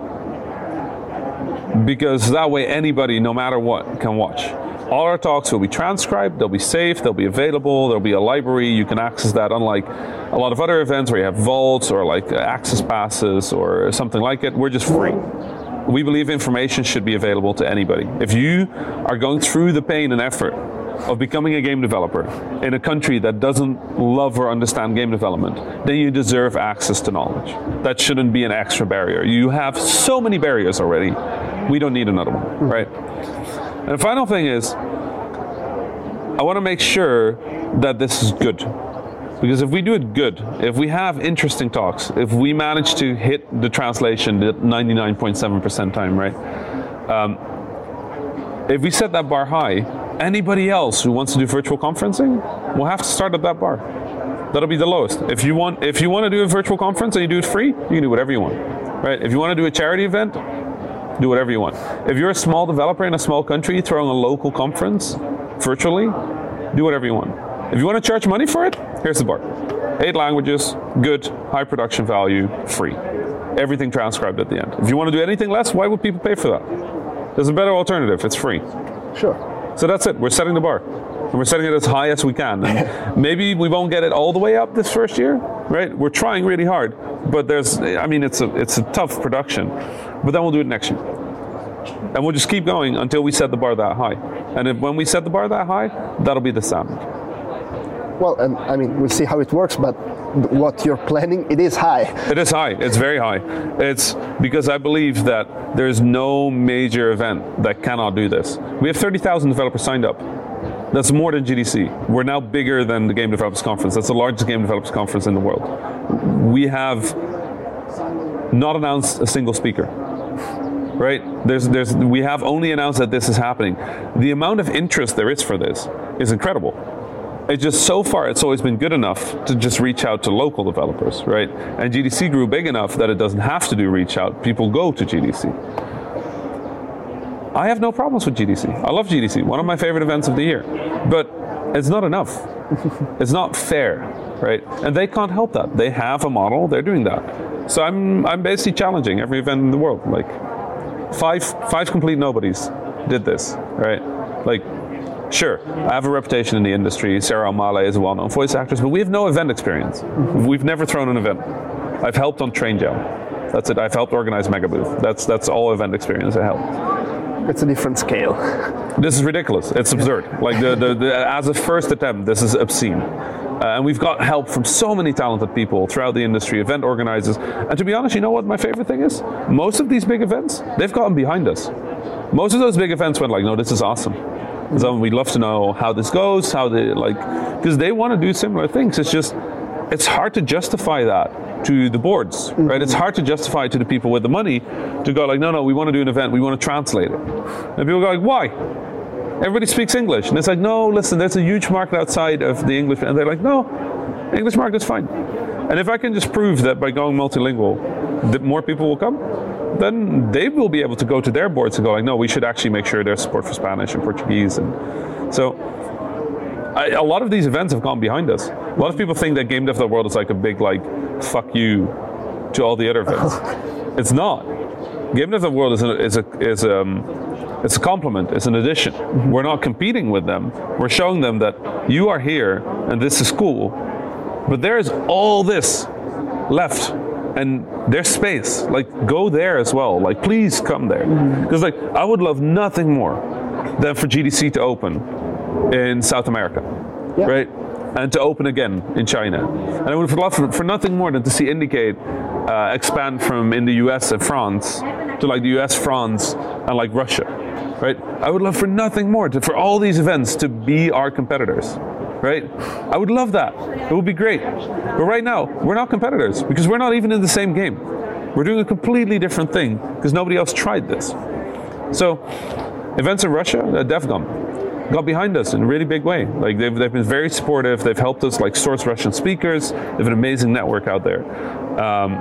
Because that way anybody, no matter what, can watch. All our talks will be transcribed, they'll be safe, they'll be available, there'll be a library, you can access that, unlike a lot of other events where you have vaults or like access passes or something like it. We're just free. We believe information should be available to anybody. If you are going through the pain and effort of becoming a game developer in a country that doesn't love or understand game development, then you deserve access to knowledge. That shouldn't be an extra barrier. You have so many barriers already. We don't need another one, right? And the final thing is, I want to make sure that this is good. Because if we do it good, if we have interesting talks, if we manage to hit the translation at ninety-nine point seven percent time, right? Um, if we set that bar high, anybody else who wants to do virtual conferencing will have to start at that bar. That'll be the lowest. If you want, if you want to do a virtual conference and you do it free, you can do whatever you want, right? If you want to do a charity event, do whatever you want. If you're a small developer in a small country throwing a local conference virtually, do whatever you want. If you want to charge money for it, here's the bar. Eight languages, good, high production value, free. Everything transcribed at the end. If you want to do anything less, why would people pay for that? There's a better alternative, it's free. Sure. So that's it, we're setting the bar. And we're setting it as high as we can. And maybe we won't get it all the way up this first year, right? We're trying really hard, but there's, I mean, it's a it's a tough production. But then we'll do it next year. And we'll just keep going until we set the bar that high. And if, when we set the bar that high, that'll be the standard. Well, and I mean, we'll see how it works, but what you're planning, it is high. It is high. It's very high. It's because I believe that there's no major event that cannot do this. We have thirty thousand developers signed up. That's more than G D C. We're now bigger than the Game Developers Conference. That's the largest Game Developers Conference in the world. We have not announced a single speaker. Right? There's, there's, we have only announced that this is happening. The amount of interest there is for this is incredible. It's just so far, it's always been good enough to just reach out to local developers, right? And G D C grew big enough that it doesn't have to do reach out. People go to G D C. I have no problems with G D C. I love G D C, one of my favorite events of the year. But it's not enough. It's not fair, right? And they can't help that. They have a model, they're doing that. So I'm, I'm basically challenging every event in the world. Like, Five, five complete nobodies did this, right? Like, sure, I have a reputation in the industry. Sarah O'Malley is a well-known voice actress, but we have no event experience. We've never thrown an event. I've helped on Train Jam. That's it. I've helped organize Mega Booth. That's that's all event experience I helped. It's a different scale. This is ridiculous. It's absurd. Like the, the, the as a first attempt, this is obscene. Uh, and we've got help from so many talented people throughout the industry, event organizers. And to be honest, you know what my favorite thing is? Most of these big events, they've gotten behind us. Most of those big events went like, no, this is awesome. So we'd love to know how this goes, how they like, because they want to do similar things. It's just, it's hard to justify that to the boards, mm-hmm. right? It's hard to justify to the people with the money to go like, no, no, we want to do an event, we want to translate it. And people go like, why? Everybody speaks English. And it's like, no, listen, there's a huge market outside of the English. And they're like, no, English market's fine. And if I can just prove that by going multilingual, that more people will come, then they will be able to go to their boards and go like, no, we should actually make sure there's support for Spanish and Portuguese. And so I, a lot of these events have gone behind us. A lot of people think that Game Dev the World is like a big, like, fuck you to all the other events. It's not. Game Dev the World is a, is a, is um, it's a compliment, it's an addition. Mm-hmm. We're not competing with them. We're showing them that you are here and this is cool, but there is all this left and there's space. Like, go there as well. Like, please come there. Because mm-hmm. like, I would love nothing more than for G D C to open in South America, yeah. right? And to open again in China. And I would love for, for nothing more than to see Indicate uh, expand from in the U S and France to like the U S, France, and like Russia, right? I would love for nothing more to, for all these events to be our competitors, right? I would love that. It would be great. But right now, we're not competitors because we're not even in the same game. We're doing a completely different thing because nobody else tried this. So, events in Russia, uh, DevCon, got behind us in a really big way. Like they've, they've been very supportive. They've helped us like source Russian speakers. They have an amazing network out there. Um,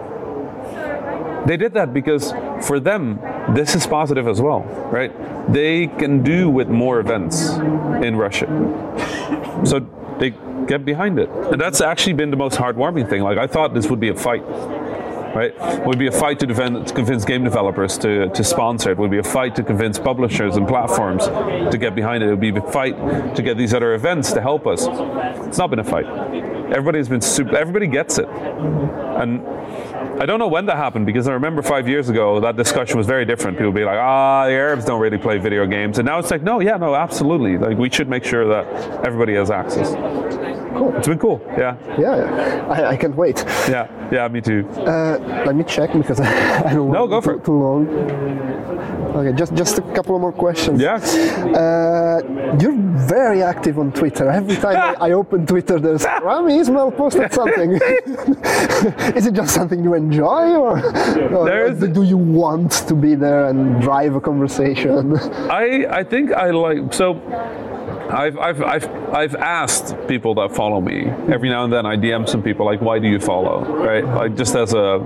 they did that because for them, this is positive as well, right? They can do with more events in Russia. So they get behind it. And that's actually been the most heartwarming thing. Like I thought this would be a fight. Right? It would be a fight to, defend, to convince game developers to, to sponsor it. It would be a fight to convince publishers and platforms to get behind it. It would be a fight to get these other events to help us. It's not been a fight. Everybody's been super, everybody gets it. And I don't know when that happened because I remember five years ago that discussion was very different. People would be like, ah, the Arabs don't really play video games. And now it's like, no, yeah, no, absolutely. Like we should make sure that everybody has access. Cool. It's been cool, yeah. Yeah, yeah. I, I can't wait. Yeah, yeah, me too. Uh, let me check because I don't no, want go for too, it. too long. Okay, just just a couple of more questions. Yeah. Uh, you're very active on Twitter. Every time I, I open Twitter, there's Rami Ismail posted something. Is it just something you enjoy, or, or do you want to be there and drive a conversation? I I think I like so. I've, I've, I've, I've asked people that follow me, every now and then I D M some people like, why do you follow, right? Like just as a,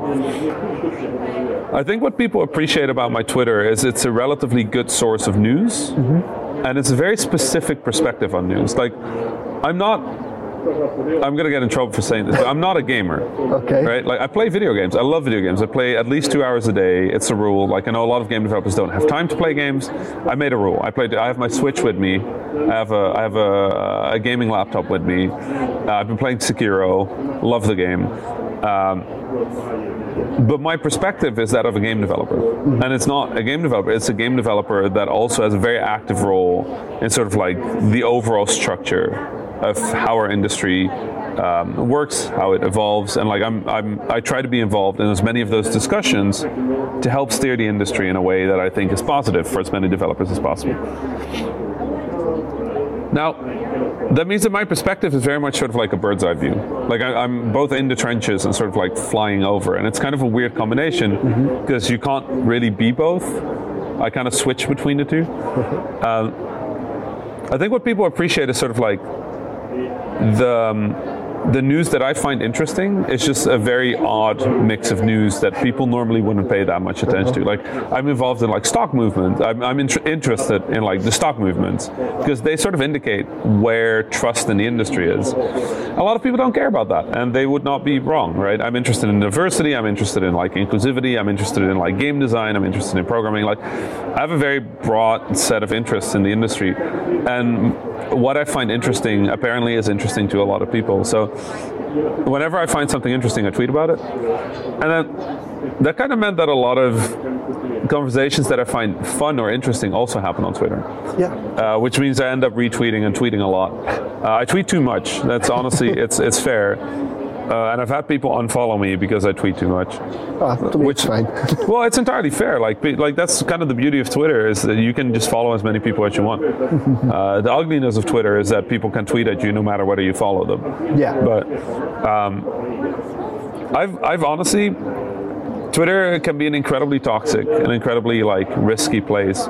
I think what people appreciate about my Twitter is it's a relatively good source of news, mm-hmm. and it's a very specific perspective on news. Like, I'm not, I'm gonna get in trouble for saying this, but I'm not a gamer. Okay. Right? Like I play video games. I love video games. I play at least two hours a day. It's a rule. Like I know a lot of game developers don't have time to play games. I made a rule. I played. I have my Switch with me. I have a I have a, a gaming laptop with me. Uh, I've been playing Sekiro. Love the game. Um, but my perspective is that of a game developer. Mm-hmm. And it's not a game developer, it's a game developer that also has a very active role in sort of like the overall structure of how our industry um, works, how it evolves, and like I'm, I'm, I try to be involved in as many of those discussions to help steer the industry in a way that I think is positive for as many developers as possible. Now, that means that my perspective is very much sort of like a bird's eye view. Like I, I'm both in the trenches and sort of like flying over, and it's kind of a weird combination because mm-hmm. you can't really be both. I kind of switch between the two. Mm-hmm. Um, I think what people appreciate is sort of like the um, the news that I find interesting is just a very odd mix of news that people normally wouldn't pay that much attention to. Like I'm involved in like stock movement. I'm, I'm in- interested in like the stock movements because they sort of indicate where trust in the industry is. A lot of people don't care about that, and they would not be wrong, right? I'm interested in diversity. I'm interested in like inclusivity. I'm interested in like game design. I'm interested in programming. Like I have a very broad set of interests in the industry, and what I find interesting apparently is interesting to a lot of people. So whenever I find something interesting, I tweet about it. And then that kind of meant that a lot of conversations that I find fun or interesting also happen on Twitter. Yeah. Uh, which means I end up retweeting and tweeting a lot. Uh, I tweet too much. That's honestly, it's it's fair. Uh, and I've had people unfollow me because I tweet too much. Oh, to me which, it's fine. Well, it's entirely fair. Like, like that's kind of the beauty of Twitter is that you can just follow as many people as you want. uh, the ugliness of Twitter is that people can tweet at you no matter whether you follow them. Yeah. But um, I've, I've honestly, Twitter can be an incredibly toxic, an incredibly like risky place.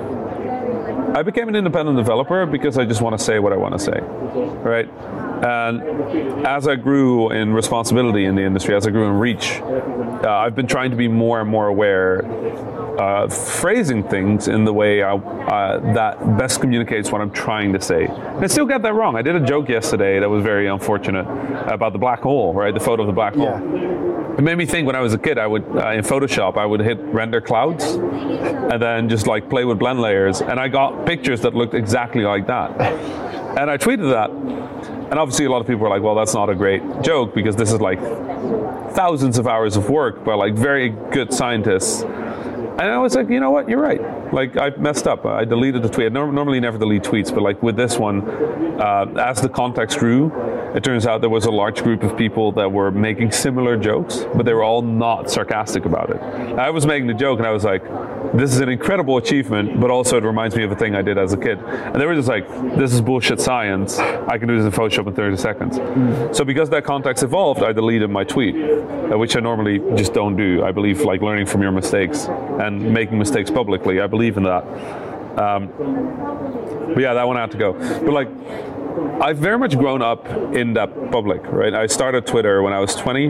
I became an independent developer because I just want to say what I want to say, right? And as I grew in responsibility in the industry, as I grew in reach, uh, I've been trying to be more and more aware of phrasing things in the way I, uh, that best communicates what I'm trying to say. And I still get that wrong. I did a joke yesterday that was very unfortunate about the black hole, right? The photo of the black hole. Yeah. It made me think when I was a kid, I would, uh, in Photoshop, I would hit render clouds and then just like play with blend layers. And I got pictures that looked exactly like that. And I tweeted that. And obviously a lot of people were like, well, that's not a great joke because this is like thousands of hours of work by like very good scientists. And I was like, you know what, you're right. Like, I messed up. I deleted the tweet. I norm- normally never delete tweets, but like with this one, uh, as the context grew, it turns out there was a large group of people that were making similar jokes, but they were all not sarcastic about it. I was making the joke and I was like, this is an incredible achievement, but also it reminds me of a thing I did as a kid. And they were just like, this is bullshit science. I can do this in Photoshop in thirty seconds. Mm. So because that context evolved, I deleted my tweet, uh, which I normally just don't do. I believe like learning from your mistakes and making mistakes publicly. I believe in that. Um, but yeah, that one had to go. But like, I've very much grown up in that public, right? I started Twitter when I was twenty.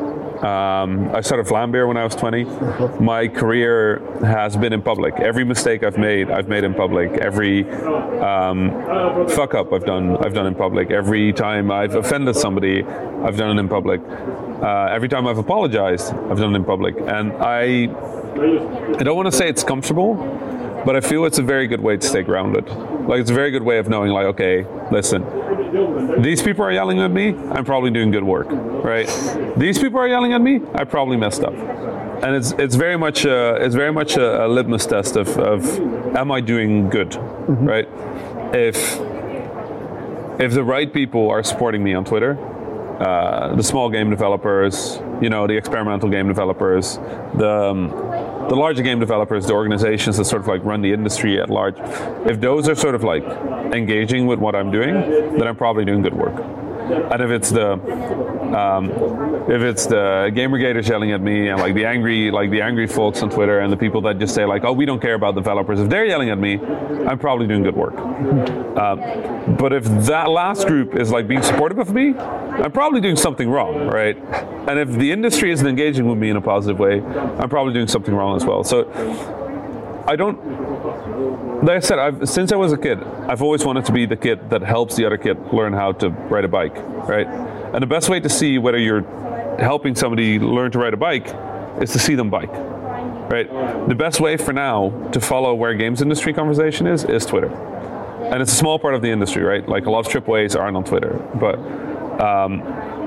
Um, I started Vlambeer when I was twenty. My career has been in public. Every mistake I've made, I've made in public. Every um, fuck up I've done, I've done in public. Every time I've offended somebody, I've done it in public. Uh, every time I've apologized, I've done it in public. And I, I don't want to say it's comfortable, but I feel it's a very good way to stay grounded. Like it's a very good way of knowing, like, okay, listen, these people are yelling at me, I'm probably doing good work, right? These people are yelling at me, I probably messed up. And it's it's very much a, it's very much a, a litmus test of, of am I doing good, mm-hmm. right? If if the right people are supporting me on Twitter, uh, the small game developers, you know, the experimental game developers, the um, the larger game developers, the organizations that sort of like run the industry at large, if those are sort of like engaging with what I'm doing, then I'm probably doing good work. And if it's the um, if it's the Gamergaters yelling at me and like the angry like the angry folks on Twitter and the people that just say like, oh, we don't care about developers, if they're yelling at me, I'm probably doing good work. Um, but if that last group is like being supportive of me, I'm probably doing something wrong, right? And if the industry isn't engaging with me in a positive way, I'm probably doing something wrong as well. So I don't. Like I said, I've, since I was a kid, I've always wanted to be the kid that helps the other kid learn how to ride a bike, right? And the best way to see whether you're helping somebody learn to ride a bike is to see them bike, right? The best way for now to follow where games industry conversation is, is Twitter. And it's a small part of the industry, right? Like a lot of triple A's aren't on Twitter, but um,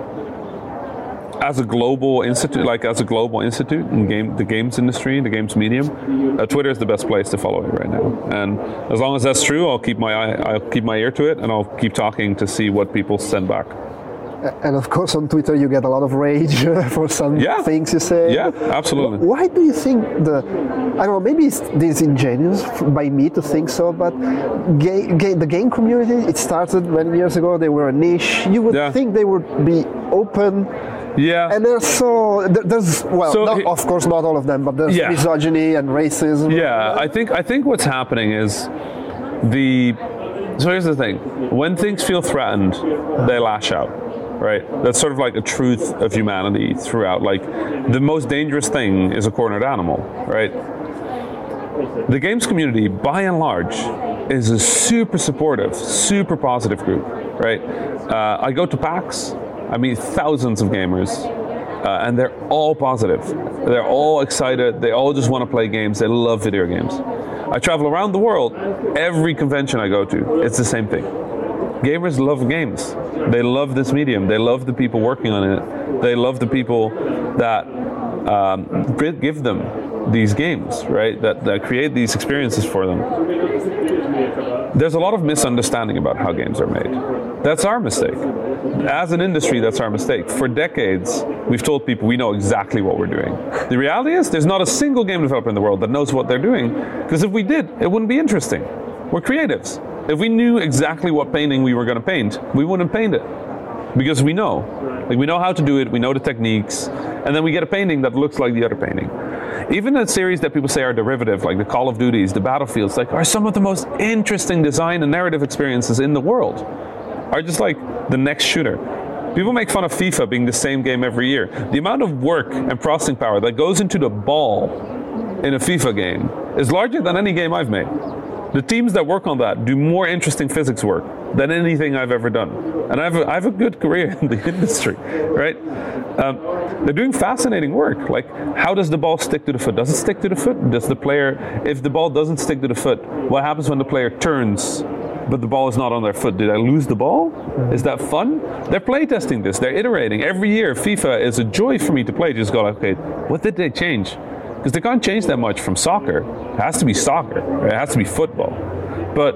as a global institute, like as a global institute in game, the games industry, the games medium, uh, Twitter is the best place to follow it right now. And as long as that's true, I'll keep my eye, I'll keep my ear to it, and I'll keep talking to see what people send back. And of course on Twitter you get a lot of rage for some yeah. things you say. Yeah, absolutely. Why do you think the, I don't know, maybe it's disingenuous by me to think so, but ga- ga- the game community, it started many years ago, they were a niche. You would yeah. think they would be open. Yeah. And there's so, there's, well, so not, it, of course not all of them, but there's yeah. misogyny and racism. Yeah, I think I think what's happening is the, so here's the thing, when things feel threatened, they lash out, right? That's sort of like a truth of humanity throughout. Like, the most dangerous thing is a cornered animal, right? The games community, by and large, is a super supportive, super positive group, right? Uh, I go to PAX, I meet thousands of gamers, uh, and they're all positive. They're all excited. They all just want to play games. They love video games. I travel around the world. Every convention I go to, it's the same thing. Gamers love games. They love this medium. They love the people working on it. They love the people that um, give them these games, right? That, that create these experiences for them. There's a lot of misunderstanding about how games are made. That's our mistake. As an industry, that's our mistake. For decades, we've told people we know exactly what we're doing. The reality is, there's not a single game developer in the world that knows what they're doing, because if we did, it wouldn't be interesting. We're creatives. If we knew exactly what painting we were going to paint, we wouldn't paint it, because we know. Like, we know how to do it, we know the techniques, and then we get a painting that looks like the other painting. Even a series that people say are derivative, like the Call of Duties, the Battlefields, like, are some of the most interesting design and narrative experiences in the world. Are just like the next shooter. People make fun of FIFA being the same game every year. The amount of work and processing power that goes into the ball in a FIFA game is larger than any game I've made. The teams that work on that do more interesting physics work than anything I've ever done. And I have a, I have a good career in the industry, right? Um, they're doing fascinating work. Like, how does the ball stick to the foot? Does it stick to the foot? Does the player, if the ball doesn't stick to the foot, what happens when the player turns but the ball is not on their foot? Did I lose the ball? Is that fun? They're playtesting this. They're iterating. Every year, FIFA is a joy for me to play. Just go, okay, what did they change? Because they can't change that much from soccer. It has to be soccer. Right? It has to be football. But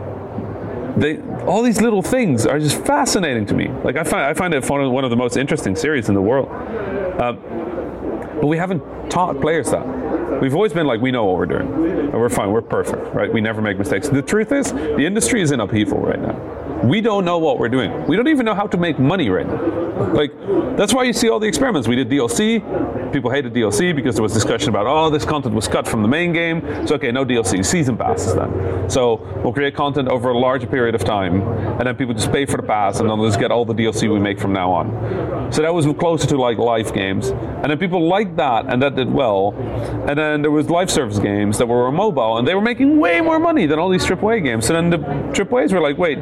they, all these little things are just fascinating to me. Like, I find, I find it one of the most interesting series in the world. Um, but we haven't taught players that. We've always been like, we know what we're doing, and we're fine, we're perfect, right? We never make mistakes. The truth is, the industry is in upheaval right now. We don't know what we're doing. We don't even know how to make money right now. Like, that's why you see all the experiments. We did D L C. People hated D L C because there was discussion about, oh, this content was cut from the main game. So, okay, no D L C, season passes then. So we'll create content over a larger period of time, and then people just pay for the pass, and then they'll just get all the D L C we make from now on. So that was closer to like live games. And then people liked that, and that did well. And then there was live service games that were mobile, and they were making way more money than all these triple A games. So then the triple A's were like, wait,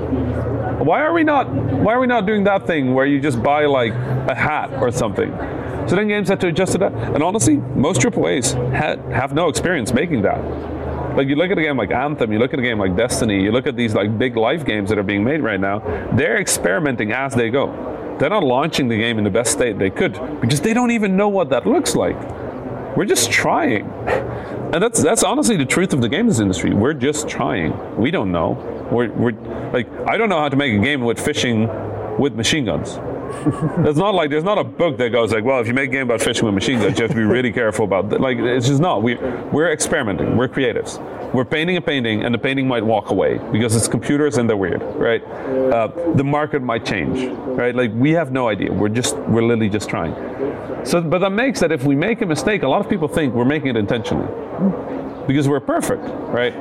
why are we not why are we not doing that thing where you just buy like a hat or something? So then games had to adjust to that. And honestly, most triple A's had, have no experience making that. Like, you look at a game like Anthem, you look at a game like Destiny, you look at these like big live games that are being made right now, they're experimenting as they go. They're not launching the game in the best state they could, because they don't even know what that looks like. We're just trying. And that's that's honestly the truth of the games industry. We're just trying. We don't know. We're, we're like, I don't know how to make a game with fishing with machine guns. It's not like, there's not a book that goes like, well, if you make a game about fishing with machine guns, you have to be really careful about that. Like, it's just not. We, we're experimenting. We're creatives. We're painting a painting, and the painting might walk away because it's computers and they're weird, right? Uh, the market might change, right? Like, we have no idea. We're just, we're literally just trying. So, but that makes that if we make a mistake, a lot of people think we're making it intentionally because we're perfect, right?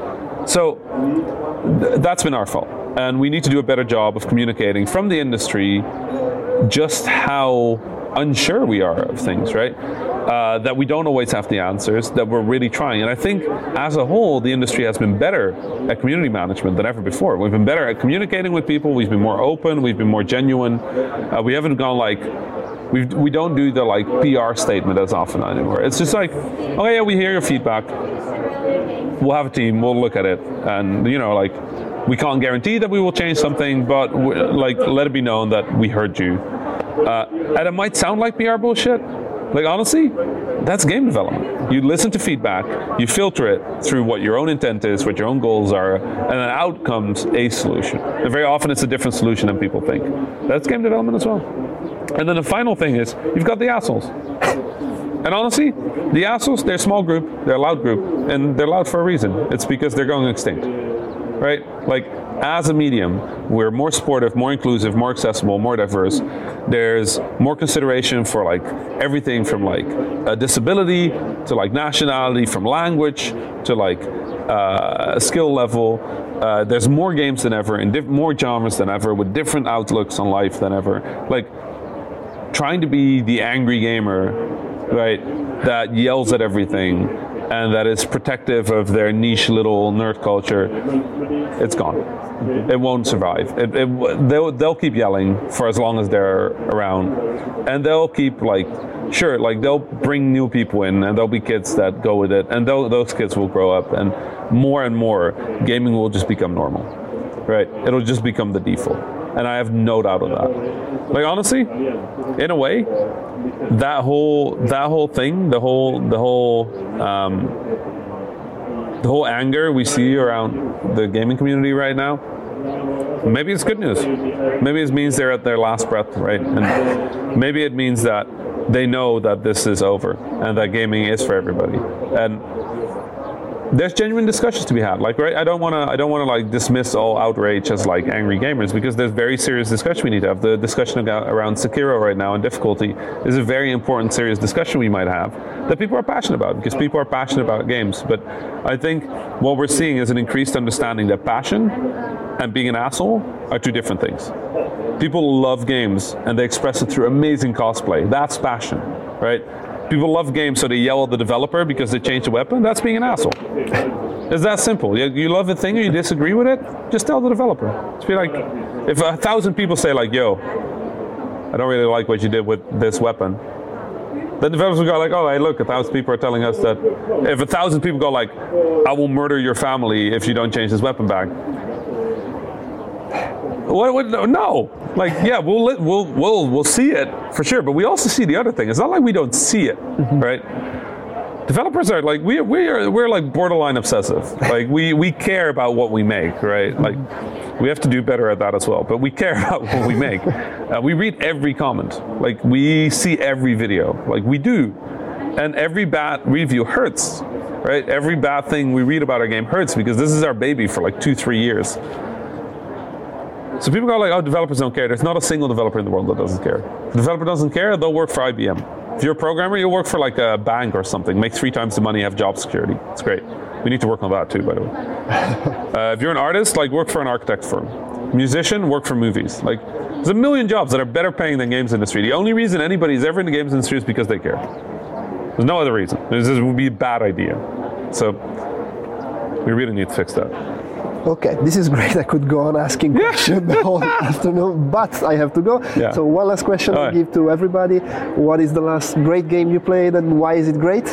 So th- that's been our fault. And we need to do a better job of communicating from the industry just how unsure we are of things, right? Uh, that we don't always have the answers, that we're really trying. And I think as a whole, the industry has been better at community management than ever before. We've been better at communicating with people, we've been more open, we've been more genuine. Uh, we haven't gone like, we we don't do the like P R statement as often anymore. It's just like, oh yeah, we hear your feedback, we'll have a team, we'll look at it, and you know, like, we can't guarantee that we will change something, but like, let it be known that we heard you. Uh, and it might sound like P R bullshit. Like, honestly, that's game development. You listen to feedback, you filter it through what your own intent is, what your own goals are, and then out comes a solution. And very often it's a different solution than people think. That's game development as well. And then the final thing is, you've got the assholes. And honestly, the assholes, they're a small group, they're a loud group, and they're loud for a reason. It's because they're going extinct, right? Like, as a medium, we're more supportive, more inclusive, more accessible, more diverse. There's more consideration for like everything from like a disability to like nationality, from language to like uh, skill level. Uh, there's more games than ever, in diff- more genres than ever, with different outlooks on life than ever. Like, trying to be the angry gamer, right, that yells at everything and that is protective of their niche little nerd culture, it's gone. It won't survive. It, it, they'll, they'll keep yelling for as long as they're around, and they'll keep like, sure, like they'll bring new people in, and there'll be kids that go with it, and those kids will grow up, and more and more, gaming will just become normal, right? It'll just become the default, and I have no doubt of that. Like, honestly, in a way, that whole that whole thing, the whole the whole um, the whole anger we see around the gaming community right now, maybe it's good news. Maybe it means they're at their last breath, right? And maybe it means that they know that this is over and that gaming is for everybody. And there's genuine discussions to be had. Like, right? I don't want to. I don't want to like dismiss all outrage as like angry gamers, because there's very serious discussion we need to have. The discussion about, around Sekiro right now and difficulty is a very important, serious discussion we might have that people are passionate about, because people are passionate about games. But I think what we're seeing is an increased understanding that passion and being an asshole are two different things. People love games and they express it through amazing cosplay. That's passion, right? People love games, so they yell at the developer because they changed the weapon. That's being an asshole. It's that simple. You, you love a thing or you disagree with it, just tell the developer. Just be like, if a thousand people say like, yo, I don't really like what you did with this weapon, then developers will go like, oh, hey, look, a thousand people are telling us that. If a thousand people go like, I will murder your family if you don't change this weapon back. What, what, no, like, yeah, we'll we'll we'll we'll see it for sure, but we also see the other thing. It's not like we don't see it, mm-hmm. right? Developers are like we we are we're like borderline obsessive. Like we we care about what we make, right? Like we have to do better at that as well. But we care about what we make. Uh, we read every comment. Like we see every video. Like we do, and every bad review hurts, right? Every bad thing we read about our game hurts, because this is our baby for like two three years. So people go like, oh, developers don't care. There's not a single developer in the world that doesn't care. If the developer doesn't care, they'll work for I B M. If you're a programmer, you'll work for like a bank or something, make three times the money, have job security. It's great. We need to work on that too, by the way. uh, if you're an artist, like work for an architect firm. Musician, work for movies. Like there's a million jobs that are better paying than games industry. The only reason anybody's ever in the games industry is because they care. There's no other reason. This would be a bad idea. So we really need to fix that. Okay, this is great. I could go on asking yeah. questions the whole afternoon, but I have to go. Yeah. So one last question I'll give to everybody. What is the last great game you played, and why is it great?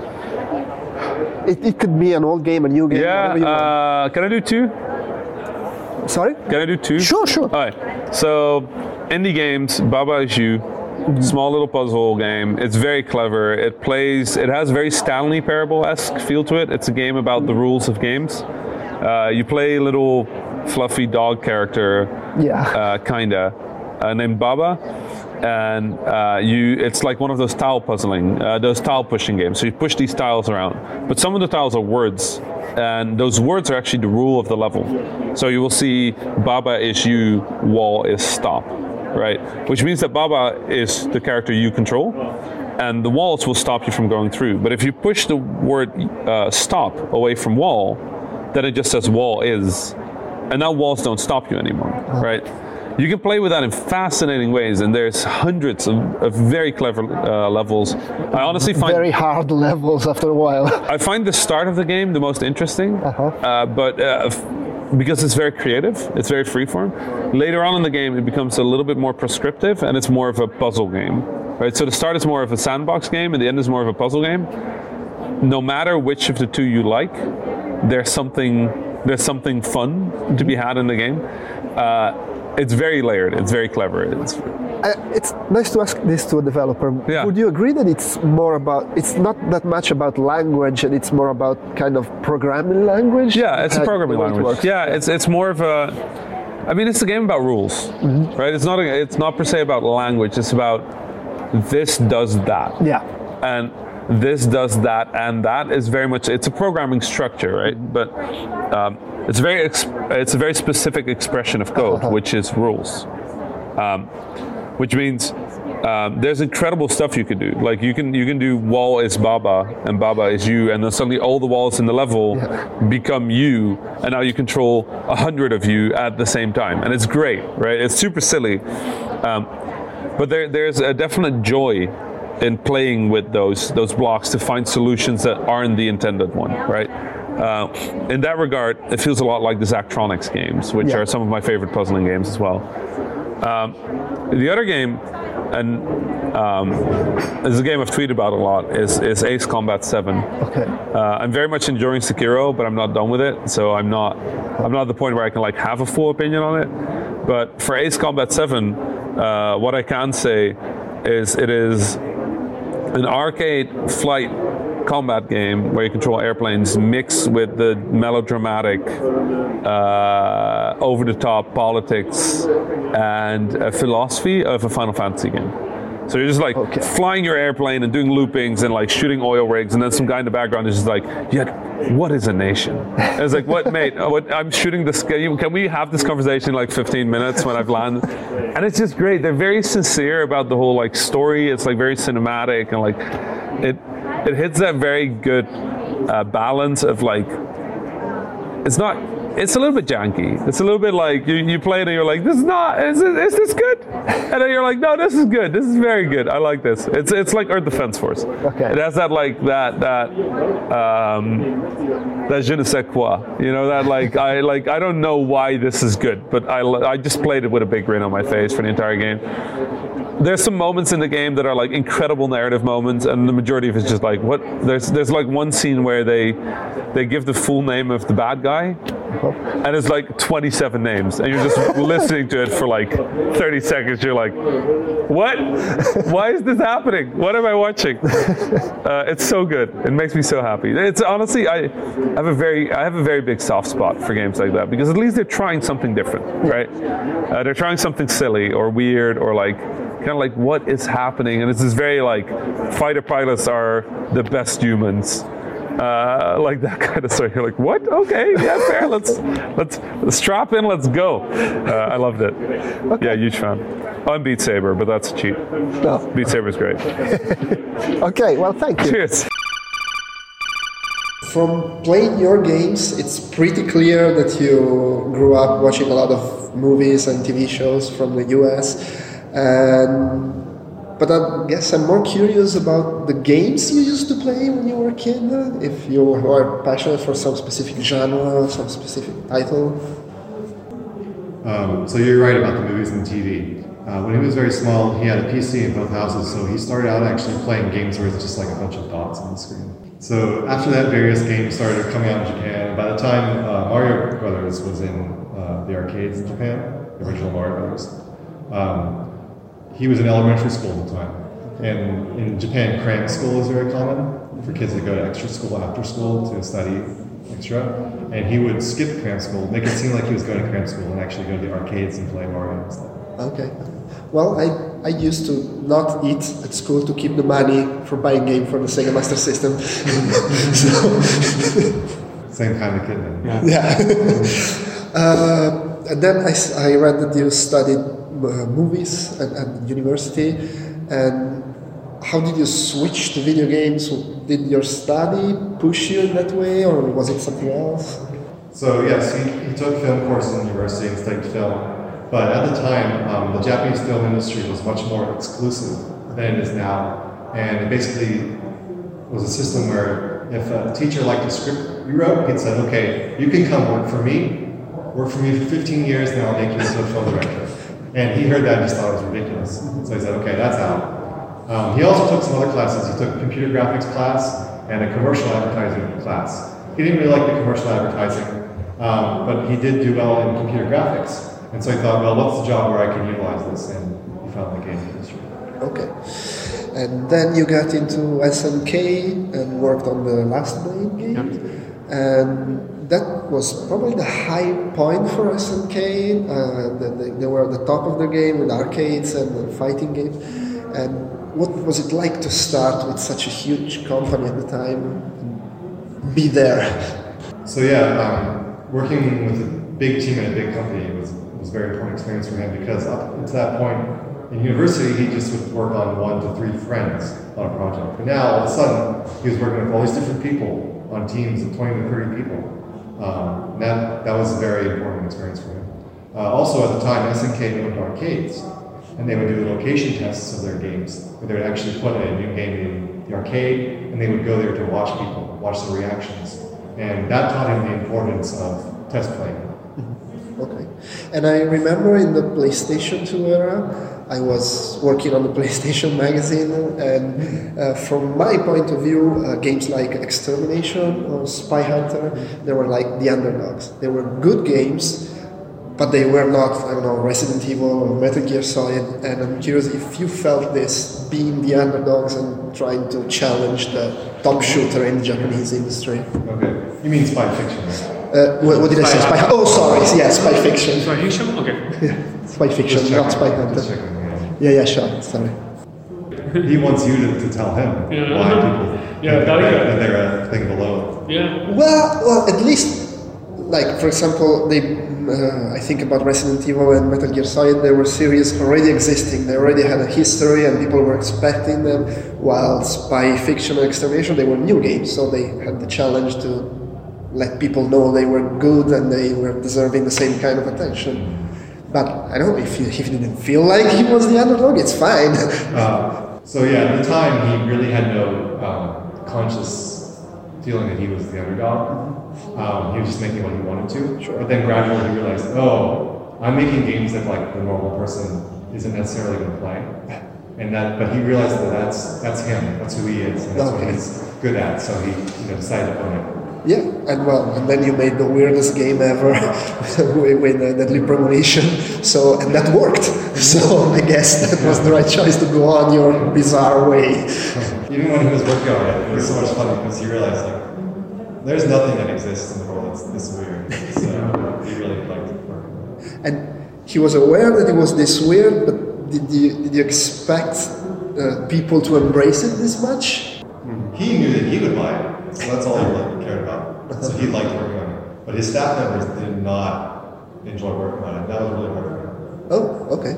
It, it could be an old game, a new game, yeah, whatever you uh, want. Can I do two? Sorry? Can I do two? Sure, sure. All right. So, indie games, Baba Is You. Mm-hmm. Small little puzzle game. It's very clever. It plays, it has very Stanley Parable-esque feel to it. It's a game about the rules of games. Uh, you play a little fluffy dog character, yeah, uh, kinda, uh, named Baba, and uh, you. It's like one of those tile puzzling, uh, those tile pushing games. So you push these tiles around, but some of the tiles are words, and those words are actually the rule of the level. So you will see Baba is you, wall is stop, right? Which means that Baba is the character you control, and the walls will stop you from going through. But if you push the word uh, stop away from wall, then it just says wall is, and now walls don't stop you anymore, right? You can play with that in fascinating ways, and there's hundreds of, of very clever uh, levels. I honestly find very hard levels after a while. I find the start of the game the most interesting, uh-huh. uh, but uh, f- because it's very creative, it's very freeform. Later on in the game, it becomes a little bit more prescriptive, and it's more of a puzzle game, right? So the start is more of a sandbox game, and the end is more of a puzzle game. No matter which of the two you like, there's something there's something fun to be had in the game. Uh, it's very layered. It's very clever. It's Uh, it's nice to ask this to a developer. Yeah. Would you agree that it's more about, it's not that much about language and it's more about kind of programming language? Yeah, it's a Uh, programming the way it language. works? Yeah, it's it's more of a. I mean, it's a game about rules, Mm-hmm. right? It's not. A, it's not per se about language. It's about this does that. Yeah. And this does that, and that is very much. It's a programming structure, right? But um, it's very. Ex- it's a very specific expression of code, Uh-huh. which is rules. Um, which means um, there's incredible stuff you can do. Like you can you can do wall is Baba and Baba is you, and then suddenly all the walls in the level become you, and now you control a hundred of you at the same time, and it's great, right? It's super silly, um, but there there's a definite joy in playing with those those blocks to find solutions that aren't the intended one, right? Uh, in that regard, it feels a lot like the Zachtronics games, which Yeah. are some of my favorite puzzling games as well. Um, the other game, and um, is a game I've tweeted about a lot, is, is Ace Combat seven. Okay. Uh, I'm very much enjoying Sekiro, but I'm not done with it, so I'm not I'm not at the point where I can like have a full opinion on it. But for Ace Combat seven, uh, what I can say is it is an arcade flight combat game where you control airplanes mixed with the melodramatic, uh, over-the-top politics and uh, philosophy of a Final Fantasy game. So you're just like Okay. flying your airplane and doing loopings and like shooting oil rigs, and then some guy in the background is just like, "Yet, what is a nation?" And it's like, "What, mate? What, I'm shooting this. Can we have this conversation in like fifteen minutes when I've landed?" And it's just great. They're very sincere about the whole like story. It's like very cinematic and like it. It hits that very good uh, balance of like, it's not, it's a little bit janky. It's a little bit like you, you play it and you're like, this is not, is, it, is this good? And then you're like, no, this is good. This is very good. I like this. It's it's like Earth Defense Force. Okay. It has that like that that um, that je ne sais quoi. You know that like I like I don't know why this is good, but I I just played it with a big grin on my face for the entire game. There's some moments in the game that are like incredible narrative moments, and the majority of it's just like what. There's there's like one scene where they they give the full name of the bad guy, and it's like twenty-seven names, and you're just listening to it for like thirty seconds. You're like, what? Why is this happening? What am I watching? Uh, it's so good. It makes me so happy. It's honestly, I have a very I have a very big soft spot for games like that because at least they're trying something different, right? Uh, they're trying something silly or weird or like. Kind of like what is happening, and it's this very like fighter pilots are the best humans, uh, like that kind of story. You're like, what? Okay, yeah, fair. Let's let's, let's strap in. Let's go. Uh, I loved it. Okay. Yeah, huge fan. I'm Beat Saber, but that's cheap. No. Beat Saber's great. Okay, well, thank you. Cheers. From playing your games, it's pretty clear that you grew up watching a lot of movies and T V shows from the U S. And, but I guess I'm more curious about the games you used to play when you were a kid. If you were passionate for some specific genre, some specific title. Um, so you're right about the movies and T V. Uh, when he was very small, he had a P C in both houses, so he started out actually playing games where it's just like a bunch of dots on the screen. So after that, various games started coming out in Japan. By the time uh, Mario Brothers was in uh, the arcades in Japan, the original Mario Brothers, um, he was in elementary school at the time. And in Japan, cram school is very common for kids that go to extra school after school to study extra. And he would skip cram school, make it seem like he was going to cram school, and actually go to the arcades and play Mario and stuff. Okay. Well, I, I used to not eat at school to keep the money for buying game for the Sega Master System. so, Same kind of kid then. Yeah. yeah. uh, and then I, I read that you studied uh, movies at, at university. And how did you switch to video games? Did your study push you in that way, or was it something else? So yes, he, he took film courses in university and studied film. But at the time, um, the Japanese film industry was much more exclusive than it is now. And it basically was a system where if a teacher liked a script you wrote, he'd say, okay, you can come work for me, work for me for fifteen years, and I'll make you into a film director. And he heard that and just thought it was ridiculous. So he said, okay, that's out. Um, he also took some other classes. He took a computer graphics class and a commercial advertising class. He didn't really like the commercial advertising, um, but he did do well in computer graphics. And so he thought, well, what's the job where I can utilize this? And he found the game industry. Okay. And then you got into S N K and worked on the Last Blade game. Yep. And that was probably the high point for S N K. Uh, they, they were at the top of the game with arcades and fighting games. And what was it like to start with such a huge company at the time and be there? So yeah, um, working with a big team in a big company was, was a very important experience for him, because up to that point in university, he just would work on one to three friends on a project. But now, all of a sudden, he was working with all these different people on teams of twenty to thirty people. Um, that, that was a very important experience for him. Uh, also, at the time, S N K owned arcades, and they would do location tests of their games, where they would actually put a new game in the arcade, and they would go there to watch people, watch the reactions. And that taught him the importance of test playing. Okay. And I remember in the PlayStation two era, I was working on the PlayStation magazine, and uh, from my point of view, uh, games like Extermination or Spy Hunter, they were like the underdogs. They were good games, but they were not, I don't know, Resident Evil or Metal Gear Solid. And I'm curious if you felt this, being the underdogs and trying to challenge the top shooter in the Japanese industry. Okay. You mean Spy Fiction, right? Uh, what, what did I say? Spy Hunter? Oh, sorry. Yeah, Spy Fiction. Spy Fiction? Okay. Yeah, Spy Fiction, not Spy Hunter. Yeah, yeah, sure. Sorry. He wants you to, to tell him Yeah. why people Yeah, think that- that, that they're a thing below. Yeah. Well, well, at least, like for example, they. Uh, I think about Resident Evil and Metal Gear Solid. They were series already existing. They already had a history, and people were expecting them. While Spy Fiction and Extermination, they were new games, so they had the challenge to let people know they were good and they were deserving the same kind of attention. But I don't know, if he, if he didn't feel like he was the underdog, it's fine. Uh, so yeah, at the time he really had no um, conscious feeling that he was the underdog. Um, he was just making what he wanted to. Sure. But then gradually he realized, oh, I'm making games that like the normal person isn't necessarily going to play. And that, but he realized that that's that's him. That's who he is. And that's Okay. what he's good at. So he, you know, decided to own it. Yeah, and well, and then you made the weirdest game ever with, with uh, Deadly Premonition, so, and that worked. So I guess that was the right choice to go on your bizarre way. Even when he was working on it, it was so much fun because he realized like there's nothing that exists in the world that's this weird. So he really liked working on it. And he was aware that it was this weird, but did you, did you expect uh, people to embrace it this much? He knew that he would buy it, so that's all he really cared about. So he liked working on it. But his staff members did not enjoy working on it. That was really hard for him. Oh, okay.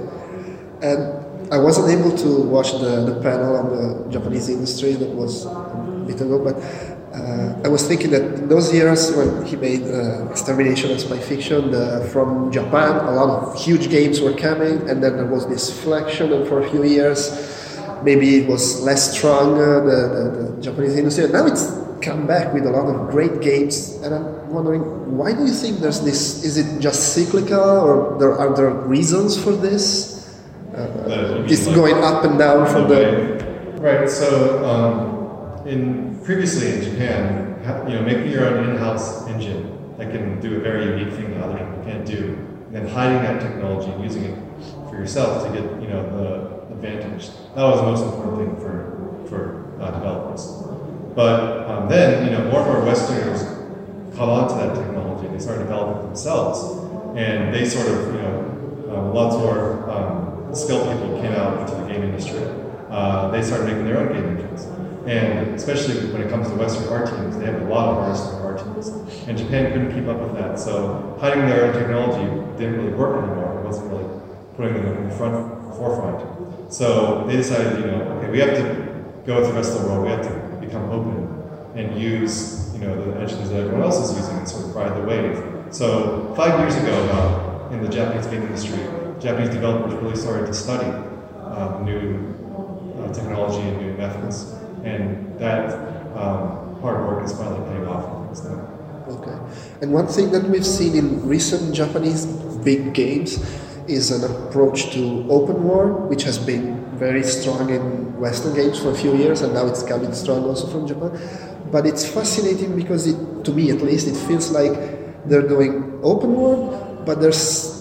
And I wasn't able to watch the, the panel on the Japanese industry that was a bit ago, but uh, I was thinking that in those years when he made uh, Extermination and Spy Fiction, the, from Japan, a lot of huge games were coming, and then there was this flexion, and for a few years, maybe it was less strong, uh, the, the, the Japanese industry, and now it's come back with a lot of great games, and I'm wondering, why do you think there's this, is it just cyclical, or there are there reasons for this? Uh, it's like, going up and down from the... Right, so um, in previously in Japan, ha- you know, making your own in-house engine that can do a very unique thing that other people can't do, and then hiding that technology and using it for yourself to get, you know, the advantage. That was the most important thing for, for uh, developers. But um, then, you know, more and more Westerners caught on to that technology. They started developing it themselves, and they sort of, you know, uh, lots more um, skilled people came out into the game industry. Uh, they started making their own game engines, and especially when it comes to Western art teams, they have a lot of artists in their art teams, and Japan couldn't keep up with that. So hiding their own technology didn't really work anymore. It wasn't really putting them in the front forefront. So they decided, you know, okay, we have to go with the rest of the world. We have to become open and use, you know, the engines that everyone else is using and sort of ride the wave. So five years ago, uh, in the Japanese game industry, Japanese developers really started to study um, new uh, technology and new methods, and that um, hard work is finally paying off for things now. Okay. And one thing that we've seen in recent Japanese big games is an approach to open world, which has been very strong in Western games for a few years, and now it's coming strong also from Japan. But it's fascinating because, it, to me at least, it feels like they're doing open world, but there's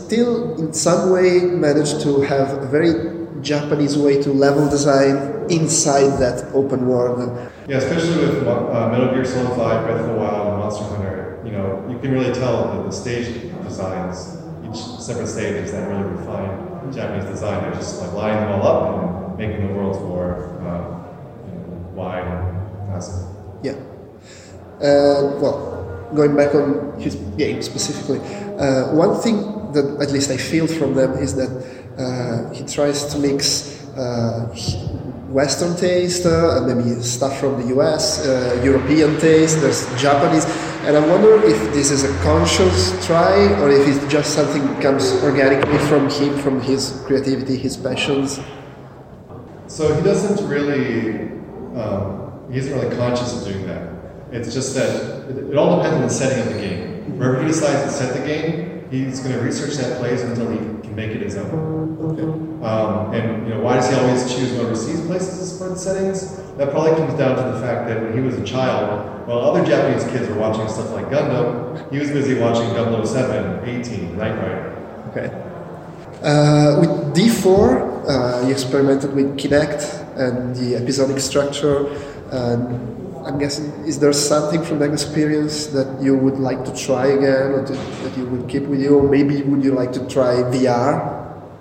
still in some way managed to have a very Japanese way to level design inside that open world. Yeah, especially with uh, Metal Gear Solid five, Breath of the Wild, and Monster Hunter, you know, you can really tell that the stage designs, each separate stage is that really refined Japanese design. They're just like lining them all up and making the worlds more uh, you know, wide and massive. Yeah. Uh, well, going back on his game specifically, uh, one thing that at least I feel from them is that uh, he tries to mix uh, Western taste, uh, maybe stuff from the U S, uh, European taste, there's Japanese, and I wonder if this is a conscious try or if it's just something that comes organically from him, from his creativity, his passions. So he doesn't really, um, he isn't really conscious of doing that. It's just that it, it all depends on the setting of the game. Wherever he decides to set the game, he's going to research that place until he can make it his own. Okay. Um, and you know, why does he always choose overseas places for the settings? That probably comes down to the fact that when he was a child, while other Japanese kids were watching stuff like Gundam, he was busy watching double oh seven, eighteen, Knight Rider. Okay. Uh, with D four, uh, you experimented with Kinect and the episodic structure. And I'm guessing, is there something from that experience that you would like to try again, or to, that you would keep with you, or maybe would you like to try V R?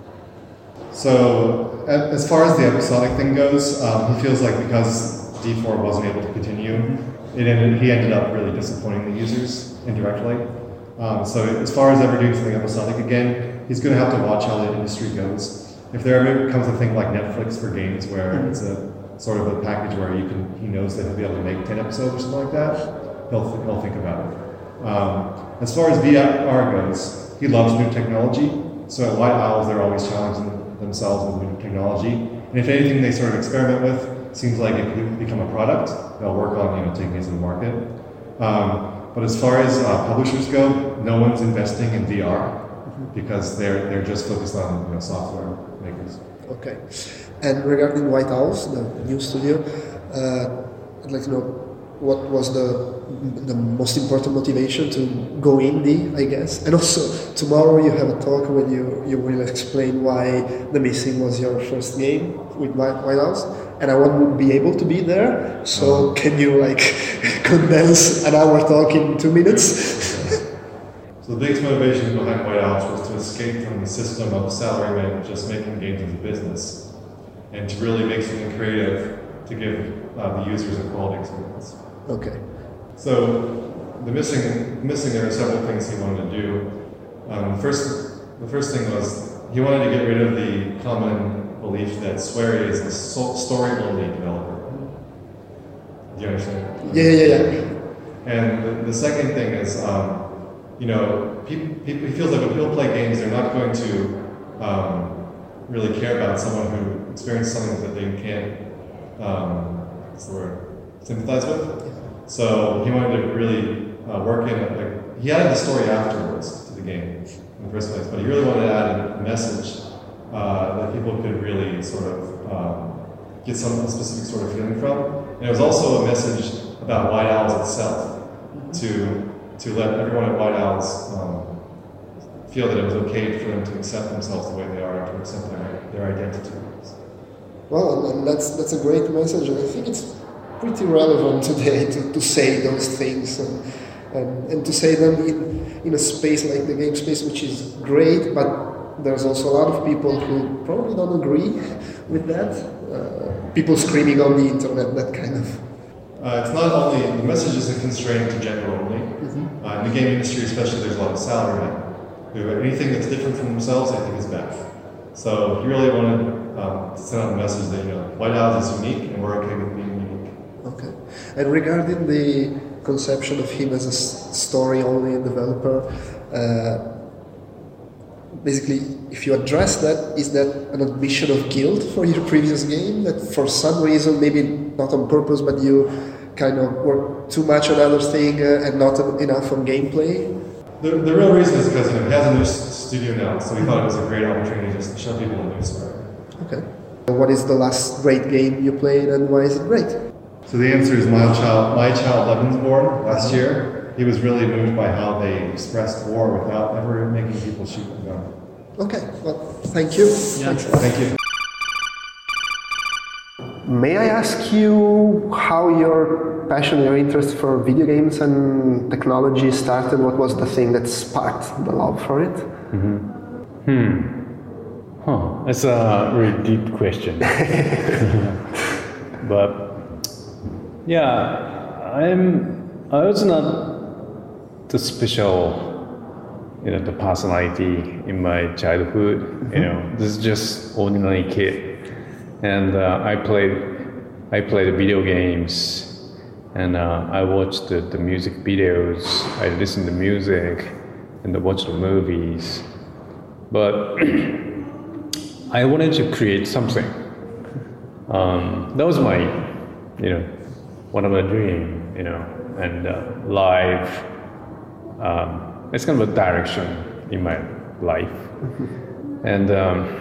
So, as far as the episodic thing goes, um, he feels like because D four wasn't able to continue, it ended, he ended up really disappointing the users indirectly. Um, so, as far as ever doing something episodic again, he's going to have to watch how the industry goes. If there ever becomes a thing like Netflix for games where it's a sort of a package where you can, he knows that he'll be able to make ten episodes or something like that, he'll, th- he'll think about it. Um, as far as V R goes, he loves new technology, so at White Owls they're always challenging themselves with new technology, and if anything they sort of experiment with seems like it could become a product, they'll work on you know taking it to the market. Um, but as far as uh, publishers go, no one's investing in V R because they're they're just focused on you know, software makers. Okay. And regarding White Owls, the new studio, uh, I'd like to know what was the the most important motivation to go indie, I guess. And also, tomorrow you have a talk when you, you will explain why The Missing was your first game with White, White Owls. And I won't be able to be there, so can you like condense an hour talk in two minutes? So the biggest motivation behind White Owls was to escape from the system of salarymen just making games as a business, and to really make something creative to give uh, the users a quality experience. Okay. So the missing, missing there are several things he wanted to do. Um, the first, the first thing was he wanted to get rid of the common belief that Swery is a so- story-only developer. Do you understand? Yeah, yeah, yeah. And the, the second thing is, um, you know, people, people, he feels like when people play games, they're not going to um, really care about someone who experienced something that they can't, um, what's the word, sympathize with. So he wanted to really uh, work in, like, he added the story afterwards to the game in the first place, but he really wanted to add a message uh, that people could really sort of um, get some specific sort of feeling from. And it was also a message about White Owls itself, to to let everyone at White Owls um, feel that it was okay for them to accept themselves the way they are, to accept their, their identity. Well, and that's that's a great message, and I think it's pretty relevant today to, to say those things and, and, and to say them in, in a space like the game space, which is great, but there's also a lot of people who probably don't agree with that. Uh, people screaming on the internet, that kind of. Uh, it's not only, the message isn't constrained to gender only. Mm-hmm. Uh, in the game industry especially, there's a lot of salarymen who anything that's different from themselves, I think, is bad. So he really wanted um, to send out the message that, you know, White Owls is unique and we're okay with being unique. Okay. And regarding the conception of him as a story-only developer, uh, basically, if you address that, is that an admission of guilt for your previous game? That for some reason, maybe not on purpose, but you kind of work too much on other thing uh, and not enough on gameplay? The, the real reason is because, you know, he has a new studio now, so we thought it was a great opportunity just to show people a new story. Okay. What is the last great game you played and why is it great? So the answer is My Child, My Child Levin's Born last year. he was really moved by how they expressed war without ever making people shoot a gun. Okay, well, thank you. Yeah. Thank you. May I ask you how your passion, your interest for video games and technology started? What was the thing that sparked the love for it? Mm-hmm. Hmm. Huh. That's a really deep question. But yeah, I'm. I was not the special, you know, the personality in my childhood. Mm-hmm. You know, this is just ordinary kid. And uh, I played, I played video games, and uh, I watched the, the music videos. I listened to music, and I watched the movies. But I wanted to create something. Um, that was my, you know, one of my dream, you know, and uh, live. Um, it's kind of a direction in my life, and. Um,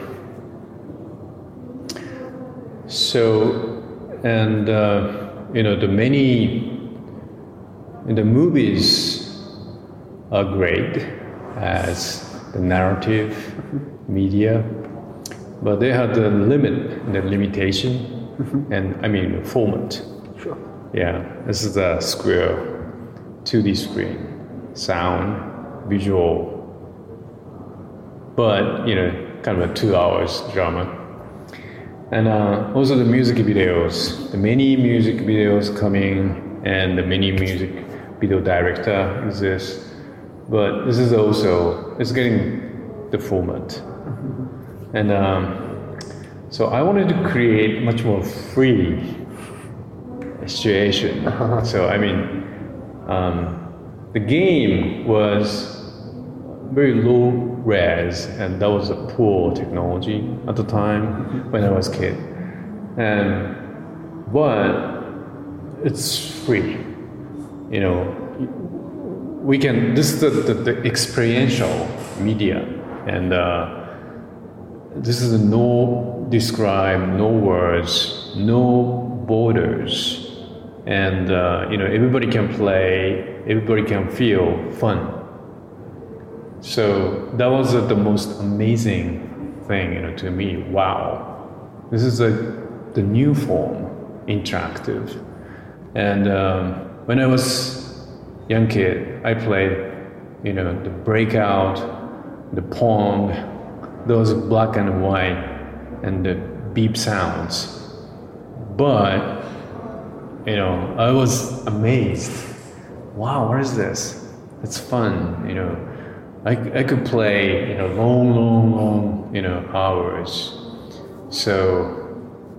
So, and uh, you know, the many, the movies are great as the narrative media, but they have the limit, the limitation, mm-hmm. and I mean the format. Sure. Yeah, this is a square two D screen, sound, visual, but you know, kind of a two hours drama. And uh, also the music videos, the many music videos coming, and the many music video director exists. But this is also, it's getting the format. Mm-hmm. And um, so I wanted to create much more free situation. Uh-huh. So I mean, um, the game was very low res, and that was a poor technology at the time mm-hmm. when I was a kid. And but it's free, you know. We can. This is the, the, the experiential media, and uh, this is a no describe, no words, no borders, and uh, you know, everybody can play, everybody can feel fun. So that was uh, the most amazing thing, you know, to me. Wow, this is a, the new form, interactive. And um, when I was young kid, I played, you know, the Breakout, the Pong, those black and white, and the beep sounds. But, you know, I was amazed. Wow, what is this? It's fun, you know. I, I could play, you know, long, long, long, you know, hours. So,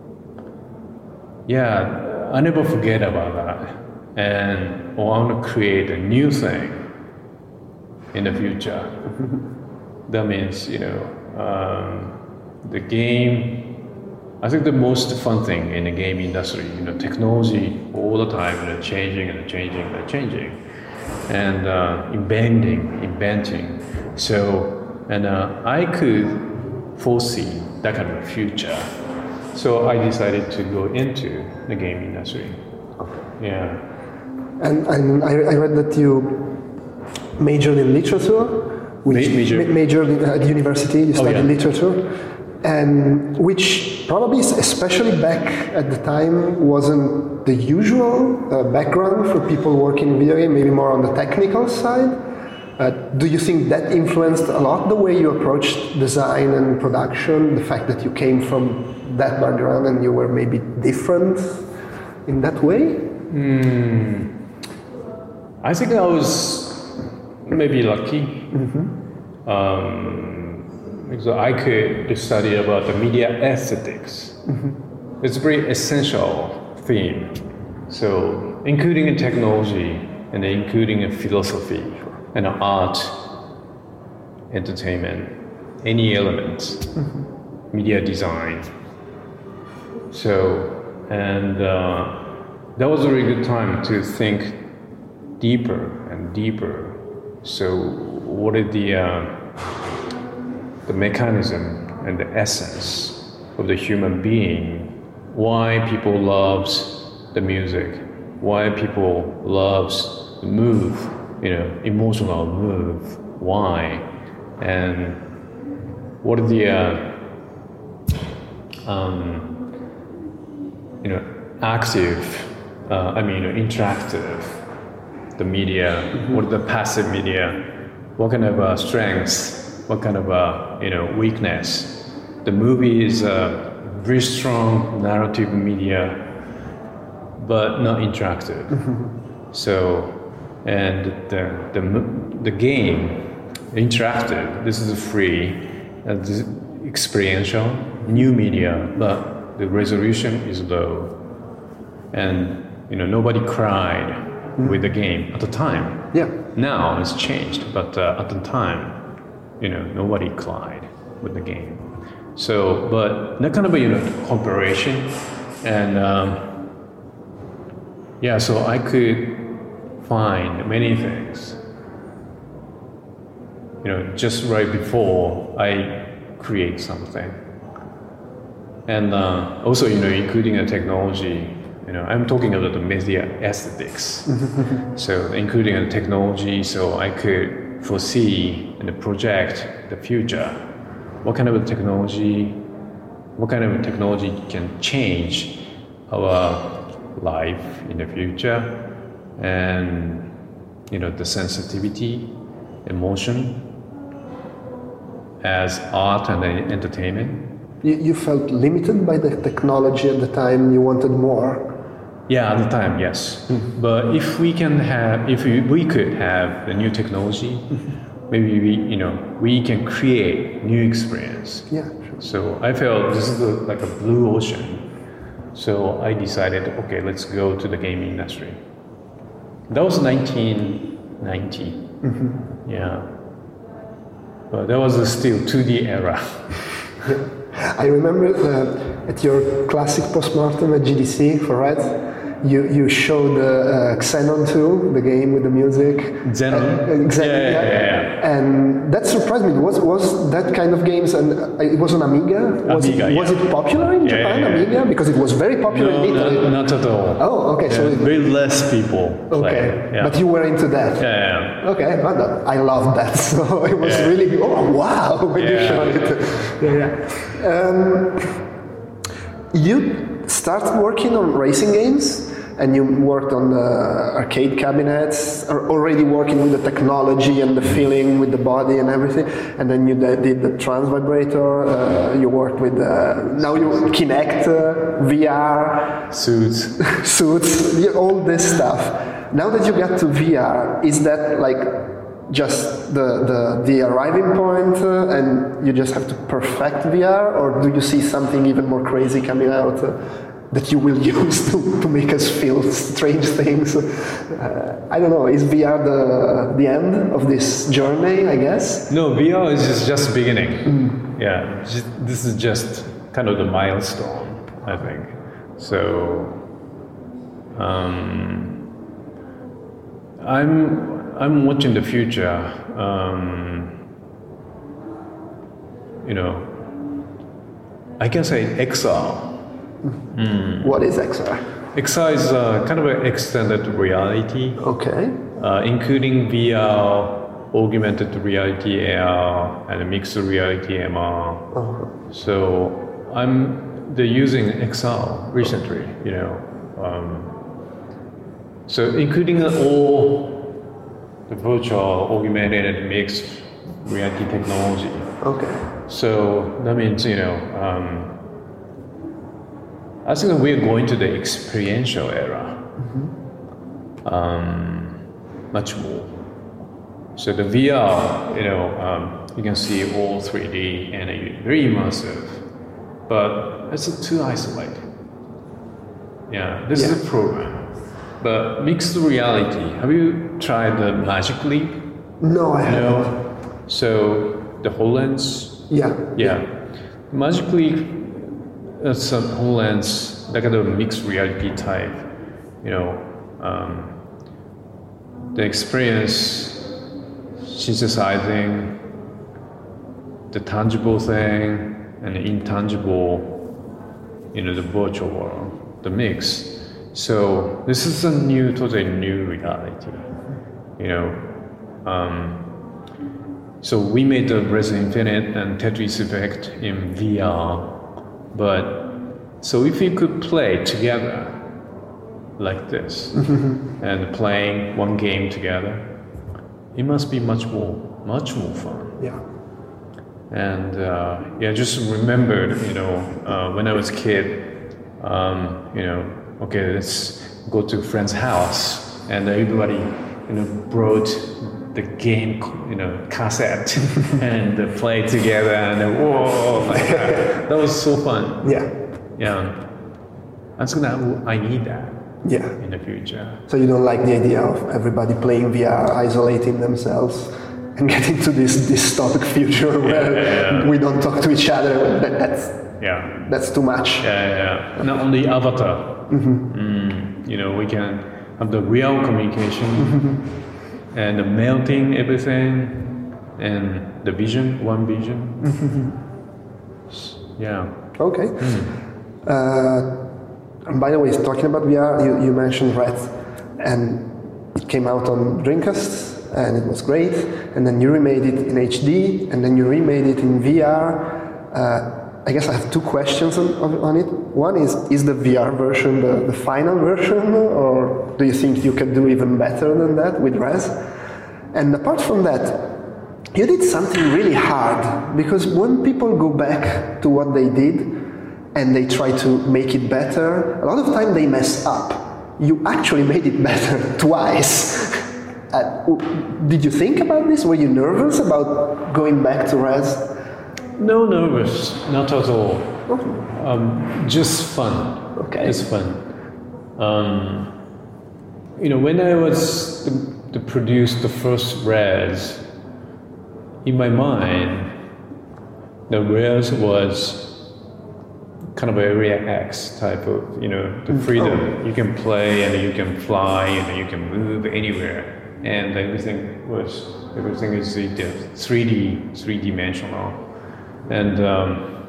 yeah, I never forget about that. And I want to create a new thing in the future. That means, you know, um, the game, I think the most fun thing in the game industry, you know, technology all the time, you know, changing and changing and changing. And uh, inventing, inventing. So, and uh, I could foresee that kind of future. So I decided to go into the game industry. Okay. Yeah. And, and I, I read that you majored in literature, which Ma- major. ma- majored in, at university. You studied oh, yeah. literature, and which probably, especially back at the time, wasn't the usual uh, background for people working in video game. Maybe more on the technical side. Uh, do you think that influenced a lot the way you approached design and production? The fact that you came from that background and you were maybe different in that way? Mm. I think I was maybe lucky. Mm-hmm. Um, because I could study about the media aesthetics. Mm-hmm. It's a very essential theme. So, including in technology and including in philosophy and art, entertainment, any elements, mm-hmm. media design. So, and uh, that was a really good time to think deeper and deeper. So, what is the uh, the mechanism and the essence of the human being? Why people loves the music? Why people loves the move you know, emotional move, why, and what are the, uh, um, you know, active, uh, I mean, interactive, the media, mm-hmm. what are the passive media, what kind of uh, strengths, what kind of, uh, you know, weakness. The movie is a very strong narrative media, but not interactive. Mm-hmm. So, and the, the, the game, interactive, this is free, uh, this is experiential, new media, but the resolution is low. And, you know, nobody cried mm-hmm. with the game at the time. Yeah. Now it's changed, but uh, at the time, you know, nobody cried with the game. So, but that kind of a, you know, cooperation, and um, yeah, so I could find many things, you know, just right before I create something. And uh, also, you know, including the technology, you know, I'm talking about the media aesthetics. So including the technology, so I could foresee and project the future. What kind of technology, what kind of technology can change our life in the future, and, you know, the sensitivity, emotion as art and entertainment. You, you felt limited by the technology at the time, you wanted more? Yeah, at the time, yes. Mm-hmm. But if we can have, if we, we could have the new technology, mm-hmm. maybe we, you know, we can create new experience. Yeah, sure. So I felt this is a, like a blue ocean. So I decided, okay, let's go to the gaming industry. That was nineteen ninety. Mm-hmm. Yeah. But that was still two D era. I remember uh, at your classic postmortem at G D C for Red, you, you showed uh, uh, Xenon two, the game with the music. Xenon? Uh, exactly, yeah, yeah, yeah, yeah. And that surprised me. Was was that kind of games, and uh, it was on Amiga? Was, Amiga, it, was yeah. it popular in yeah, Japan, yeah, yeah. Amiga? Because it was very popular no, in Italy. No, not at all. Oh, okay. Yeah, So it, very less people play. Okay, Yeah. but you were into that. Yeah, yeah. Okay, well, that, I love that. So it was yeah. really, oh wow, when yeah. you showed it. Yeah, yeah. Um, you started working on racing games, and you worked on the arcade cabinets, or already working with the technology and the feeling with the body and everything. And then you did the trans vibrator. Uh, you worked with uh, now you Kinect, uh, V R, suits, suits, yeah, all this stuff. Now that you got to V R, is that like just the the, the arriving point, uh, and you just have to perfect V R, or do you see something even more crazy coming out? Uh, that you will use to, to make us feel strange things. Uh, I don't know, is V R the the end of this journey, I guess? No, V R is just, just beginning. Mm. Yeah, just, this is just kind of the milestone, I think. So, um, I'm, I'm watching the future, um, you know, I can say X R. Mm. What is X R? X R is uh, kind of an extended reality. Okay. Uh, including V R, augmented reality, A R, and mixed reality, M R. Uh-huh. So I'm they're using X R recently, you know. Um, so including all the virtual, augmented, and mixed reality technology. Okay. So that means, you know, um, I think we're going to the experiential era, mm-hmm. um, much more. So the V R, you know, um, you can see all three D and very immersive, but it's too isolated. Yeah, this yeah. is a program. But mixed reality, have you tried the Magic Leap? No, I haven't. No. So the HoloLens. Yeah. Yeah. Magic Leap. It's a HoloLens, like a mixed reality type, you know, um, the experience synthesizing the tangible thing and the intangible, you know, the virtual world, the mix. So this is a new, totally new reality, you know, Um, so we made the Resident Infinite and Tetris Effect in V R, but so if you could play together like this and playing one game together, it must be much more, much more fun. Yeah. And uh, yeah, just remembered, you know, uh, when I was a kid, um, you know, okay, let's go to a friend's house, and everybody, you know, brought the game, you know, cassette and uh, play together, and then, whoa, like that. That was so fun. Yeah. Yeah. And so now I need that. Yeah. In the future. So you don't like the idea of everybody playing V R, isolating themselves, and getting to this dystopic future where yeah, yeah. we don't talk to each other. That, that's yeah. That's too much. Yeah, yeah. Not only avatar. Mm-hmm. Mm, you know, we can have the real communication mm-hmm. and the melting everything and the vision, one vision. Mm-hmm. Yeah. Okay. Mm. Uh, and by the way, talking about V R, you, you mentioned Red, and it came out on Dreamcast. And it was great, and then you remade it in H D, and then you remade it in V R. Uh, I guess I have two questions on, on it. One is, is the V R version the, the final version, or do you think you can do even better than that with Rez? And apart from that, you did something really hard, because when people go back to what they did, and they try to make it better, a lot of time they mess up. You actually made it better twice. Uh, did you think about this? Were you nervous about going back to Rez? No, nervous, not at all. Um, just fun. Okay. Just fun. Um, you know, when I was to, to produce the first Rez, in my mind, the Rez was kind of Area X type of, you know, the freedom. Oh. You can play and you can fly and you can move anywhere. And everything was, everything is three D, three dimensional. And, um,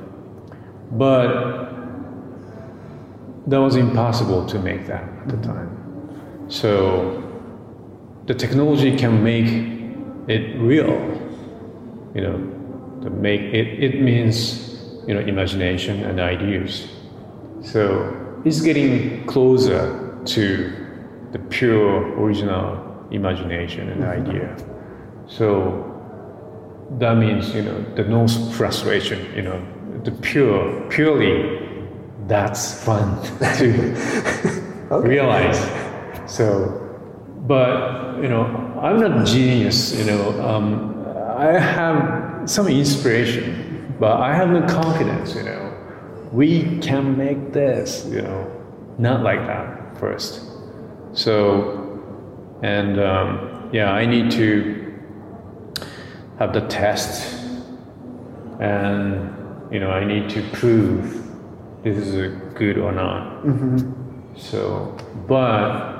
but that was impossible to make that at the time. So the technology can make it real, you know, to make it, it means, you know, imagination and ideas. So it's getting closer to the pure original imagination and idea. So that means, you know, the no frustration, you know, the pure, purely, that's fun to okay. realize. So, but, you know, I'm not a genius, you know, um, I have some inspiration, but I have no confidence, you know. We can make this, you know, not like that first. So, and um, yeah, I need to have the test, and you know, I need to prove this is a good or not. Mm-hmm. So, but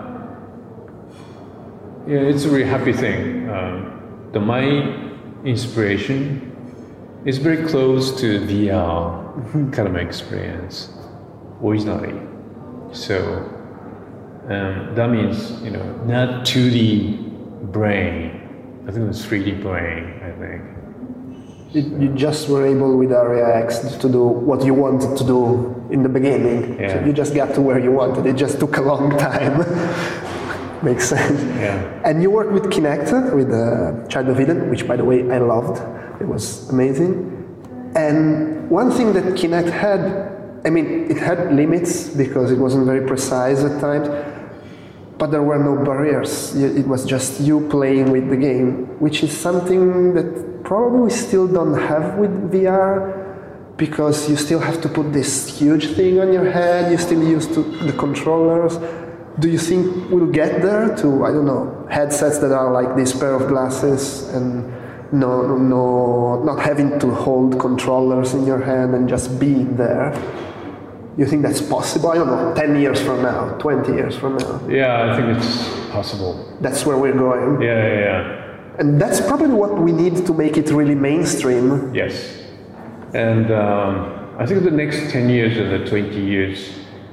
yeah, it's a really happy thing. Um, the my inspiration is very close to V R mm-hmm. kind of experience originally. So. Um, that means, you know, not two D brain. I think it was three D brain, I think. You, so. you just were able with Area X to do what you wanted to do in the beginning. Yeah. So you just got to where you wanted. It just took a long time. Makes sense. Yeah. And you worked with Kinect, with uh, Child of Eden, which, by the way, I loved. It was amazing. And one thing that Kinect had, I mean, it had limits because it wasn't very precise at times, but there were no barriers. It was just you playing with the game, which is something that probably we still don't have with V R, because you still have to put this huge thing on your head, you still use to the controllers. Do you think we'll get there to, I don't know, headsets that are like this pair of glasses and no, no, not having to hold controllers in your hand and just being there? You think that's possible? I don't know, ten years from now, twenty years from now? Yeah, I think it's possible. That's where we're going? Yeah, yeah, yeah. And that's probably what we need to make it really mainstream. Yes. And um, I think the next ten years or the twenty years,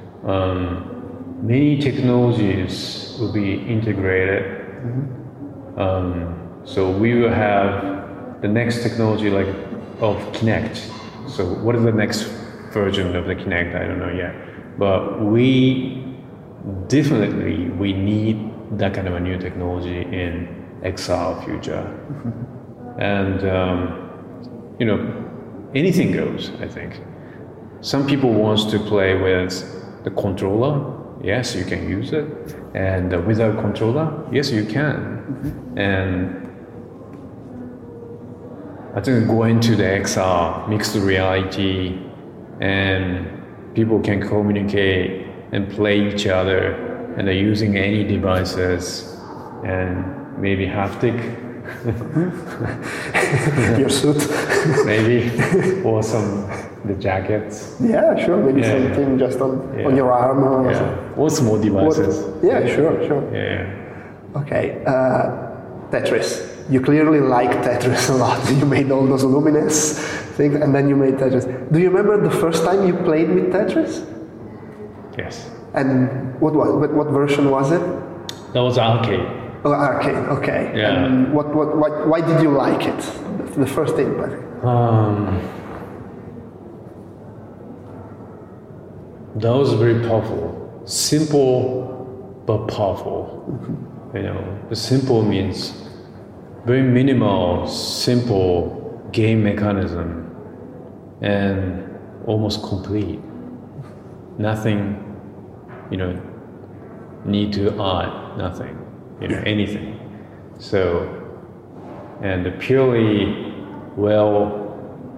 um, many technologies will be integrated. Mm-hmm. um, So we will have the next technology like of Kinect. So what is the next version of the Kinect? I don't know yet. But we definitely we need that kind of a new technology in X R future. Mm-hmm. And um, you know, anything goes, I think. Some people want to play with the controller. Yes, you can use it. And uh, without controller, yes, you can. Mm-hmm. And I think going to the X R, mixed reality, and people can communicate and play each other, and they're using any devices, and maybe haptic. Your suit. Maybe, or some, the jackets. Yeah, sure, maybe yeah, something yeah. just on, yeah. on your arm or yeah. something. Or small devices. What? Yeah, yeah, sure, sure. Yeah. Okay, uh, Tetris. You clearly like Tetris a lot. You made all those Lumines things, and then you made Tetris. Do you remember the first time you played with Tetris? Yes. And what was what, what version was it? That was arcade. Oh, arcade. Okay. Yeah. And what what why, why did you like it? The first input. Um. That was very powerful. Simple, but powerful. Mm-hmm. You know, the simple means very minimal, simple game mechanism, and almost complete. Nothing, you know, need to add nothing, you know, anything. So, and a purely well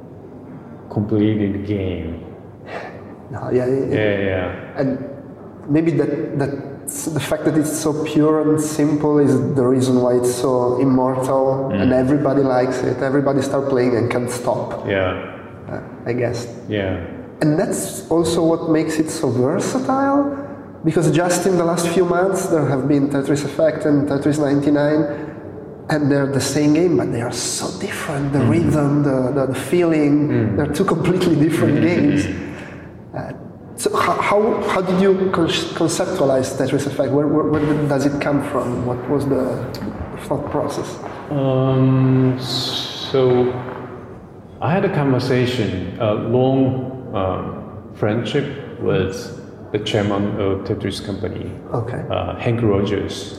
completed game. No, yeah, yeah, yeah, yeah. And maybe that that the fact that it's so pure and simple is the reason why it's so immortal, mm. and everybody likes it. Everybody start playing and can't stop. Yeah, uh, I guess. Yeah. And that's also what makes it so versatile, because just in the last few months there have been Tetris Effect and Tetris ninety-nine, and they're the same game, but they are so different. The mm. rhythm, the, the, the feeling, mm. they're two completely different games. Uh, so how, how, how did you con- conceptualize Tetris Effect? Where, where, where does it come from? What was the thought process? Um, so I had a conversation, a long um, friendship with the chairman of Tetris company, okay. uh, Hank Rogers.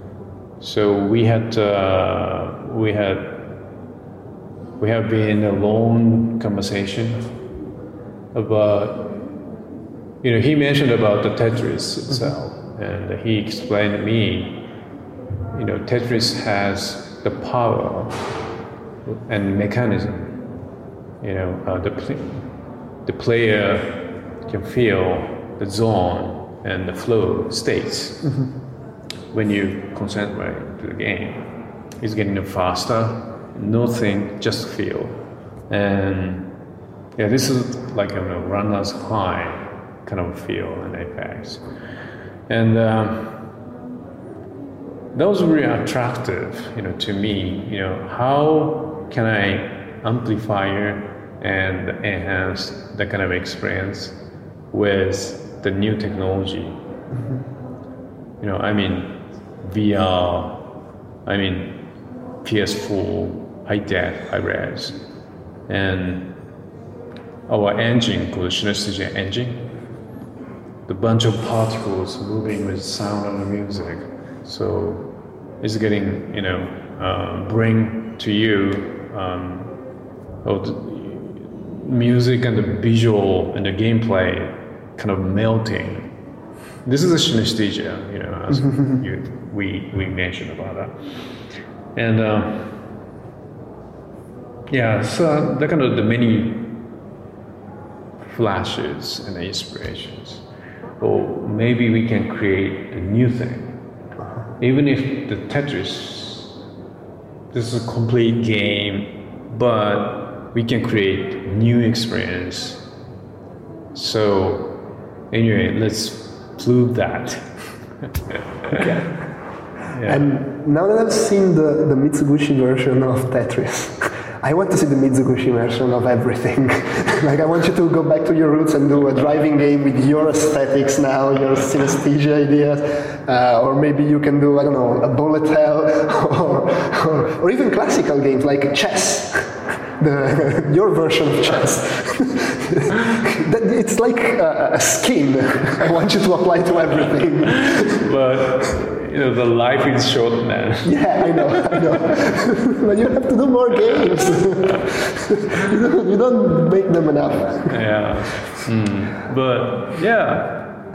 So we had uh, we had we have been a long conversation about. You know, he mentioned about the Tetris itself, mm-hmm. and he explained to me, you know, Tetris has the power and mechanism. You know, uh, the pl- the player can feel the zone and the flow states mm-hmm. when you concentrate to the game. It's getting faster, nothing, just feel, and yeah, this is like a you know, runner's high kind of feel and effects. And um, that was really attractive, you know, to me. You know, how can I amplify and enhance that kind of experience with the new technology? Mm-hmm. You know, I mean, V R, I mean, P S four, high def, high res, and our engine called Synesthesia engine. The bunch of particles moving with sound and the music, so it's getting, you know, uh, bring to you um, oh, the music and the visual and the gameplay kind of melting. This is a synesthesia, you know, as you, we we mentioned about that, and uh, yeah, so that kind of the many flashes and the inspirations. Or maybe we can create a new thing. Even if the Tetris, this is a complete game, but we can create new experience. So anyway, let's prove that. Okay. Yeah. And now that I've seen the, the Mitsubishi version of Tetris, I want to see the Mitsubishi version of everything. Like, I want you to go back to your roots and do a driving game with your aesthetics now, your synesthesia ideas, uh, or maybe you can do, I don't know, a bullet hell, or, or, or even classical games like chess. The, your version of chess. It's like a, a skin. I want you to apply to everything. But you know, the life is short, man. Yeah, I know, I know. But you have to do more games. you, don't, you don't make them enough. Yeah. Mm. But yeah.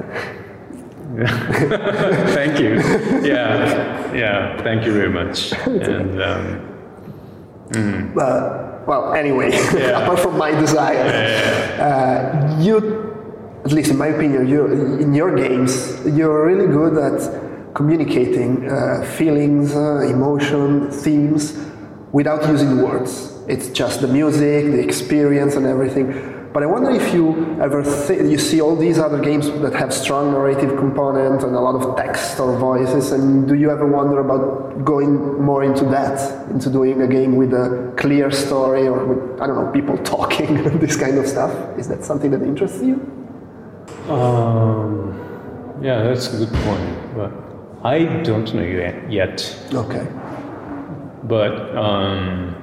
Thank you. Yeah. Yeah. Thank you very much. And. Um, mm. uh, Well, anyway, yeah. apart from my desire, yeah. uh, you, at least in my opinion, you in your games, you're really good at communicating uh, feelings, uh, emotion, themes, without using words. It's just the music, the experience, and everything. But I wonder if you ever th- you see all these other games that have strong narrative component and a lot of text or voices, and do you ever wonder about going more into that, into doing a game with a clear story or with, I don't know, people talking, this kind of stuff? Is that something that interests you? Um, yeah, that's a good point. But I don't know yet. Okay. But um,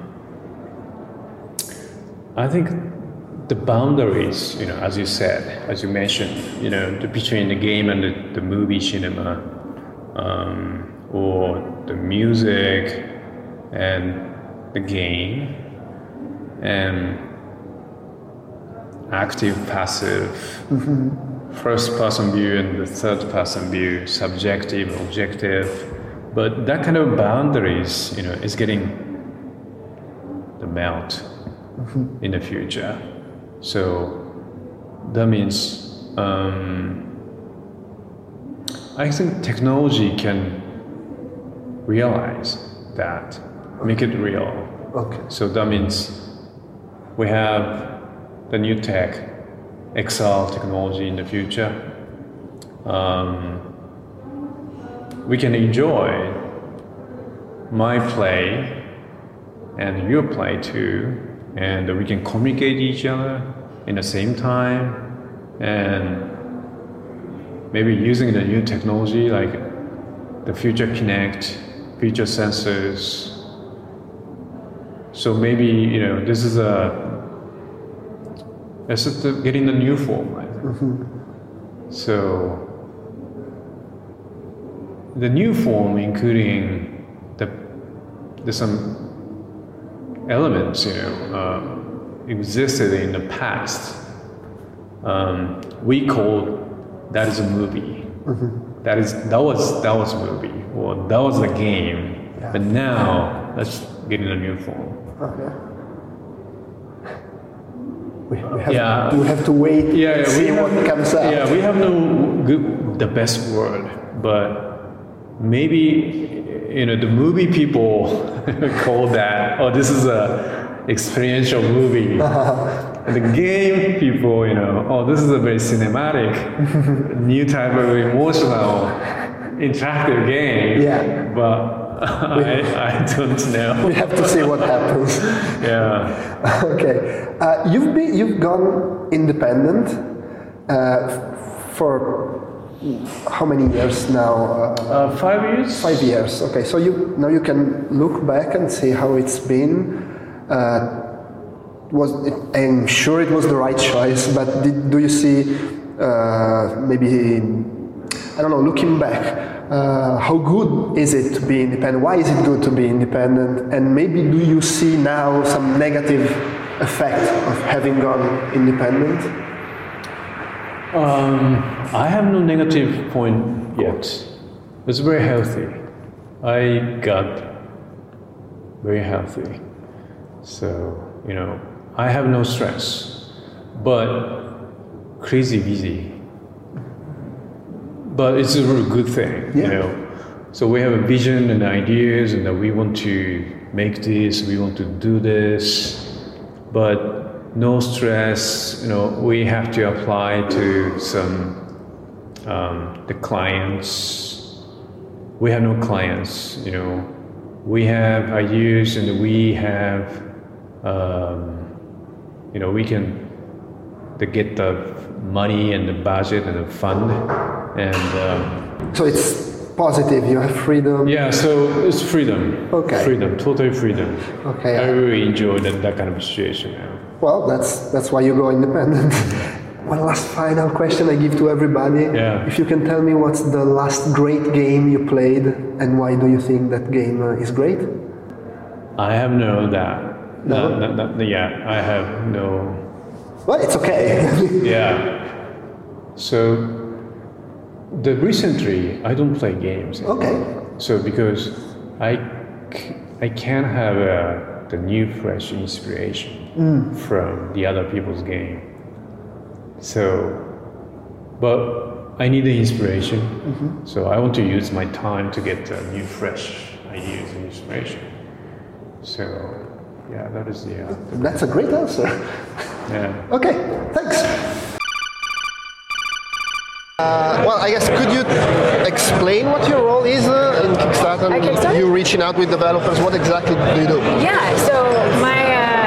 I think the boundaries, you know, as you said, as you mentioned, you know, the, between the game and the, the movie cinema, um, or the music and the game, and active, passive, mm-hmm. first-person view and the third-person view, subjective, objective, but that kind of boundaries, you know, is getting the melt mm-hmm. in the future. So that means um, I think technology can realize that, make it real. Okay. So that means we have the new tech, X R technology in the future. Um, we can enjoy my play and your play too. And we can communicate each other in the same time, and maybe using the new technology like the Future Kinect, future sensors. So maybe, you know, this is a it's just getting a new form, I think. Mm-hmm. So the new form, including the there's some elements, you know, uh, existed in the past. Um, we call that is a movie. Mm-hmm. That is that was that was a movie, or that was the game. Yeah. But now let's get in a new form. Okay. We, we have, yeah. we have to wait yeah, and yeah, see have, what comes out. Yeah, we have no good, the best word, but maybe, you know, the movie people call that, oh, this is a experiential movie. Uh-huh. And the game people, you know, oh, this is a very cinematic, new type of emotional, interactive game. Yeah. But I, I don't know. We have to see what happens. Yeah. Okay. Uh, you've been, you've gone independent uh, for how many years now? Uh, uh, five years. Five years. Okay. So you now you can look back and see how it's been. Uh, was it, I'm sure it was the right choice, but did, do you see uh, maybe I don't know? Looking back. Uh, how good is it to be independent? Why is it good to be independent? And maybe do you see now some negative effect of having gone independent? Um, I have no negative point yet. It's very healthy. I got very healthy. So, you know, I have no stress, but crazy busy. But it's a really good thing, yeah. You know. So we have a vision and ideas, and that we want to make this, we want to do this, but no stress. You know, we have to apply to some um, the clients. We have no clients. You know, we have ideas, and we have, um, you know, we can to get the money and the budget and the fund. And um, so it's positive. You have freedom. Yeah, so it's freedom. Okay. Freedom, total freedom. Okay. I really enjoy that, that kind of situation now. Well, that's that's why you go independent. One last final question I give to everybody. Yeah. If you can tell me what's the last great game you played and why do you think that game uh, is great? I have no that. No? That, that, that, yeah, I have no. Well, it's okay. Yeah. So, the recently I don't play games. Okay. So because I, c- I can't have uh, the new fresh inspiration Mm. from the other people's game. So, but I need the inspiration. Mm-hmm. So I want to use my time to get uh, new fresh ideas and inspiration. So, yeah, that is the. Uh, That's a great answer. yeah. Okay, thanks. Uh, well, I guess could you explain what your role is uh, in Kickstarter? At Kickstarter? You reaching out with developers. What exactly do you do? Yeah, so my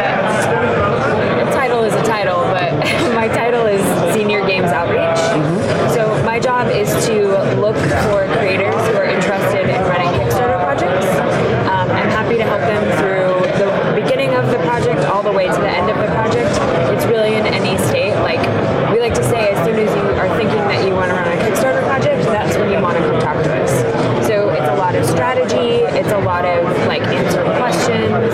uh, title is a title, but my title is Senior Games Outreach. Mm-hmm. So my job is to look for creators who are interested in running Kickstarter projects. Um, I'm happy to help them through the beginning of the project all the way to the end of the project. It's really in any state. Like we like to say, as soon as you are thinking that you want to run a Kickstarter project, that's when you want to come talk to us. So it's a lot of strategy. It's a lot of like answering questions.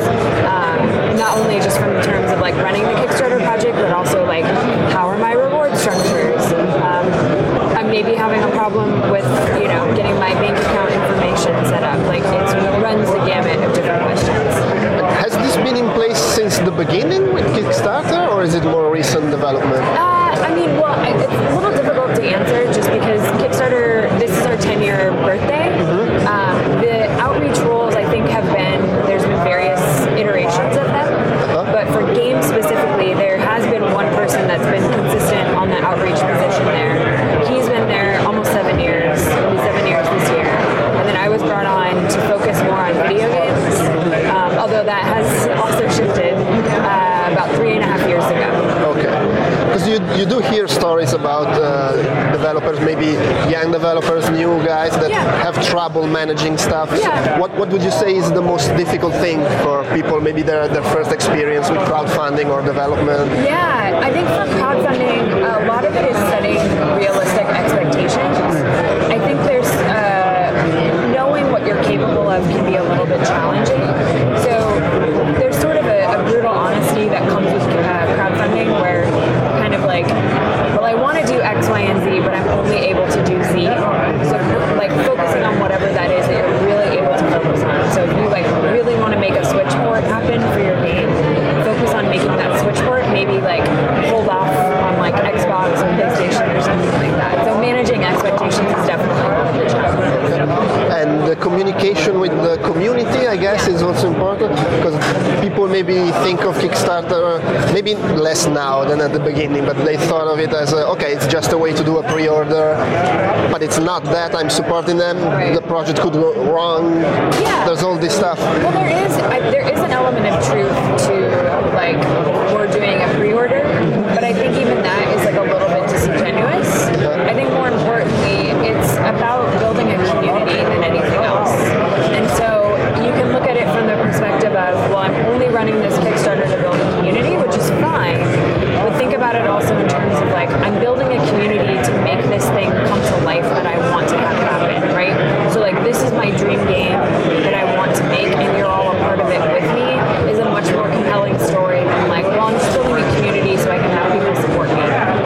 Um, not only just from the terms of like running the Kickstarter project, but also like how are my reward structures? Um, I'm maybe having a problem with you know getting my bank account information set up. Like it runs the gamut of different questions. Has this been in place since the beginning with Kickstarter, or is it more recent development? Uh, I mean, well, it's a little difficult to answer just because Kickstarter, this is our ten-year birthday. Mm-hmm. Um, the outreach roles, I think, have been, there's been various iterations of them. Uh-huh. But for games specifically, there has been one person that's been consistent on the outreach position there. He's been there almost seven years, it'll be seven years this year. And then I was brought on to focus more on video games, um, although that has also shifted uh, about three and a half years ago. Okay. Because you, you do hear stories about uh, developers, maybe young developers, new guys that Yeah. have trouble managing stuff. Yeah. What what would you say is the most difficult thing for people, maybe their, their first experience with crowdfunding or development? Yeah, I think for crowdfunding, a lot of it is setting realistic expectations. I think there's uh, knowing what you're capable of can be a little bit challenging. So there's sort of a, a brutal honesty that comes with uh, crowdfunding where kind of like, well, I want to do X, Y, and Z, but I'm only able to do Z. So like focusing on whatever that is that you're really able to focus on. So if you like really want to make a Switch port happen for your game, focus on making that Switch port, maybe like hold off on like Xbox or PlayStation or something like that. So managing expectations is definitely one of the challenges. And the communication with the community, I guess, is also important, because people maybe think of Kickstarter, maybe less now than at the beginning, but they thought of it as, a, okay, it's just a way to do a pre-order, but it's not that. I'm supporting them. Right. The project could go wrong. Yeah. There's all this stuff. Well, there is I, there is an element of truth to like we're doing a pre-order, but I think even that is like a little bit disingenuous. I think more importantly, it's about building a community than anything else. And so you can look at it from the perspective of, well, I'm only running this Kickstarter to build a community, which is fine. But think about it also in terms of like, I'm building a community to make this thing come to life that I want to have happen, right? So like, this is my dream game that I want to make, and you're all a part of it with me, is a much more compelling story than like, well, I'm just building a community so I can have people support me.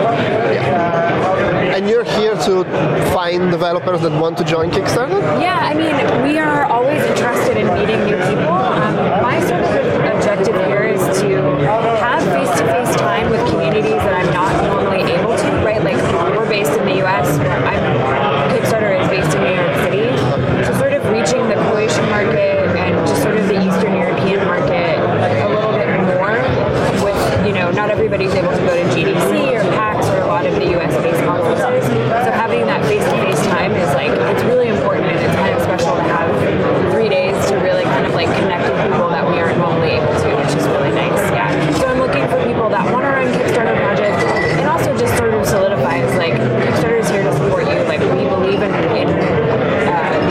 And you're here to find developers that want to join Kickstarter? Yeah, I mean, we are always interested in meeting new people. Um, my sort of objective here is to have face-to-face time with communities that I'm not normally able to, right? Like, we're based in the U S, I'm, Kickstarter is based in New York City. So sort of reaching the Croatian market and just sort of the Eastern European market a little bit more with, you know, not everybody's able to go to G D C or PAX or a lot of the U S-based conferences. So having that face-to-face time is like, it's really important, and it's kind of special to have three days to really kind of like connect with people that we aren't normally able to, which is really nice, yeah. So I'm looking for people that want to run Kickstarter projects, and also just sort of solidifies like, Kickstarter is here to support you, like we believe in, in uh,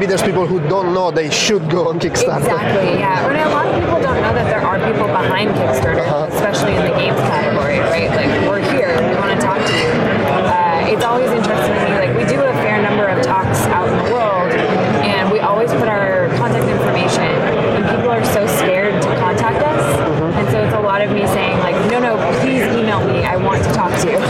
there's people who don't know they should go on Kickstarter. Exactly, yeah. And a lot of people don't know that there are people behind Kickstarter, uh-huh. especially in the games category, right? Like, we're here, we want to talk to you. Uh, it's always interesting to me, like, we do a fair number of talks out in the world, and we always put our contact information, and people are so scared to contact us, mm-hmm. and so it's a lot of me saying, like, no, no, please email me, I want to talk to you.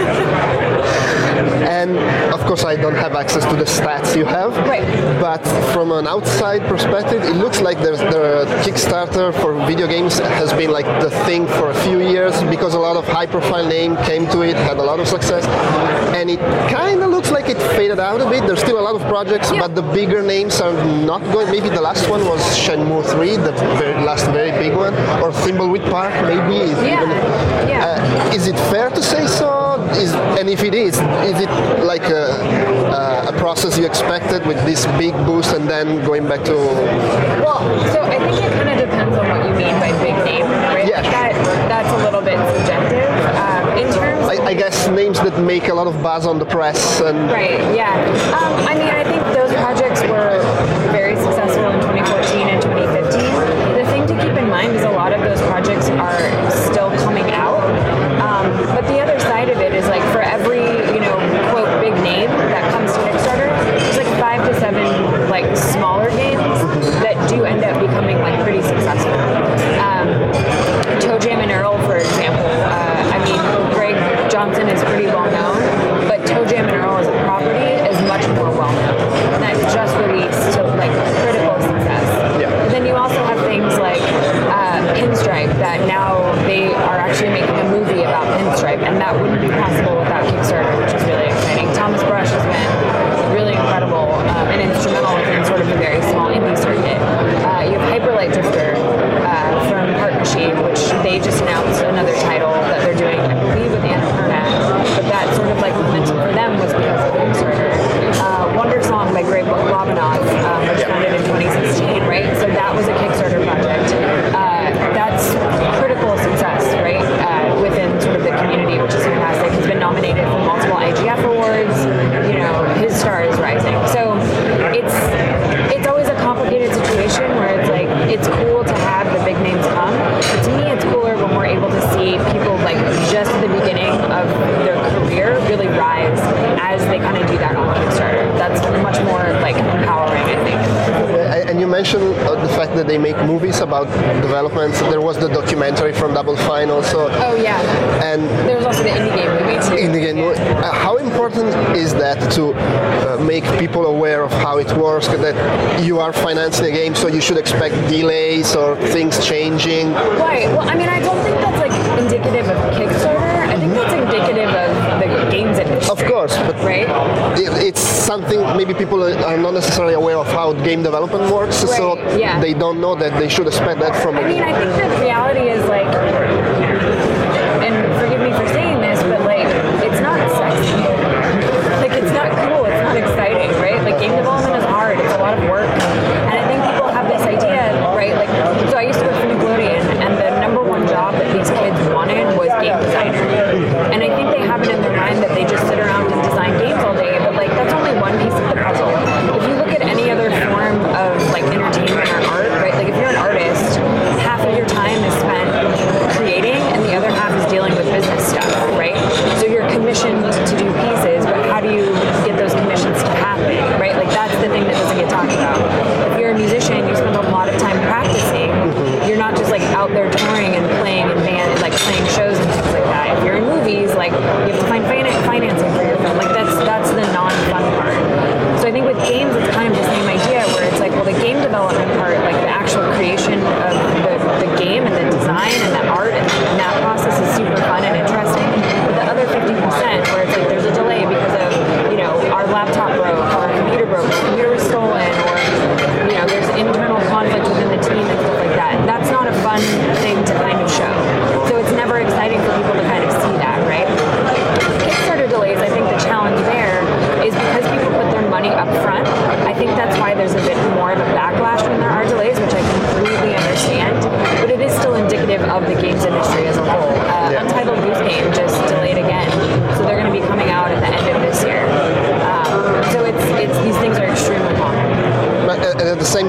And of course I don't have access to the stats you have, right. but from an outside perspective, it looks like there's the Kickstarter for video games has been like the thing for a few years because a lot of high-profile names came to it, had a lot of success, and it kind of looks like it faded out a bit. There's still a lot of projects, yeah. but the bigger names are not going. Maybe the last one was Shenmue three, the very last very big one, or Thimbleweed Park, maybe. Is, yeah. even, yeah. Uh, is it fair to say so? Is, and if it is, is it like a, a, a process you expected with this big boost and then going back to... Well, so I think it kind of depends on what you mean by big name, right? Yeah. That, that's a little bit subjective. Um, in terms I, I guess names that make a lot of buzz on the press and... Right, yeah. Um, I mean, I think those projects were very successful in twenty fourteen and twenty fifteen. The thing to keep in mind is a lot of those projects are still coming out. Um, but the other side of it is like for every, you know, quote, big name that comes to Kickstarter, there's like five to seven like smaller games that do end up becoming like pretty successful. Um, Toe Jam and Earl, for example, uh, I mean, Greg Johnson is pretty well known, but Toe Jam and Earl as a property is much more well known. And that's just released to like critical success. Yeah. But then you also have things like uh, Pinstripe that now they are actually making a movie about Pinstripe, and that wouldn't be possible without Kickstarter, which is really exciting. Thomas Brush has been really incredible um, and instrumental within sort of a very small indie circuit. Uh, you have Hyperlight Drifter uh, from Heart Machine, which they just announced another title that they're doing, I believe, with Annapurna, but that sort of like momentum for them was because of Kickstarter. Uh, Wonder Song by Greg Lobanov, um, which yeah. founded in twenty sixteen, right? So that was a Kickstarter project. Uh, that's critical success, right? Uh, within sort of the community, which is fantastic. He's been nominated for multiple I G F awards. You know, his star is rising. So it's it's always a complicated situation where it's like it's cool to have the big names come, but to me it's cooler when we're able to see people like just at the beginning of their career really rise as they kind of do that on Kickstarter. That's much more like empowering, I think. And you mentioned the fact that they make movies about developments. There was the documentary from Double Fine also. Oh yeah. And there's also the indie game movie too. Indie game movie. Uh, how important is that to uh, make people aware of how it works? That you are financing a game, so you should expect delays or things changing. Right. Well, I mean, I don't think that's like indicative of Kickstarter. I think that's indicative of the games industry. Of course, but right. It, it's something maybe people are not necessarily aware of how game development works, right. so yeah. they don't know that they should expect that from. I mean, I think the reality is like, and forgive me for saying this, but like, it's not sexy. Like, it's not cool. It's not exciting, right? Like, game development is hard. It's a lot of work, and I think people have this idea, right? Like, so I used to work for Nickelodeon, and the number one job that these kids wanted was game designer, and I think they have it in their mind that they just sit around and design games all day, but like, that's only one piece of the puzzle. If you look at any other form of like entertainment or art, right? Like, if you're an artist, half of your time is spent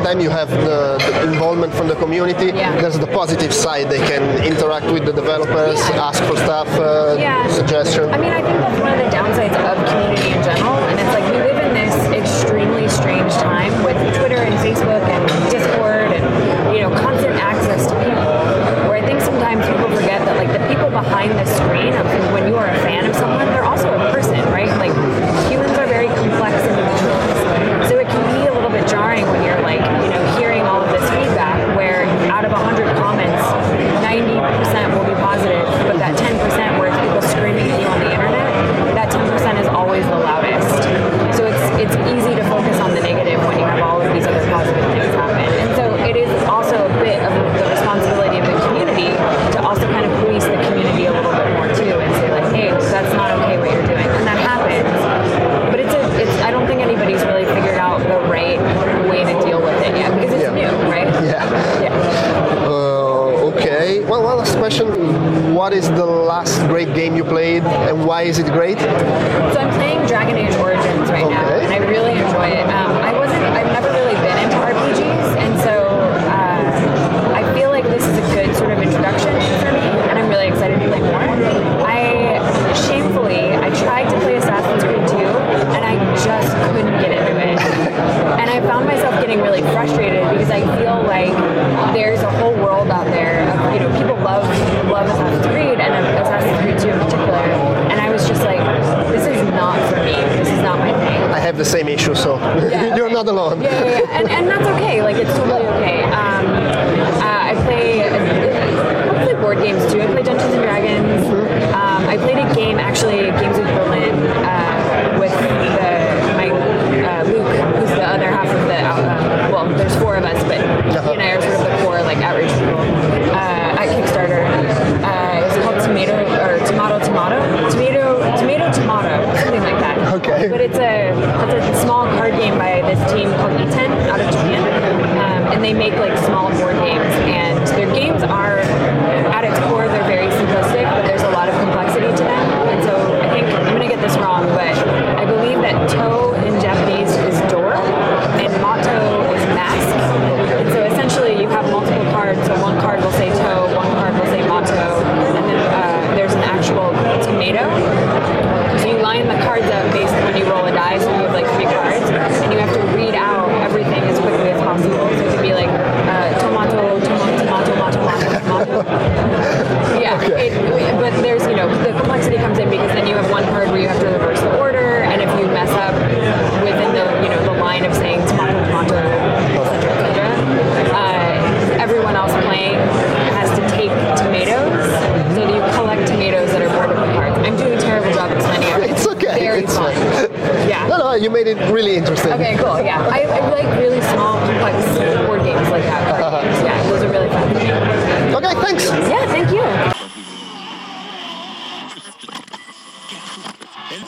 time you have the, the involvement from the community. Yeah. There's the positive side. They can interact with the developers, Yeah. ask for stuff, uh, Yeah. suggestions. I mean, I think that's one of the downsides of community in general, and it's like we live in this extremely strange time with Twitter and Facebook and Discord and, you know, constant access to people, where I think sometimes people forget that, like, the people behind the screen, of when you are a fan of someone, they're also a person, right? Like, humans are very complex individuals. So it can be a little bit jarring when you're, like, you know, hearing all of this feedback where out of one hundred comments, ninety percent will be positive, but that ten percent where it's people screaming at you on the internet, that ten percent is always the loudest. So it's it's easy to focus on the negative when you have all of these other positive things happen. And so it is also a bit of the responsibility of the community to also kind of police the community a little bit more too and say, like, hey, that's not okay what you're doing. And that happens. But it's a it's I don't think anybody's really figured out the right way to deal with it yet because it's Yeah. new, right? Yeah. Yeah. Uh, okay. Well, one last question. What is the last great game you played, and why is it great? So I'm playing Dragon Age Origins right now, Okay. and I really enjoy it. Um, I wasn't, I've never really been into R P Gs, and so uh, I feel like this is a good sort of introduction for me, and I'm really excited to play more. I, shamefully, I tried to play Assassin's Creed two, and I just couldn't get into it. And I found myself getting really frustrated because I feel like there's a whole world out there of, you know, people love love Assassin's Creed and Assassin's Creed two in particular. And I was just like, this is not for me. This is not my thing. I have the same issue, so Yeah, you're okay. not alone. Yeah, yeah, yeah. And, and that's okay. Like, it's totally okay. Um, uh, I play I play board games too. I play Dungeons and Dragons. Um, I played a game, actually, Games with Berlin, uh, with the, my uh, Luke, who's the other half of the, uh, well, there's four of us, but he and I are sort of the core, like, outreach people uh, at Kickstarter. Uh, it's called Tomato, or Tomato Tomato? Tomato, Tomato Tomato, something like that. Okay. But it's a, it's a small card game by this team called E ten out of Japan. Um, and they make, like, small board games. And their games are, at its core, they're very simplistic, but there's a lot of complexity to them. And so I think, I'm going to get this wrong, but I believe that to in Japanese is door, and mato is mask. And so essentially you have multiple cards, so one card will say to, one card will say mato, and then uh, there's an actual tomato. So you line the cards up based on when you roll a die, so you have like three cards, and you have to read out everything as quickly as possible. So it could be like uh, tomato, tomato, tomato, tomato, tomato. Yeah, Okay. it, but there's, you know, the complexity comes in because then you have one card where you have to reverse the order, and if you mess up within the, you know, the line of saying tomato, tomato, et cetera, et cetera, uh, everyone else playing has to take tomatoes, so that you collect tomatoes that are part of the cards. I'm doing a terrible job explaining it. It's okay. Very It's fun. fine. Yeah. No, no, you made it really interesting. Okay, cool. Yeah, I, I like really small, complex